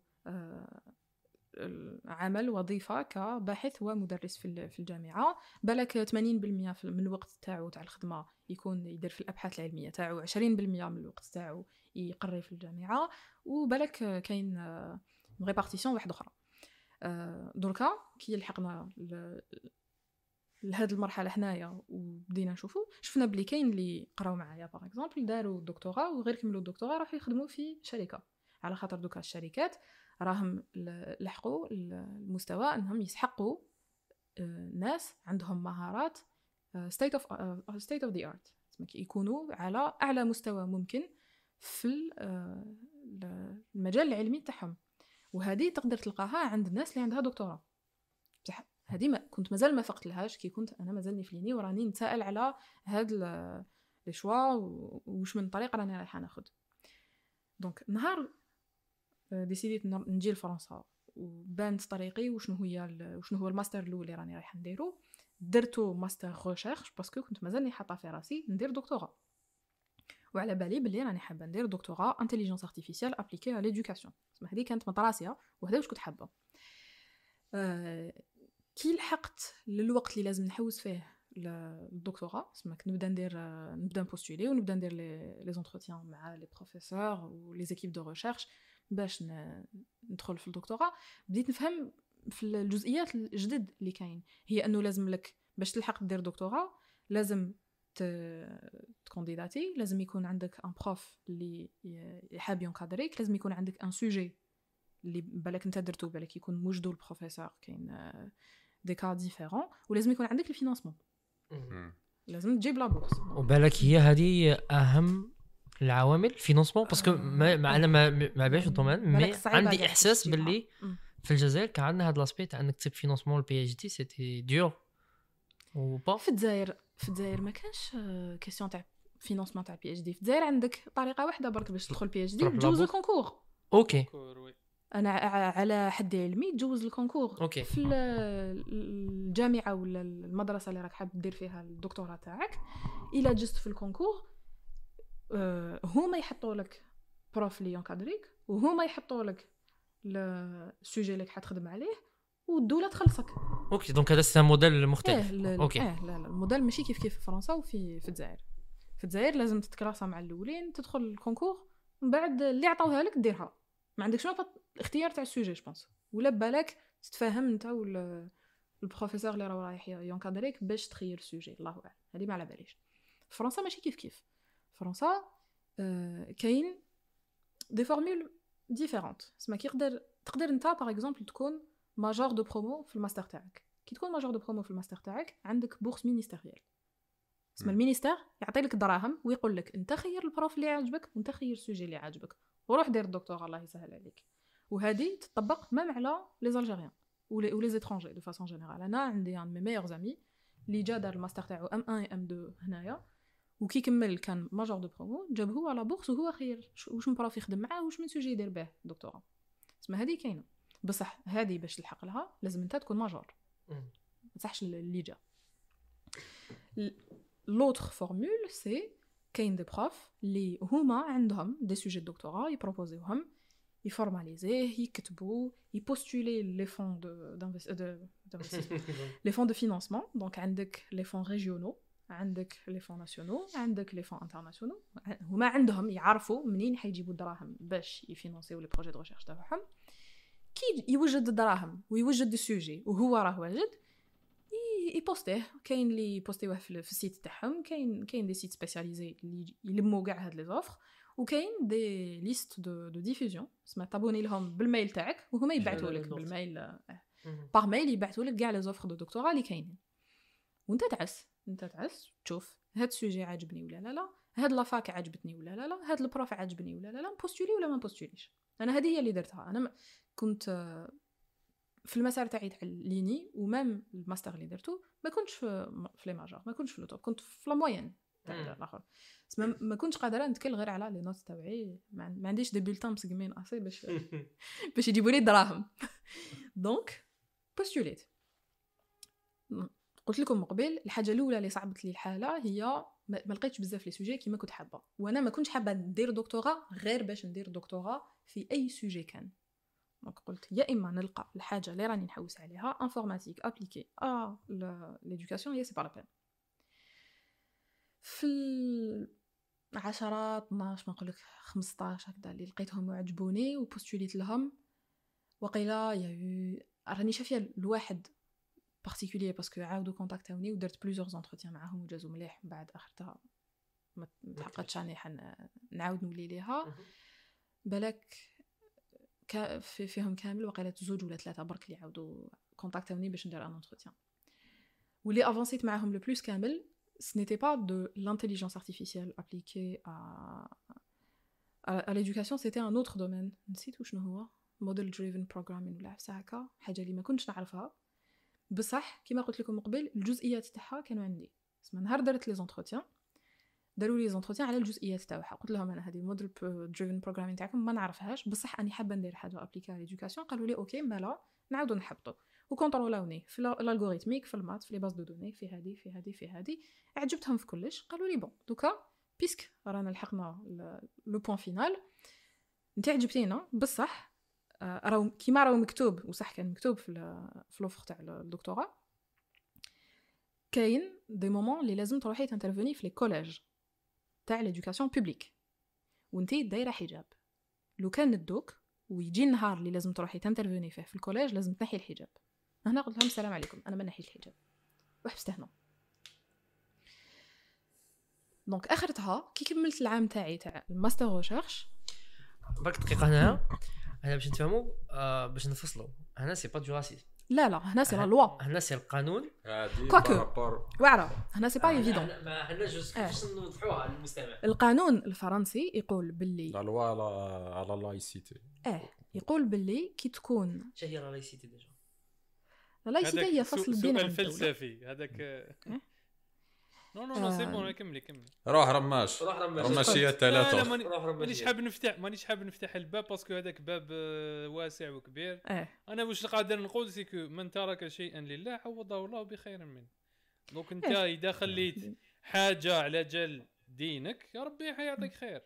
عمل وظيفه كباحث ومدرس في الجامعه. بالك 80% من الوقت تاعو تاع الخدمه يكون يدير في الابحاث العلميه تاعو، 20% من الوقت تاعو يقري في الجامعه، وبالك كاين ريبارتيسيون واحده اخرى. دركا كي لحقنا لهاد المرحله حنايا وبدينا نشوفوا، شفنا بلي كاين اللي قراو معايا باغ اكزومبل داروا الدكتوراه وغير كملوا الدكتوراه راحوا يخدموا في شركه، على خاطر دوكا الشركات راهم لحقوا المستوى انهم يسحقوا ناس عندهم مهارات state of the art، يكونوا على اعلى مستوى ممكن في المجال العلمي تاعهم. وهذه تقدر تلقاها عند الناس اللي عندها دكتوراه. هذه ما كنت مازال ما فقت لهاش كي كنت انا مازالني في ليني وراني نسائل على هاد لي شوا وش من طريقه راني رايحه ناخذ. دونك نهار ديسيديت نجي لفرنسا وبانت طريقي وشنو هو الماستر الاول اللي راني رايحه نديرو، درتو ماستر ريشيرش باسكو كنت مازالني حاطه في راسي ندير دكتوراه، وعلى بالي بلي راني حابه ندير دكتوراه انتيليجنس ارتيفيسيال ابليكي على ليدوكاسيون. هذه كانت مطراسيه وهذا واش كنت حابه. كي لحقت للوقت اللي لازم نحوس فيه الدكتوراه، سماك نبدا نبوستولي ونبدا ندير لي زونتروتيان مع لي بروفيسور ولي زيكيب دو ريشيرش باش ندخل في الدكتوراه. بديت نفهم في الجزئيات الجدد اللي كاين، هي انه لازم لك باش تلحق دير دكتوراه لازم تكونديداتي، لازم يكون عندك ان بروف اللي حاب ينكادريك، لازم يكون عندك ان سوجي اللي بالك انت درتو بالك يكون موجدو البروفيسور كاين دي كا ديفيرون ولازم يكون عندك الفينانسمون لازم تجيب لا بورس وبالك هي هذه اهم العوامل فينانسمون باسكو انا ما باش الدومين مي عندي احساس باللي في الجزائر كان عندنا هذا لاسبيت عندك تسيب فينانسمون البي اتش دي سيتي ديور وبا في الجزائر ما كانش كيسيون تاع فينانسمون تاع بي اتش دي في الجزائر عندك طريقه واحده برك باش تدخل بي اتش دي تجوز الكونكور اوكي انا على حد علمي تجوز الكونكور أوكي. في الجامعه ولا المدرسه اللي راك حاب دير فيها الدكتوراه تاعك الا جست في الكونكور هما يحطوا لك بروف لي ينكادريك وهما يحطوا لك السوجي اللي حتخدم عليه والدوله تخلصك اوكي دونك هذا سي موديل مختلف اوكي لا الموديل ماشي كيف في فرنسا وفي الجزائر في الجزائر لازم تتكراسا مع الاولين تدخل الكونكور من بعد اللي عطاوها لك ديرها ما عندكش الاختيار تاع السوجي جوبونس ولا بالك تتفاهم انت ولا البروفيسور اللي راه رايح ينكادريك باش تخير السوجي الله اعلم هذه ما على باليش فرنسا ماشي كيف فرنسا كاين دي فورمول ديفيرونت اسمها تقدر انت باغ اكزومبل تكون ماجور دو برومو في الماستر تاعك كي تكون ماجور دو برومو في الماستر تاعك عندك بورس مينيستيريال اسمها المينيستير يعطي لك الدراهم ويقول لك انت خير البروف اللي عاجبك وانت خير السوجي اللي عاجبك وروح دير الدكتوراه الله يسهل عليك وهذه تطبق مام على لي زالجيريان ولي زيترونجي دو فاصون جينيرال انا عندي ان مي ميور زامي اللي جا دار الماستر تاعو ام 1 ام 2 هنايا وكي كمل كان ماجور دو برومو جاب هو على بورس وهو خير واش من بروف يخدم معاه واش من سوجي يدير به دكتوراه اسمها هذه كاينه بصح هذه باش تلحق لها لازم انت تكون ماجور ما تصحش اللي جا لوتر فورمول سي كاين دي بروف اللي هما عندهم دي سوجي دكتوراه يبروبوزيوهم يفورماليزيه يكتبوا يبوستولي لي فون لي فون دو فينانسمون دونك عندك لي فون ريجيونو عندك لي فون ناسيونو عندك لي فون انترناسيونو هما عندهم يعرفوا منين حيجيبوا الدراهم باش يفينانسيو لي بروجي دو ريشيرش تاعهم كي يوجد الدراهم ويوجد السوجي وهو راه واجد يبوستيه كاين اللي يبوستيوه في السيت تاعهم كاين دي سيت سبيسياليزي اللي يلموا كاع هاد لي زوفر وكاين دي ليست دو ديفوزيون اسمها تابوني لهم بالميل تاعك وهما يبعثوا لك بالميل باغ ميل يبعثوا لك كاع لي زوفر دو دكتوراه اللي كاينين وانت تعس تشوف هاد السوجي عاجبني ولا لا هاد لافاك عجبتني ولا لا هاد البروف عجبني ولا لا نبوستولي ولا ما نبوستوليش انا هذه هي اللي درتها انا كنت في المسار تاعي تاع الليني ومام الماستر اللي درتو ما كنتش في لي ماجور ما كنتش في لو توب كنت في لا موين تاع الاخر ما كنتش قادره نتكل غير على لي نوت تاعي ما عنديش دي بولتان مسقمين اسي باش يجيبوا لي الدراهم دونك بوستوليت قلت لكم قبل الحاجه الاولى اللي صعبت لي الحاله هي ما لقيتش بزاف لي سوجي كيما كنت حابه وانا ما كنتش حابه ندير دكتوراه غير باش ندير دكتوراه في اي سوجي كان دونك قلت يا اما نلقى الحاجه اللي راني نحوس عليها انفورماتيك ابليكي ليدوكاسيون هي سي با لا بين في 10 12 ما نقول لك 15 هكذا اللي لقيتهم وعجبوني وبوستوليت لهم وقيلا راني شافيه الواحد بارتيكولير باسكو عاودوا كونتاكتوني ودرت بليزيور زونتروتيان معاهم وجازوا مليح من بعد اخرتها ما تحققتش راني نعاود نولي ليها بالك فيهم كامل وقيله 2 ولا 3 برك اللي عاودوا كونتاكتوني باش ندير ان انتروتيان واللي افونسيت معاهم لو بلوس كامل ce n'était pas de l'intelligence artificielle appliquée à l'éducation c'était un autre domaine نسيت شنو هو model driven programming ولا هكا حاجه اللي ما كنتش نعرفها بصح كما قلت لكم قبل الجزئيات تاعها كانوا عندي اسمها نهار درت لي زونتروتيان داروا لي زونتروتيان على الجزئيات تاعها قلت لهم انا هذه الموديل دريفن بروغرامينغ تاعكم ما نعرفهاش بصح اني حابه ندير حاجه ابليكا على ليدوكاسيون قالوا لي اوكي مالا نعاودوا نحبطوا وكونترولوني في الالغوريثميك في المات في لي باز دو دوني في هذه عجبتهم في كلش قالوا لي بون دوكا بيسك رانا لحقنا لو بوين فينال انت عجبتينا بصح راهو كيما راهو مكتوب وصح كان مكتوب في لوفر تاع الدكتوراه كاين دي مومون اللي لازم تروحي تانترفوني في لي كوليج تاع ليدوكاسيون بوبليك وانتي دايره حجاب لو كان ندوك ويجي النهار اللي لازم تروحي تانترفوني فيه في الكوليج لازم تنحي الحجاب هنا قلت لهم السلام عليكم انا ما نحيش الحجاب وحبست هنا دونك اخرتها كي كملت العام تاعي تاع الماستر ريشيرش برك دقيقه هنا هنا باش نتفهموا باش نفصلوا هنا سي با دو راسيزم لا هنا سي لا لوا هنا سي القانون هادي كواكو. بارابور واعره هنا سي با ايفيدون ما هنا جوست باش نوضحوها للمستمع القانون الفرنسي يقول باللي لا لوا على لايسيتي يقول باللي كي تكون شنو هي لا لايسيتي ديجا لايسيتي هي فصل الدين عن الدولة. الفلسفي هذاك نو سي بون كملي روح رماش هي ثلاثه مانيش حاب نفتح الباب باسكو هذاك باب واسع وكبير. انا واش قادر نقول سيكو من ترك شيئا لله عوضه الله بخير منه. دونك انت اذا خليت حاجه على جال دينك يا ربي حيعطيك خير.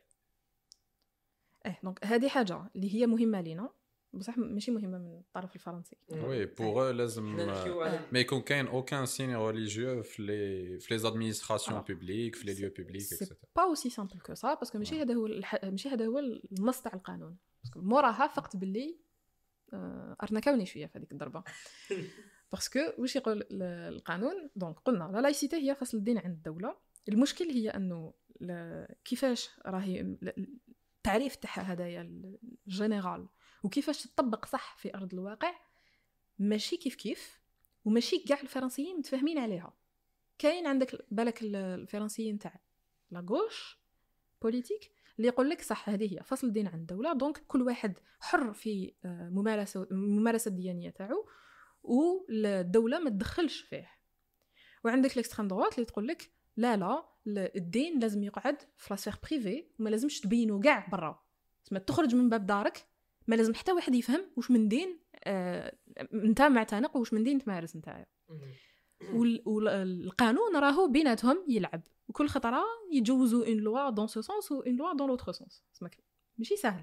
دونك هذه حاجه اللي هي مهمه لينا بصح ماشي مهمه من الطرف الفرنسي. وي بوغ لازم ما يكون كاين اوكان سين ريليجيو في لي زادمينستراسيون بوبليك في لي ليو بوبليك سي با اوسي سامبل كو سا باسكو ماشي هذا هو النص تاع القانون. باسكو موراها فقط باللي ارنكاوني شويه في هذيك الضربه باسكو واش يقول القانون. دونك قلنا لا لايسيتي هي فصل الدين عن الدوله. المشكل هي انه كيفاش راهي التعريف تاعها هدايا الجينيرال وكيفاش تطبق صح في ارض الواقع ماشي كيف وماشي كاع الفرنسيين متفاهمين عليها. كاين عندك بالك الفرنسيين تاع لا غوش بوليتيك اللي يقول لك صح هذه هي فصل الدين عن الدوله. دونك كل واحد حر في ممارسه الديانيه تاعو والدوله ما تدخلش فيه. وعندك الاكستريم دوات اللي تقول لك لا الدين لازم يقعد في لا سفير بريفي وما لازمش تبينو كاع برا. تسمى تخرج من باب دارك ما لازم حتى واحد يفهم واش من دين انت معتنق واش من دين تمارس نتايا. والقانون راهو بيناتهم يلعب وكل خطره يجوزوا اون لوا دون سو سونس و اون لوا دون لوتر سونس. ماشي سهله.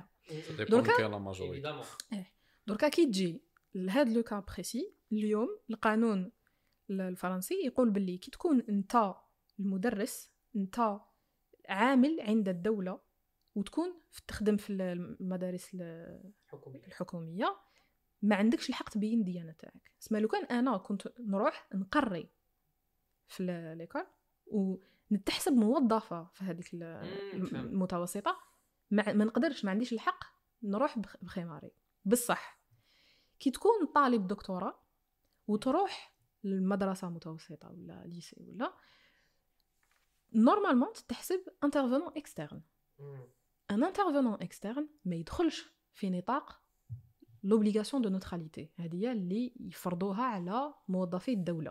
دركا كي تجي لهذا لو كا بريسي اليوم القانون الفرنسي يقول باللي كي تكون انت المدرس انت عامل عند الدوله وتكون تخدم في المدارس الحكوميه ما عندكش الحق تبين الديانه تاعك. اسمع لو كان انا كنت نروح نقري في ليكول ونتحسب موظفه في هذيك المتوسطه ما نقدرش ما عنديش الحق نروح بخماري. بصح كي تكون طالب دكتوراه وتروح للمدرسه متوسطه ولا ليسي ولا نورمالمون تحسب انترفونون اكسترن. ان انترفونون اكسترن ما يدخلش في نطاق لوبليغاسيون دو نوتراليتي. هذه اللي يفرضوها على موظفي الدوله.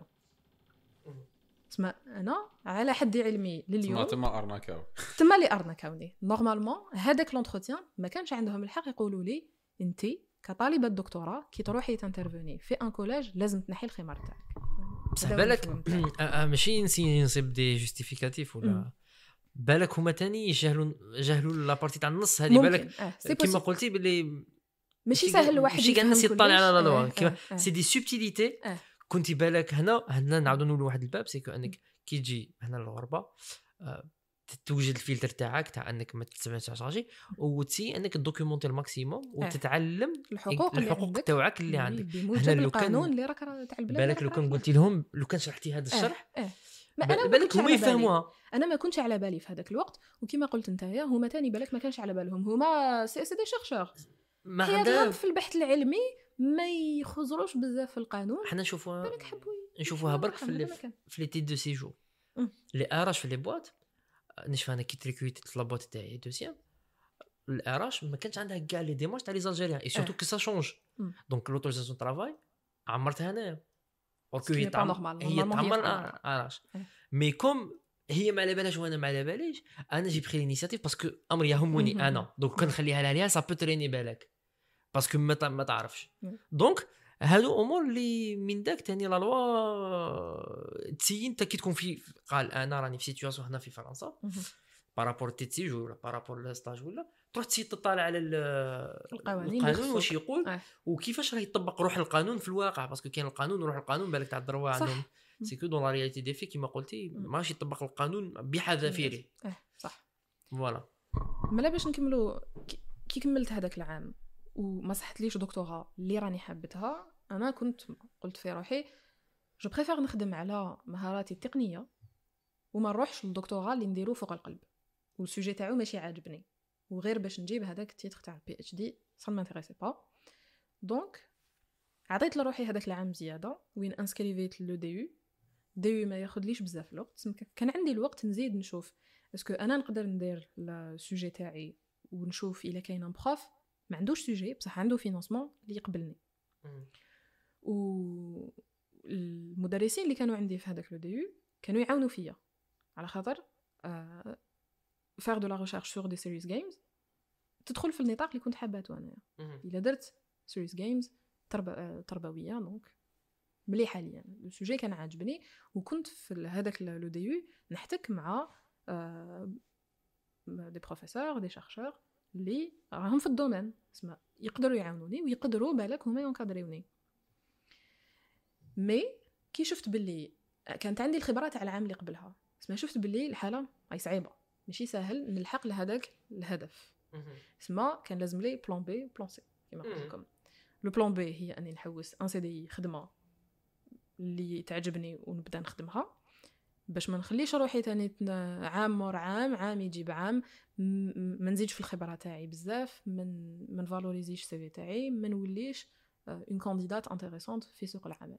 اسمع انا على حد علمي لليوم تما اللي ارنكاوني نورمالمون هذاك لونتروتيان ما كانش عندهم الحق يقولوا لي انت كطالبه دكتوراه كي تروحي تانترفوني في ان كولاج لازم تنحي الخمار تاعك. بصح بالك ماشي نصيب دي جوستيفيكاتيف ولا بالك هما تاني يجهلوا لا بارتي تاع النص هذه. بالك كيما قلتي باللي ماشي سهل واحد ماشي كاع الناس يطلع على لا لوا سي دي سوبتيليتي. كنتي بالك هنا نعاودوا نقولوا واحد الباب سيكو انك كي تجي هنا للغربه توجد الفلتر تاعك تاع انك ما تتعشاجي وتسي انك دوكيومونتي الماكسيموم وتتعلم الحقوق تاعك اللي عندك. هنا لو القانون اللي راك تاع البلاد بالك لو كان قلتي لهم لو كان شرحتي هذا الشرح ما انا بالك هما يفهموها. انا ما كنتش على بالي في هذاك الوقت وكما قلت نتايا هما تاني بالك ما كانش على بالهم. هما سي دي شيرشور ما عندهم في البحث العلمي ما يخزروش بزاف في القانون. حنا نشوفوها برك في لي تيت دو سيجور لي اراش في لي بواط. نشوف انا كي تريكويت لابوط تاعي دوسيام الاراش ما كانش عندها كاع لي ديمارش تاع لي زالجيريان اي سورتو كو سا شونج. دونك لوتوريزاسيون طرافاي عمرتها انايا اوكو هي تعمر اراش مي كوم هي ما على بالهاش وانا ما على باليش. انا جي بري لينيسياتيف باسكو امر يهمني انا. دونك كنخليها لها سا بو تريني بالك باسكو ما تعرفش. دونك هادو امور اللي من داك تاني لا لوا تسيين انت كي تكون في قال انا راني في سيتوياسيون هنا في فرنسا بارابور تيتسيج ولا بارابور لاستاج ولا تروح تسي تطالع على القانون واش يقول وكيفاش راه يطبق روح القانون في الواقع. باسكو كاين القانون وروح القانون بالك تاع الدروا عندهم سيكو دون لا رياليتي دي في كيما قلتي ماشي يطبق القانون بحذافيره. صح فوالا. مالا باش نكملوا كي كملت هذاك العام وما صحتليش دكتوراه اللي راني حابتها. انا كنت قلت في روحي جو بريفير نخدم على مهاراتي التقنيه وما نروحش للدكتوراه اللي نديرو فوق القلب والسوجي تاعو ماشي عاجبني وغير باش نجيب هذاك التيتر تاع البي اتش دي ça ne m'intéressait pas. Donc عطيت لروحي هذاك العام زياده وين انسكريفيت لو دي يو ما ياخذليش بزاف الوقت. كان عندي الوقت نزيد نشوف اسكو انا نقدر ندير السوجي تاعي ونشوف الا كاين ان بروف ما عندوش سوجي بصح عنده فينانسمون اللي يقبلني. و المدرسين اللي كانوا عندي في هذاك لو دي كانوا يعاونوا فيا على خاطر فار دو لا ريشيرش سور دي سيريز جيمز تدخل في النطاق اللي كنت حاباته انا. الا درت سيريز جيمز تربويه دونك مليحه ليا السوجي كان عاجبني وكنت في هذاك لو دي يو نحتك مع دي بروفيسور دي شيرشور اللي راهم في الدومين اسمع يقدروا يعاونوني ويقدروا بالك هما ينكادريوني. مي كي شفت باللي كانت عندي الخبره تاع العام اللي قبلها اسمع شفت باللي الحاله هاي صعيبه ماشي سهل نلحق لهذاك الهدف. اسمع كان لازم لي بلان بي بلان سي كما قلت لكم. لو بلان بي هي اني نحوس ان سي دي خدمه اللي تعجبني ونبدا نخدمها باش ما نخليش روحي تاني عام مور عام يجيب عام ما نزيدش في الخبره تاعي بزاف من فالوريزيش سي في تاعي ما نوليش اون كانديدات انتريسونت في سوق العمل.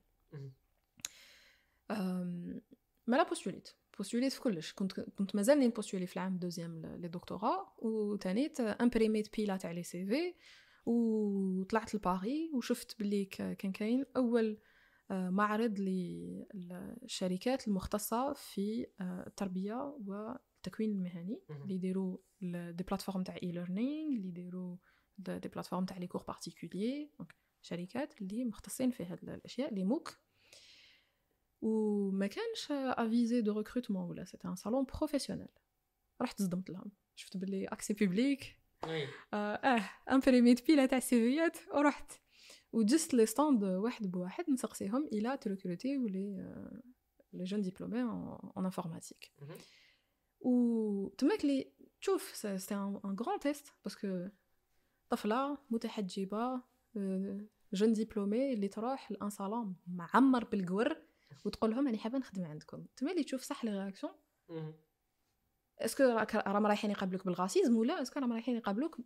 ما لا بوستوليت في كلش كنت مازالني نبوستولي في العام دوزيام لي دكتوراه وتانيت امبريميت بيلا تاع لي سي في وطلعت لباري وشفت باللي كان كاين اول معرض للشركات المختصه في التربيه والتكوين المهني اللي يديروا دي بلاتفورم تاع اي ليرنينغ اللي يديروا دي بلاتفورم تاع لي كور بارتيكولير شركات اللي مختصين في هاد الاشياء لي موك. وما كانش افيزي دو ريكروتمون ولا سيتي ان صالون بروفيسيونيل. رحت صدمت لهم شفت باللي اكسي بوبليك امبريميت بيلا تاع السيفيات ورحت وجست لي ستاند واحد بواحد نسقسيهم الى تريكروتي ولي لي جون ديبلومي ان انفورماتيك. و تماك لي تشوف سي ان غران تيست باسكو طفله متحجبه جون ديبلومي اللي تروح لان صالون معمر بالقور وتقول لهم انا حابه نخدم عندكم. تما اللي تشوف صح لي رياكسيون اسكو راهم رايحين يقابلوك بالغاسيزم ولا اسكو راهم رايحين يقابلوك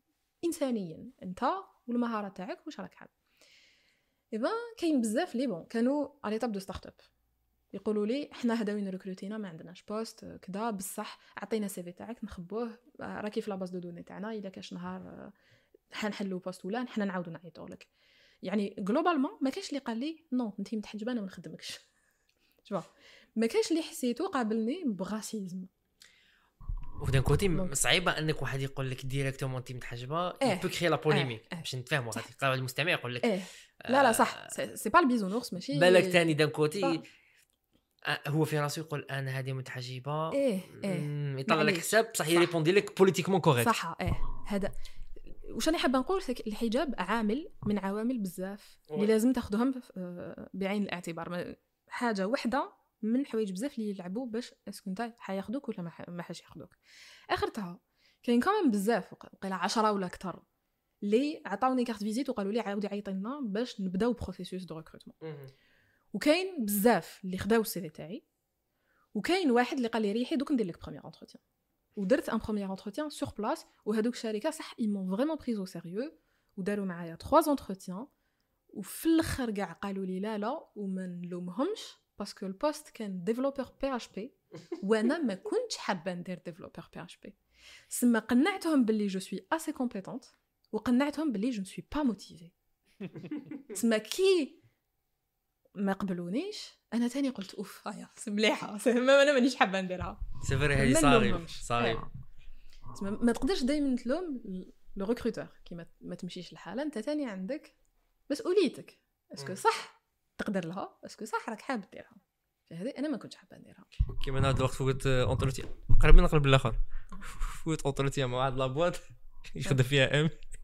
انسانيا انت والمهارات تاعك واش راك حاب. ايبا كاين بزاف لي بون كانوا على طاب دو ستارت اب يقولوا لي احنا هذا وين ريكروتينا ما عندناش بوست كذا بصح عطينا سي في تاعك نخبوه راكي في لا باز دو دوني تاعنا الا كاش نهار حنحلوا بوست ولا حنا نعاودوا نعيطوا لك. يعني جلوبالمون ما كاش اللي قال لي نو انت متحجبه انا ما نخدمكش شوف ما كاش اللي حسيتو قابلني بغاسيزم. ودان كوتي صعيبه انك واحد يقول لك ديريكتومون انت متحجبه بو كري لا بوليميك باش نتفاهموا غادي يقراو المستمع يقول لك لا صح سي با البيزونورس ماشي بالك ثاني دان كوتي هو في راسو يقول انا هذه متحجبه يطلع لك حساب صح يريبوندي لك بوليتيكمون كوريكت صح هذا واش انا حابه نقول الحجاب عامل من عوامل بزاف اللي لازم تاخذهم بعين الاعتبار. حاجه واحده من حوايج بزاف اللي يلعبوا باش اسكو نتا حياخذوك ولا ما حاش ياخذوك. اخرتها كاين كمان بزاف وقيله 10 ولا اكثر اللي عطاوني كارت فيزيت وقالوا لي عاودي عيطي لنا باش نبداو بروسيسوس دو ريكروتمون. وكاين بزاف اللي خداو السي في تاعي وكاين واحد اللي قال لي ريحي دوك ندير لك بروميير انتروتيان ودرت ان بروميير انتروتيان سور بلاص وهذوك الشركه صح ils m'ont vraiment pris au sérieux وداروا معايا 3 انتروتيان وفي الاخر كاع قالوا لي لا وما نلومهمش باسكو البوست كان ديفلوبر بي اش بي وانا ما كنتش حابه ندير ديفلوبر بي اش بي. سما قنعتهم باللي جو سوي اسي كومبيتونت وقنعتهم باللي جو سوي با موتيفي. سما كي ما قبلونيش انا تاني قلت اوف هيا مليحه انا مانيش حابه نديرها سيفري هذه صاري ما تقدرش دائما تلوم لو ريكروتور كي ما تمشيش الحاله. انت تاني عندك مسؤوليتك اسكو صح تقدر لها اسكو صح راك حاب ديرها. فهذه انا ما كنتش حابه نديرها. كيما هذا الوقت فوت اونتروتيان قريب نقلب الاخر فوت اونتروتيان مع واحد لابواط يخدم فيها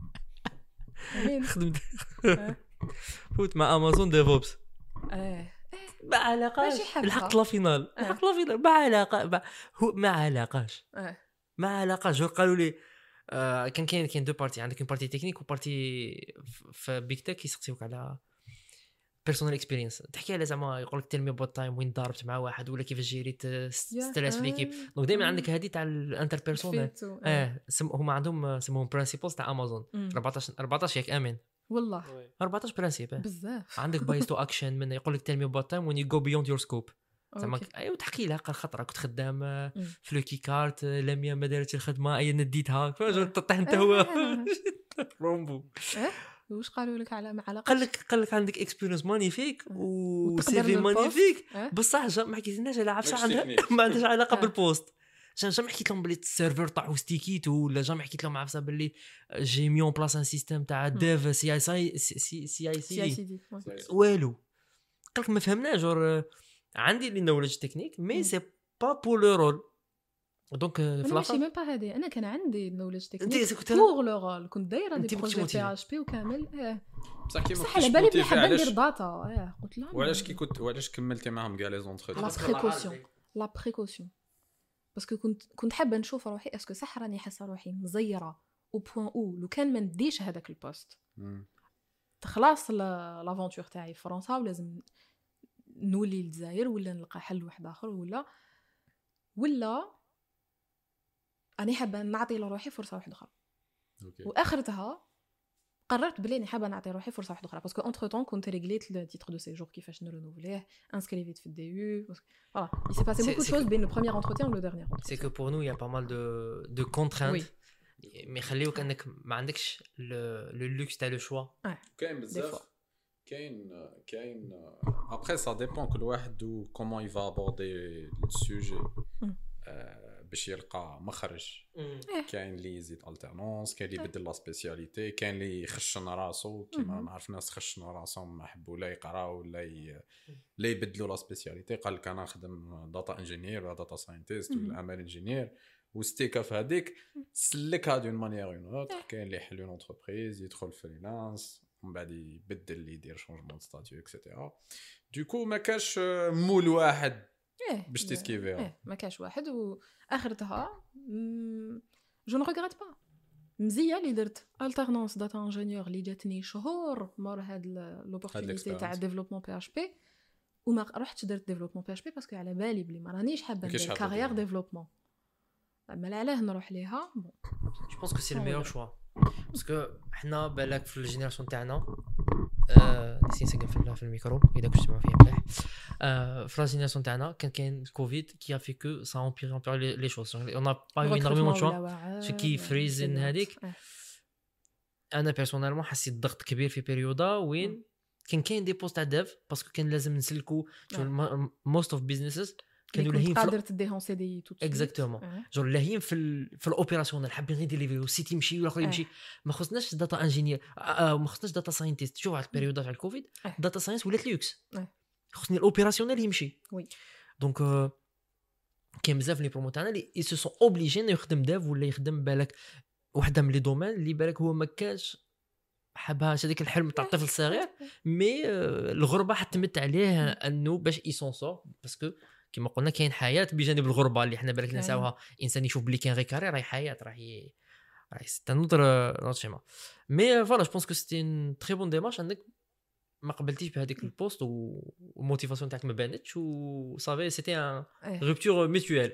خدمت فوت مع امازون ديفوبس ما علاقاش الحق لا فينال ما علاقه ما علاقاش ما علاقاش. قالوا لي كاين دو بارتي عندك اون بارتي تكنيك وبارتي في بيك تك يسقسيوك على بيرسونال اكسبيرينس تحكي على زعما يقول لك تيل مي اباوت تايم وين ضربت مع واحد ولا كيفاش جيريت ستريس في ليكيب دونك دايما عندك هذه تاع الانتر بيرسونال هما عندهم سموهم برينسيبلز تاع امازون 14 ياك امين والله 14 برينسيپ بزاف عندك بايس تو اكشن من يقول لك تيل مي اباوت تايم وين يو جو بيوند يور سكوب زعما ايوا تحكي لها قال خطره كنت خدام في لوكي كارت لميا ما دارتش الخدمه اي نديتها فاش تطيح انت هو رومبو واش قالوا لك على قال لك عندك اكسبيرينس مانيفيك و سي في مانيفيك بصح ما حكيتلناش على عفسه عندها ما عندهاش علاقه بالبوست جامي حكيت لهم بلي السيرفر طاحوا ستيكيت ولا جامي حكيت لهم عفسه باللي جي ميون بلاص ان سيستم تاع ديف سي اي سي والو قالك ما فهمناش جور عندي لي نولج تكنيك مي سي با بور لو رول دونك انا ماشي ميم با هادي انا كان عندي نولج تكنيك بور لو رول كنت دايره دي بروجي بي اش بي وكامل بصح كيما على بالي بلي حابه ندير داتا قلت لهم وعلاش كملتي معاهم كاع لي زونتروتيان لا بريكوسيون باسكو كنت حابه نشوف روحي اسكو صح راني حاسه روحي مزيره او بوين او لو كان ما نديش هذاك البوست خلاص لافونتور تاعي في فرنسا ولازم نولي للجزائر ولا نلقى حل واحد اخر ولا أنا حابة نعطي لروحي فرصة واحدة أخرى وآخرتها قررت بلي أنا حابة نعطي روحي فرصة واحدة أخرى باسكو أنتر طون كنت ريغليت لو تيتر دو سيجور كيفاش نرونوفليه انسكريفيت في الدي يو فوالا il s'est passé beaucoup de choses بين le premier entretien و le dernier entretien c'est que pour nous il y a pas mal de contraintes mais خليوك انك ما عندكش le luxe تاع le choix كاين بزاف كاين après ça dépend كل واحد comment il va aborder le sujet باش يلقى مخرج كاين اللي يزيد الترنونس كاين اللي يبدل لا سبيسياليتي كاين اللي يخشن راسو كيما نعرف ناس خشنوا راسهم ما حبوا لا يقراو ولا يبدلوا لا سبيسياليتي قال لك انا نخدم داتا انجينير ولا داتا ساينتيست ولا امال انجينير وستيكا في هذيك سلكها دون مانيير اون اوتر كاين اللي يحل اون انتربريز يدخل فريلانس ومن بعد يبدل يدير شونجمون ستاتيو اكسيتيرا دوكو ما كاش مول واحد باش تسكيفيها ما كاش واحد واخرتها جو نو ريغريت با مزيه اللي درت الترنونس داتا انجينيور اللي جاتني شهور مور هاد لوبورتونيتي تاع ديفلوبمون بي اش بي وما رحتش درت ديفلوبمون بي اش بي باسكو على بالي بلي ما رانيش حابه ندير كارير ديفلوبمون اما علاه نروح ليها بون جو بونس كو سي الميور شوا باسكو حنا بالك في الجينيراسيون تاعنا نسيت نسقف في الميكرو اذا كنت تسمعوا فيه مليح في لا جينيراسيون تاعنا كان الكوفيد كي افي كو سا امبير لي شوز اون با يو انورمون شوا شي كي فريزن هذيك انا بيرسونيلمون حسيت ضغط كبير في بيريودا وين كاين دي بوست تاع ديف باسكو كان لازم نسلكو موست اوف بيزنسز كانوا لاهين قادر تديهم سي دي تو اكزاكتومون جو لاهين في الاوبيراسيونال حابين غير ديليفري السيت يمشي والاخر يمشي ما خصناش داتا انجينير ما خصناش داتا ساينتيست شوف على البيريود تاع الكوفيد داتا ساينس ولات ليوكس خصني الاوبيراسيونال يمشي وي دونك كاين بزاف لي برومو تاعنا اللي سو سون اوبليجي انه يخدم داف ولا يخدم بالك وحده من لي دومين اللي بالك هو ما كانش حبها هذيك الحلم تاع الطفل الصغير مي الغربه حتمت عليه انه باش يسونسور باسكو كما قلنا كاين حياه بجانب الغربه اللي حنا بالك نساوها انسان يشوف بلي كاين غير كارير راهي حياه راهي سي نوتر شيما مي فوالا جو بونس كو سيتي ان تري بون ديمارش عندك ما قبلتيش بهذيك البوست والموتيفاسيون تاعك ما بانتش و صافي سيتي ان روبتور ميتويل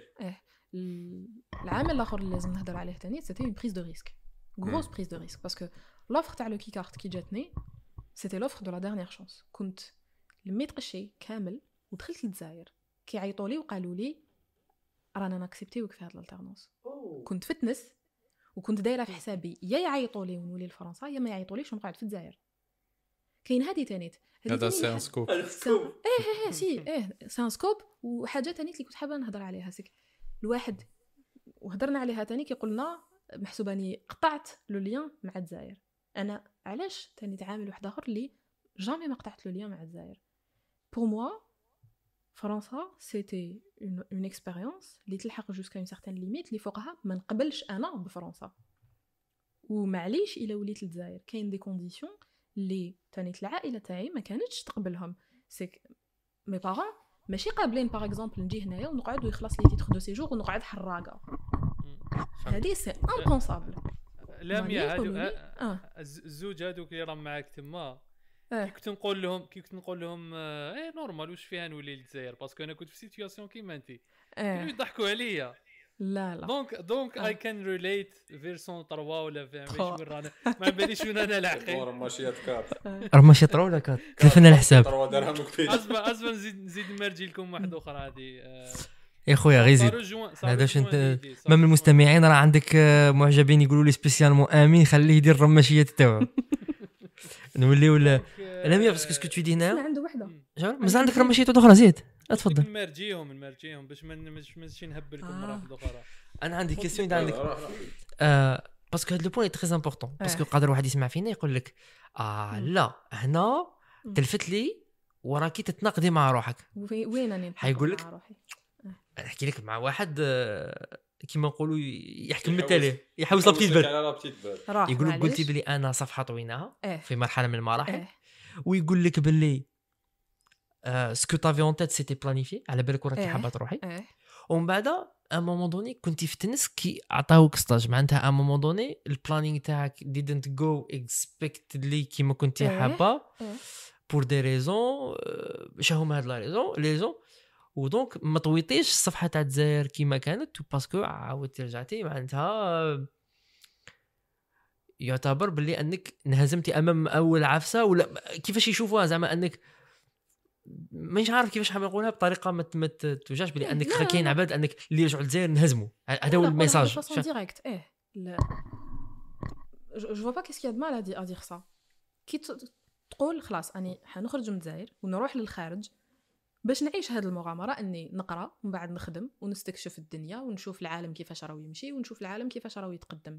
العامل الاخر اللي لازم نهضر عليه ثاني سيتي اون بريز دو ريسك غروس بريز دو ريسك باسكو لوفر تاع لو كي كارت كي جاتني سيتي لوفر دو لا ديرنيير شانس كنت لميت قشي كامل ودخلت للجزائر كيعيطوا لي وقالوا لي رانا ناكسبتيوك في هاد الالترنونس كنت فتنس وكنت دايره في حسابي يا يعيطوا لي ونولي لفرنسا يا ما يعيطوليش ونقعد في الجزائر كاين هذه ثانيت هذا سي ان سكوب سي سي ان سكوب وحاجه ثانيت اللي كنت حابه نهضر عليها سيك الواحد وهضرنا عليها ثاني كيقولنا محسوباني قطعت لو ليان مع الجزائر انا علاش ثاني تعامل واحد اخر اللي جامي ما قطعت لو ليان مع الجزائر بور موا فرنسا سيتي اون اكسبيريونس اللي تلحق جوسكا اون سيغتان ليميت اللي فوقها ما نقبلش انا بفرنسا ومعليش الا وليت للجزائر كاين دي كونديسيون اللي تانيت العائله تاعي ما كانتش تقبلهم سيك مي بارون ماشي قابلين باغ اكزومبل نجي هنايا ونقعد ويخلص لي تيتر دو سيجور ونقعد حراقه هذه سي امبونسابل لا ميا هادو الزوج هادوك اللي راهم معاك تما كي كنت نقول لهم ايه نورمال واش فيها نولي للجزائر باسكو انا كنت في سيتوياسيون كيما انت كانوا يضحكوا عليا. لا دونك اي كان ريليت فيرسون 3 ولا فاهم وين رانا ما باليش وين انا لاحقين رماشيات كات رماشي طرا ولا كات كلفنا الحساب 3 درهم كثير. اسبا نزيد نمرجي لكم واحده اخرى هذه يا خويا غير زيد هذاش انت ما من المستمعين راه عندك معجبين يقولوا لي سبيسيالمون امين خليه يدير الرماشيات تاعو نولي ولا لا ميا باسكو سكو تو دي هنا عنده وحده مازال عندك رماشيات اخرى زيد اتفضل نمرجيهم باش ما نمشيش نهب لكم مره واحده اخرى. انا عندي كيسيون عندك باسكو هاد لو بوين تري امبورطون باسكو قادر واحد يسمع فينا يقول لك لا هنا تلفت لي وراكي تتناقضي مع روحك. وين راني حيقول لك روحي نحكي لك مع واحد كيما نقولوا يحكم التالي يحوس لابتيت بال يقول لك قلتي بلي انا صفحه طويناها في مرحله من المراحل ويقول لك باللي سكو تافي اون تيت سيتي بلانيفي على بالك وراكي حابه تروحي ومن بعد ا مومون دوني كنتي في تنس كي عطاوك ستاج معناتها ا مومون دوني البلانينغ تاعك didn't go expectedly كيما كنتي حابه بور دي ريزون شهما هاد لا ريزون ودونك ما طويتيش الصفحه تاع الجزائر كيما كانت باسكو عاودتي رجعتي معناتها يعتبر باللي انك انهزمتي امام اول عفسه ولا كيفاش يشوفوها زعما انك مش عارف كيفاش حاب نقولها بطريقه ما توجعش بلي انك كاين عباد انك اللي يرجعوا للجزائر نهزموا هذا هو الميساج ديريكت جو فوا با كيسكي مال ا دير سا كي تقول خلاص اني حنخرج من الجزائر ونروح للخارج باش نعيش هذه المغامره اني نقرا ومن بعد نخدم ونستكشف الدنيا ونشوف العالم كيفاش راهو يمشي ونشوف العالم كيفاش راهو يتقدم.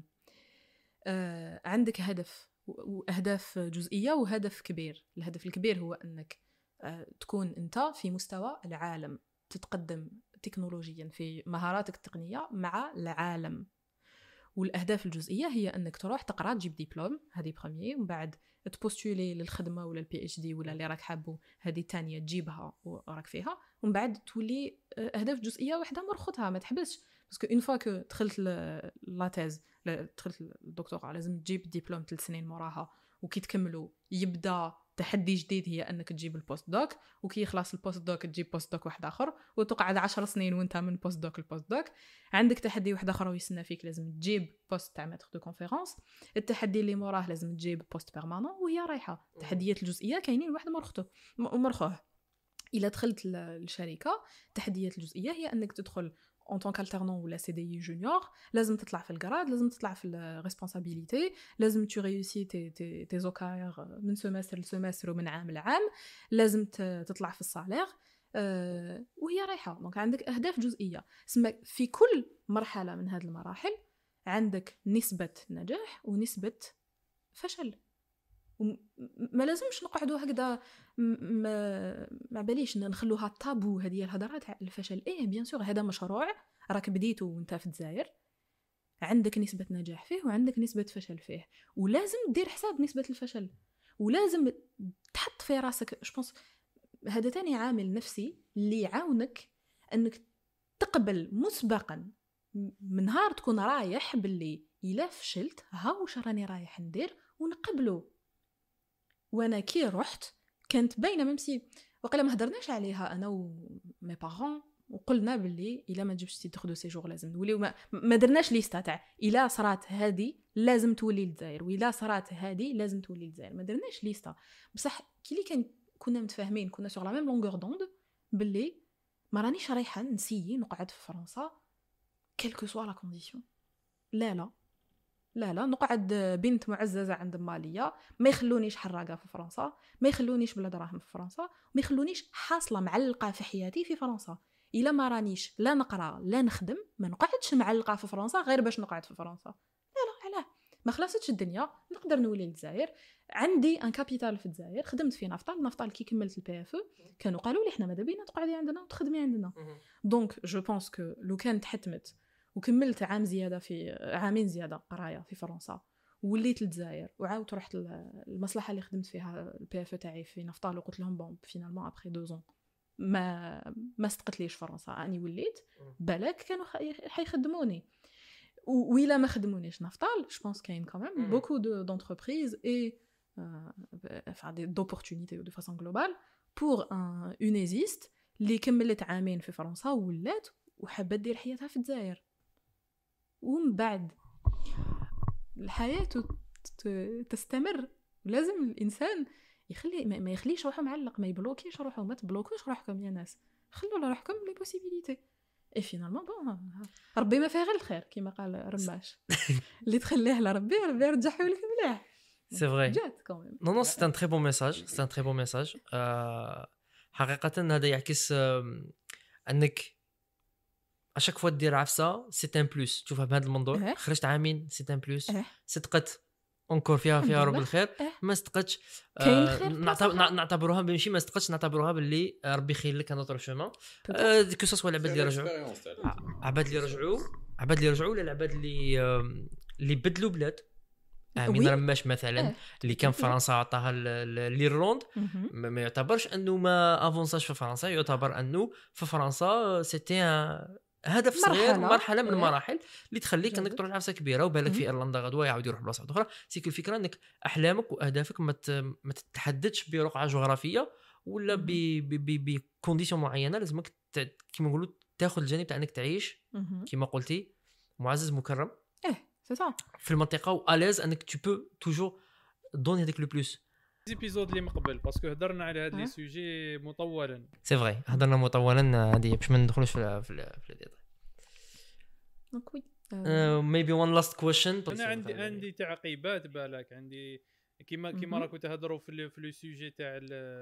عندك هدف واهداف جزئيه وهدف كبير. الهدف الكبير هو انك تكون انت في مستوى العالم تتقدم تكنولوجيا في مهاراتك التقنيه مع العالم. والاهداف الجزئيه هي انك تروح تقرا تجيب دبلوم هذه بروميير ومن بعد تبوستولي للخدمه ولا البي اتش دي ولا اللي راك حابه هذه الثانيه تجيبها وراك فيها ومن بعد تولي اهداف جزئيه وحده مرخصها ما تحبسش باسكو اون فوا كو دخلت لا تيز دخلت الدكتوراه لازم تجيب دبلوم 3 سنين موراها وكي تكملوا يبدا تحدي جديد هي انك تجيب البوست دوك وكي يخلص البوست دوك تجيب بوست دوك واحد اخر وتقعد 10 سنين وانت من بوست دوك البوست دوك. عندك تحدي واحد اخر ويسنى فيك لازم تجيب بوست تاع ماتر دو كونفيرونس. التحدي اللي موراه لازم تجيب بوست بيرمانون وهي رايحه. التحديات الجزئيه كاينين واحد مرخوه. الا دخلت الشركه التحديات الجزئيه هي انك تدخل en tant qu'alternant ou la CDI junior لازم تطلع في الجراد لازم تطلع في الريسبونسابيلتي لازم tu réussis tes OKR من سمستر لسمستر ومن عام لعام لازم تطلع في الصالير وهي رايحه. دونك عندك اهداف جزئيه اسمها في كل مرحله من هذه المراحل عندك نسبه نجاح ونسبه فشل. ما لازمش نقعدوا هكذا ما باليش نخلوها طابو هذه الهضره تاع الفشل. بيان سور هذا مشروع راك بديته وانت في الجزائر عندك نسبه نجاح فيه وعندك نسبه فشل فيه ولازم دير حساب نسبه الفشل ولازم تحط في راسك جوبونس هذا تاني عامل نفسي اللي يعاونك انك تقبل مسبقا من نهار تكون رايح باللي الا فشلت ها واش راني رايح ندير ونقبله. وانا كي رحت كانت باينه ممسي وقيلا ما هضرناش عليها انا ومي بارون وقلنا باللي الا ما تجيبش تيتر دو سيجور لازم نوليو ما درناش ليستا تاع الا صرات هذه لازم تولي للجزائر والا صرات هذه لازم تولي للجزائر ما درناش ليستا بصح كي اللي كنا متفاهمين كنا سور لا ميم لونغور دوند باللي ما رانيش رايحه نسيي نقعد في فرنسا كلكو سوا لا كونديسيون. لا نقعد بنت معززة عند مالية ما يخلونيش حراقة في فرنسا ما يخلونيش بلا دراهم في فرنسا ما يخلونيش حاصلة معلقة في حياتي في فرنسا. إلا ما رانيش لا نقرأ لا نخدم ما نقعدش معلقة في فرنسا غير باش نقعد في فرنسا. لا علاه ما خلصتش الدنيا نقدر نولي للجزائر. عندي ان كابيتال في الجزائر خدمت في نفطال كي كملت البي اف كانوا قالوا لي احنا ماذا بينا تقعدي عندنا وتخدمي عندنا. دونك جو بونس كو لو كانت حتمت وكملت عامين زياده قرايه في فرنسا وليت للجزائر وعاودت رحت المصلحه اللي خدمت فيها البي اف تاعي في نفطال وقلت لهم بون فينالمون ابري 2 زون ما استقتليش فرنسا اني وليت بالك كانوا حيخدموني وإلا ما خدمونيش نفطال جو بونس كاين كمان بوكو دونتربريز اي d'opportunités ou de façon globale pour une ésiste اللي كملت عامين في فرنسا ولات وحابه دير حياتها في الجزائر. ومن بعد الحياه تستمر. لازم الانسان يخلي ما يخليش روحه معلق، ما يبلوكيش روحه، ما تبلوكوش روحكم يا ناس، خلوا لروحكم لي بوسيبيليتي. اي فينالمون بون ربي ما فيها غير الخير كما قال رماش. اللي تخليه لربي ربي يرجعه لك مليح. سي فري. جات كوميم. نو سي ان تري بون ميساج، سي ان تري بون ميساج. حقيقه هذا يعكس انك اشاك فوا دير عفسه سي ان بلوس. تشوفها بهذا المنظور، خرجت عامين سي ان بلوس، صدقت اونكور فيها رب الخير. ما صدقتش نعتبروها ماشي ما صدقتش، نعتبروها باللي ربي خير لك ان اوتر شومان. كو سوا العباد اللي رجعوا، عباد اللي رجعوا ولا العباد اللي بدلوا بلاد. من رماش مثلا اللي كان فرنسا عطاها ليرلند، ما يعتبرش انه ما افونساش في فرنسا، يعتبر انه في فرنسا سيتي هدف صغير، مرحله من المراحل اللي تخليك انك تروح لعفسه كبيره. وبالك في ايرلندا غدوه يعاود يروح بلاصه اخرى. سيك الفكره انك احلامك واهدافك ما تتحددش برقعه جغرافيه ولا بكونديسيون معينه. لازمك كيما نقولوا تاخذ الجانب تاع انك تعيش كيما قلتي معزز مكرم سي صح في المنطقه، واليز انك تو بو توجور دوني هذاك لو بلوس. ايبيزود اللي مقبل باسكو هضرنا على هاد لي سوجي مطولا. سي فري هضرنا مطولا هذه باش ما ندخلوش في الديتاي. دونك وي ميبي وان لاست كويشن. انا عندي تعقيبات بالك، عندي كيما راكم تهضروا في لو سوجي تاع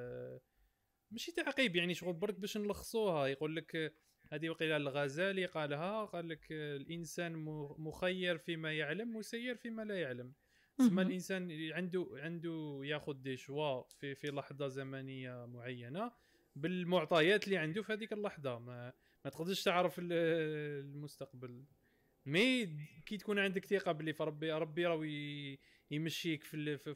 ماشي تعقيب يعني شغل برك باش نلخصوها. يقول لك هذه وقيله الغزالي قال لك الانسان مخير فيما يعلم مسير فيما لا يعلم. اسمى الانسان عنده ياخذ دي شوا في لحظه زمنيه معينه بالمعطيات اللي عنده في هذيك اللحظه. ما تقدرش تعرف المستقبل، مي كي تكون عندك ثقه باللي ربي راه يمشيك في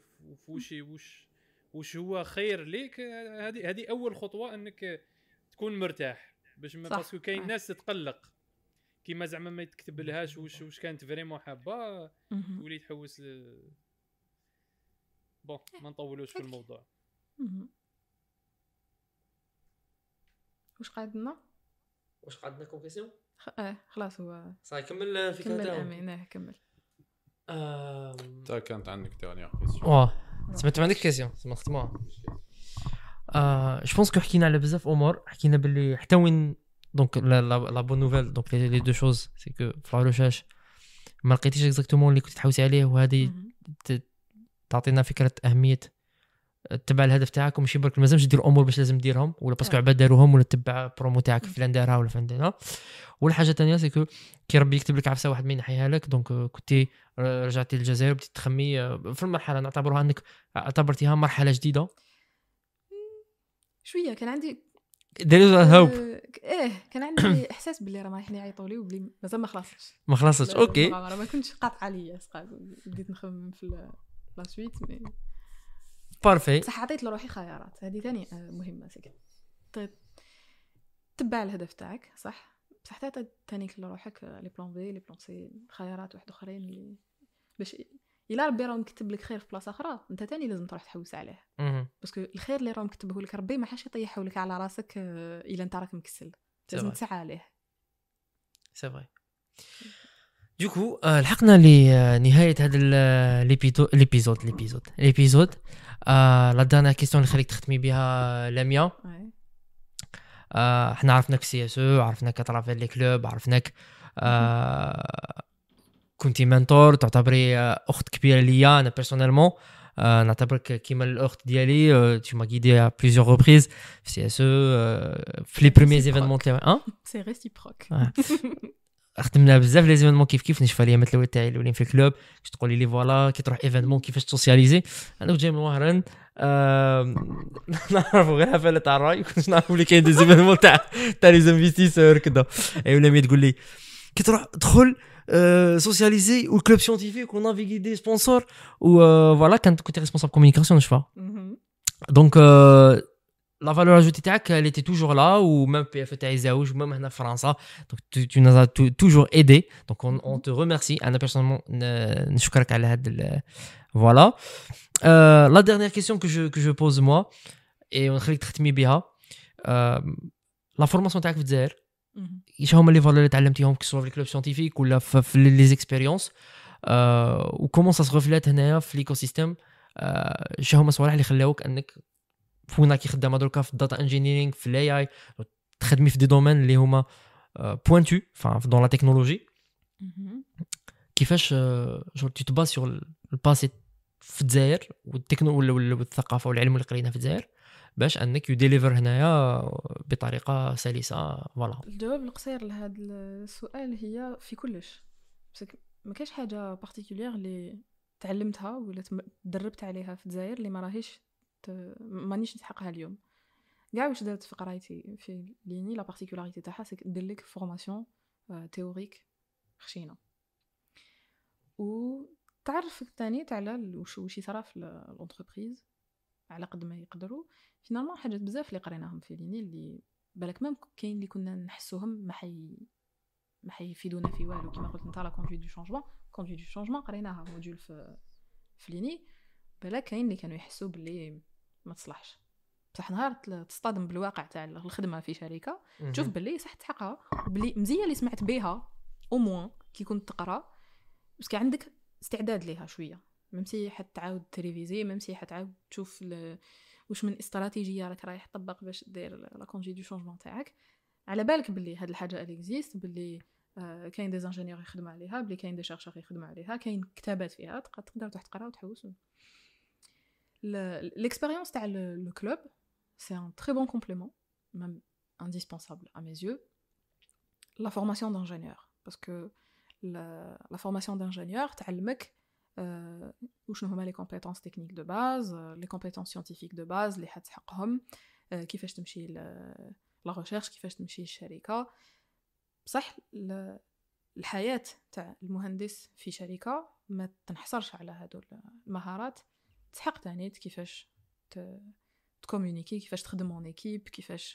وش هو خير ليك. هذه اول خطوه انك تكون مرتاح باش باسكو كاين ناس تتقلق كيما زعما ما يتكتب لهاش واش كانت فريمون حابه تولي تحوس. بون ما نطولوش في الموضوع. واش قعدنا كوم كيسيون؟ خلاص هو صاي كمل فكرته. امين كمل. تا كانت عندك تاني كيسيون؟ سمعت عندك كيسيون ما ختموها. جو بونس كو حكينا على بزاف امور. حكينا باللي حتى وين دونك لا بون نوفيل دونك لي دو شوز سي كو في الريشيرش ما لقيتيش اكزاكتومون اللي كنت تحوسي عليه، وهذه تعطينا فكره اهميه تبع الهدف تاعك. وماشي برك مازالش دير امور باش لازم ديرهم ولا باسكو عباد داروهم ولا تتبع برومو تاعك فلان دارها ولا فلان دارها. والحاجه الثانيه سي كو كي ربي يكتب لك عفسه واحد ما ينحيها لك، دونك كنتي رجعتي للجزائر بديتي تخمي في المرحله نعتبرها انك اعتبرتيها مرحله جديده شويه. كان عندي هوب كان عندي احساس باللي راه رايحين يعيطوا لي وبلي مازال ما خلصش. اوكي ما كنتش قاطعه ليا بديت نخمم في لا سويت مي بارفي. صح عطيت لروحي خيارات. هذه ثاني مهمه سكت تبع الهدف تاعك صح، بصح حتى ثاني لروحك لي بلان بي لي بلان سي خيارات واحد اخرين اللي باش الا ربي راه مكتب لك خير في بلاصه اخرى انت ثاني لازم تروح تحوس عليه. باسكو الخير اللي راه مكتبه لك ربي ما حاش يطيحه لك على راسك الا انت راك مكسل، لازم تسعى عليه. سي فري. دوكو لحقنا لنهايه هذا الابيزود. لا دانا كيسيون اللي خليك تختمي بها لميا. احنا عرفناك في سي اس او، عرفناك كترافير لي كلوب، عرفناك كنتي منتور، تعتبري اخت كبيره ليا انا بيرسونيلمون. نعتبرك كيما الاخت ديالي. tu m'as guidé à plusieurs reprises في سي اس او في لي بريمير ايفينمون تاعي. سي ريسيبروك. خدمنا بزاف لي زيفينمون كيف نشوف الايامات الاولى تاعي الاولين في الكلوب. كنت تقولي لي فوالا كي تروح ايفينمون كيفاش تسوسياليزي. انا كنت جاي من وهران نعرفوا غير حفله تاع الراي، كنت نعرف بلي كاين دي زيفينمون تاع لي زانفيستيسور كذا. ايوا مي تقول لي كي تروح تدخل سوسياليزي والكلوب سيونتيفيك ونافيغي دي سبونسور وفوالا كنت ريسبونسابل كومونيكاسيون جو فا. دونك لا فالور اجوتي تاعك اللي تي توجور لا، وميم بي اف تاعي زاوج وميم هنا في فرنسا. دونك تو ناز توجور ايدي. دونك اون تو ريميرسي. انا بيرسونيلمون نشكرك على هذا Voilà. La dernière question que je pose moi, et ونخليك تختمي بها. La formation تاعك في الجزائر ايش هما لي فالور اللي تعلمتيهم كسوا في الكلوب سيانتيفيك ولا في لي زيكسبيريونس و كومون سا سغوفلات هنايا في ليكو سيستيم ايش هما الصوالح اللي خلاوك انك فونا كي خدامه دركا في الداتا انجينيرينغ في الاي اي تخدمي في دي دومين اللي هما بوينتو دون لا تكنولوجي كيفاش جو تي تباس سور الباسي في الجزائر والثقافه والعلم اللي قريناه في الجزائر باش انك يديليفر هنايا بطريقه سلسه. فوالا الجواب القصير لهذا السؤال هي في كلش، بس ما كاينش حاجه بارتيكولير اللي تعلمتها ولا تدربت عليها في الجزائر اللي ما راهيش مانيش نتحققها اليوم. كاع واش درت في قرايتي في ليني لا بارتيكولاريتي تاعها سي ندير لك فورماسيون تيوريك خشينه و تعرفك ثاني على واش يصرا في الانتربريز على قد ما يقدروا. فينالمون حاجات بزاف اللي قريناهم في ليني اللي بالك مام كاين اللي كنا نحسوهم ما حيفيدونا في والو كما قلت نتا لا كونduite دو شونجمون قريناها موديول في ليني بالك كاين اللي كانوا يحسوا باللي ما تصلحش بصح نهار تصطدم بالواقع تاع الخدمه في شركه تشوف باللي صح تحقها وبلي مزيه اللي سمعت بها او موان كي كنت تقرا بس كان عندك استعداد ليها شويه ممسي حتعاود تريفيزي ممسي حتعاود تشوف واش من استراتيجيه راك رايح تطبق باش دير لا كونduite دو شونجمون تاعك على بالك باللي هاد الحاجه اكزيست باللي كاين دي انجينيور يخدموا عليها باللي كاين دي شيرشور يخدموا عليها كاين كتابات فيها تقدر تقرا وتحوس. l'expérience تاع le club c'est un très bon complément même indispensable à mes yeux la formation d'ingénieur parce que la formation d'ingénieur تعلمك وشنو هما les compétences techniques de base les compétences scientifiques de base اللي حتحققهم كيفاش تمشي la recherche كيفاش تمشي الشركه. صح الحياه تاع المهندس في شركه ما تنحصرش على هادو المهارات تحق تاني كيفاش تكومونيكي كيفاش تخدم اون ايكيب كيفاش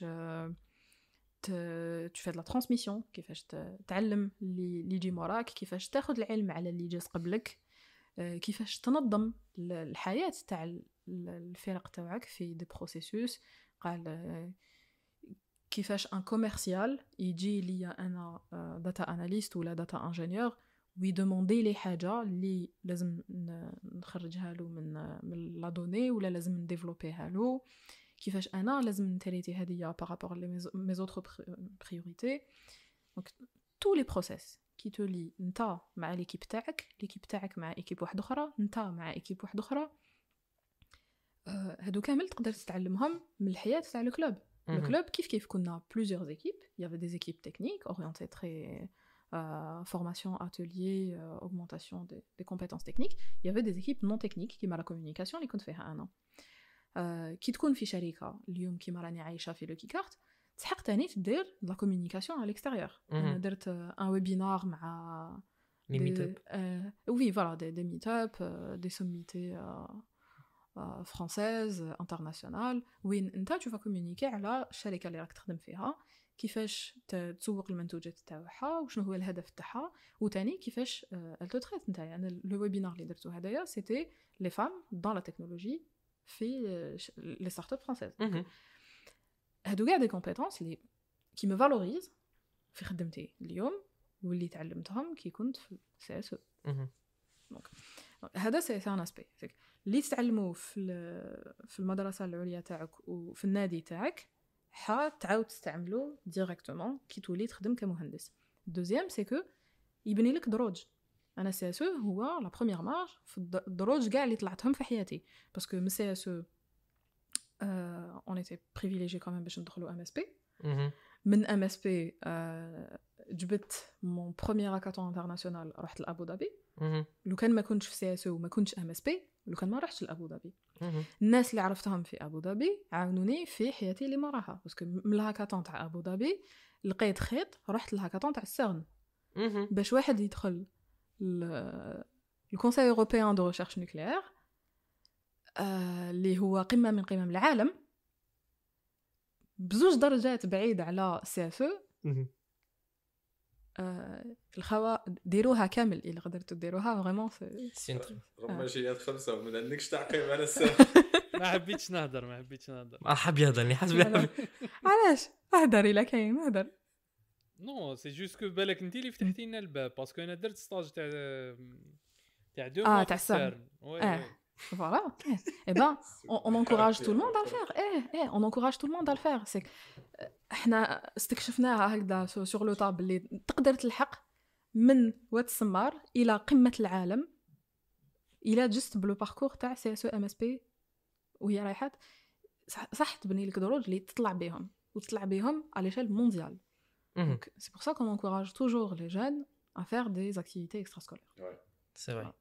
تفيد لا ترانسميسيون كيفاش تعلم اللي يجي موراك كيفاش تاخذ العلم على اللي جالس قبلك كيفاش تنظم الحياه تاع الفرق تاعك في دي بروسيسوس. قال كيفاش ان كوميرسيال يجي ليا انا داتا اناليست ولا داتا انجينيور ويدوموندي لي حاجه اللي لازم نخرجها له من لا دوني ولا لازم نديفلوبيها له كيفاش انا لازم نتريتي هذه بارابور لي مي اوتر بريوريتي. دونك تو لي بروسيس كي تولي نتا مع ليكيب تاعك مع ايكيب واحده اخرى نتا مع ايكيب واحده اخرى هادو كامل تقدر تتعلمهم من الحياه تاع لو كلوب. Le club, كيف كنا plusieurs équipes. Il y avait des équipes techniques orientées très formation, atelier, augmentation des compétences techniques. Il y avait des équipes non techniques qui m'a la communication اللي كنت فيها أنا. كي تكون في شركة اليوم كيما راني عايشة في لوكي كارت تحق تاني تدير la communication à l'extérieur. أنا درت un webinar مع les meet-up. Oui, voilà, des meet-up, des sommités française internationale وين انت تشوف كومونيكي على الشركه اللي راك تخدم فيها كيفاش تسوق المنتوجات تاعها وشنو هو الهدف تاعها وثاني كيفاش التوتريت نتايا. انا لو ويبينار اللي درتو هدايا سيتي لي فام دون لا تكنولوجي في لي ستارت اب فرانسيز. هادو كاع دي كومبيتونس اللي كي مي فالوريز في خدمتي اليوم واللي تعلمتهم كي كنت في سي اس او. دونك هذا سي ان اسبي اللي تتعلموا في المدرسه العليا تاعك وفي النادي تاعك تعاود تستعملوا ديريكتومون كي تولي تخدم كمهندس. دوزيام سي كو يبني لك دروج. انا سي اس او هو لا بروميير مارج في الدروج كاع اللي طلعتهم في حياتي باسكو من سي اس او اون ايتي بريفيليجي كمان باش ندخلوا ام اس بي. من ام اس بي جبت مون بروميير هاكاطون انترناسيونال رحت لابو ظبي. لو كان ما كنتش في سي اس او وما كنتش ام اس بي لو كان ما رحتش لابو ظبي الناس اللي عرفتهم في ابو ظبي عاونوني في حياتي اللي موراها باسكو من الهاكاطون تاع ابو ظبي لقيت خيط رحت للهاكاطون تاع السيرن باش واحد يدخل الكونساي اوروبيان دو ريشيرش نوكليير اللي هو قمه من قمم العالم بزوج درجات بعيد على سي اس او الخوا ديروها كامل الا قدرتوا ديروها فريمون رمجيات 5 وما عندكش تعقيب على الساعه. ما حبيتش نهضر حاب يهضرني حسب علاش اهدر الا كاين اهدر نو سي جوست كو بالك انت اللي فتحتي لنا الباب باسكو انا درت ستاج تاع 2 موا تاع السر voilà et ben on encourage tout le monde à le faire on encourage tout le monde à le faire c'est احنا استكشفناها هكذا sur le table اللي تقدر تلحق من واد السمار الى قمه العالم الى جست بلو باركور تاع سي اس ام اس بي وهي رايحه صح تبني لك دروج اللي تطلع بهم على l'échelle mondiale. Donc c'est pour ça qu'on encourage toujours les jeunes à faire des activités extrascolaires. Ouais, c'est vrai.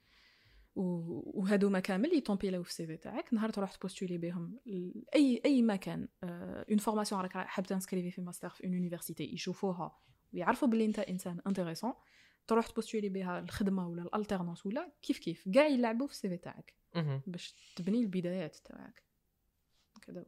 وهادو كامل يطومبيلاو في السي في تاعك نهار تروح تبوستولي بهم اي مكان اون فورماسيون راك حاب تنسكريفي في ماستر في اون يونيفرسيتي يشوفوها ويعرفوا بلي انت انسان انتريسون تروح تبوستولي بها الخدمه ولا الالترنانس ولا كيف كاع يلعبوا في السي في تاعك باش تبني البدايات تاعك كذا.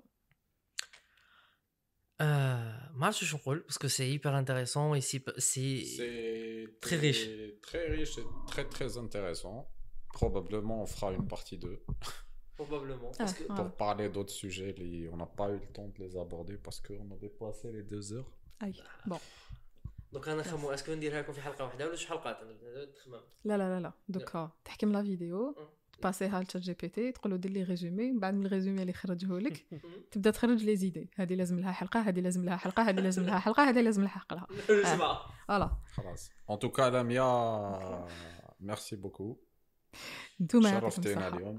ما عرفتش واش نقول باسكو سي هيبر انتريسون اي سي très riche et très très intéressant. Probablement on fera une partie 2. Probablement parce que pour parler d'autres sujets on n'a pas eu le temps de les aborder parce qu'on a dépassé les 2 heures. Bon. Donc انا نخمو اسكو نديرها لكم في حلقه واحده ولا شي حلقات تخمم. لا دوكا تحكم لا فيديو باسيها لتشات جي بي تي تقول له دير لي ريزومي بعد من الريزومي اللي خرجه لك تبدا تخرج لي زيدي هذه لازم لها حلقه هذه لازم لها حلقه هذه لازم لها حلقه هذه لازم لها حلقه فوالا خلاص en tout cas Lamia merci beaucoup. نتوما شرفتينا اليوم.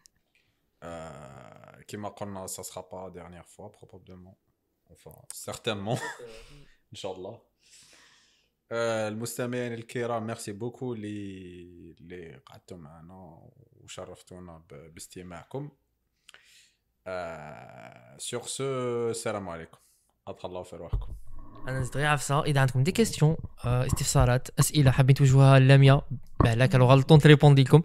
كما قلنا ça sera pas la dernière fois probablement enfin certainement ان شاء الله. المستمعين الكرام ميرسي بوكو اللي قعدتوا معنا وشرفتونا باستماعكم. سور سو السلام عليكم اطلعوا في روحكم. انا نزيد غير عفسه اذا عندكم دي كيستيون استفسارات اسئله حابين توجهوها للاميا بعدا كانوا غلطون تريبوندي لكم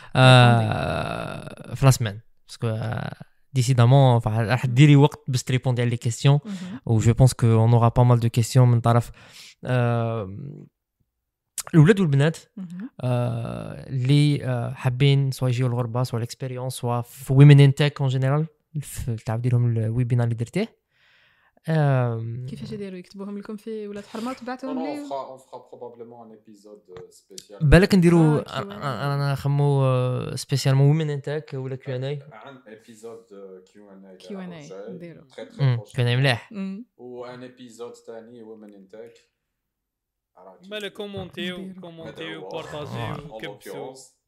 في لاسمان باسكو ديسيدامون راح ديري وقت باش تريبوندي على لي كيستيون و جو بونس كو اون اورا با مال دو كيستيون من طرف الولاد والبنات اللي حابين سواء يجيو الغربه سواء الاكسبيريونس سواء في ويمن ان تك اون جينيرال تعاودي لهم الويبينار اللي درتيه. كيفاش يديروا يكتبوهم لكم في ولاد حرمه وتبعتوهم لي on fera probablement un épisode spécial بالك نديروا انا نخمو سبيسيالمون ويمن ان تك ولا كيو ان اي عن ايبيزود كيو ان اي نديروا كيو ان مليح و ان ايبيزود ثاني ويمن ان تك مالا كومونتيو بارطاجيو كبسوا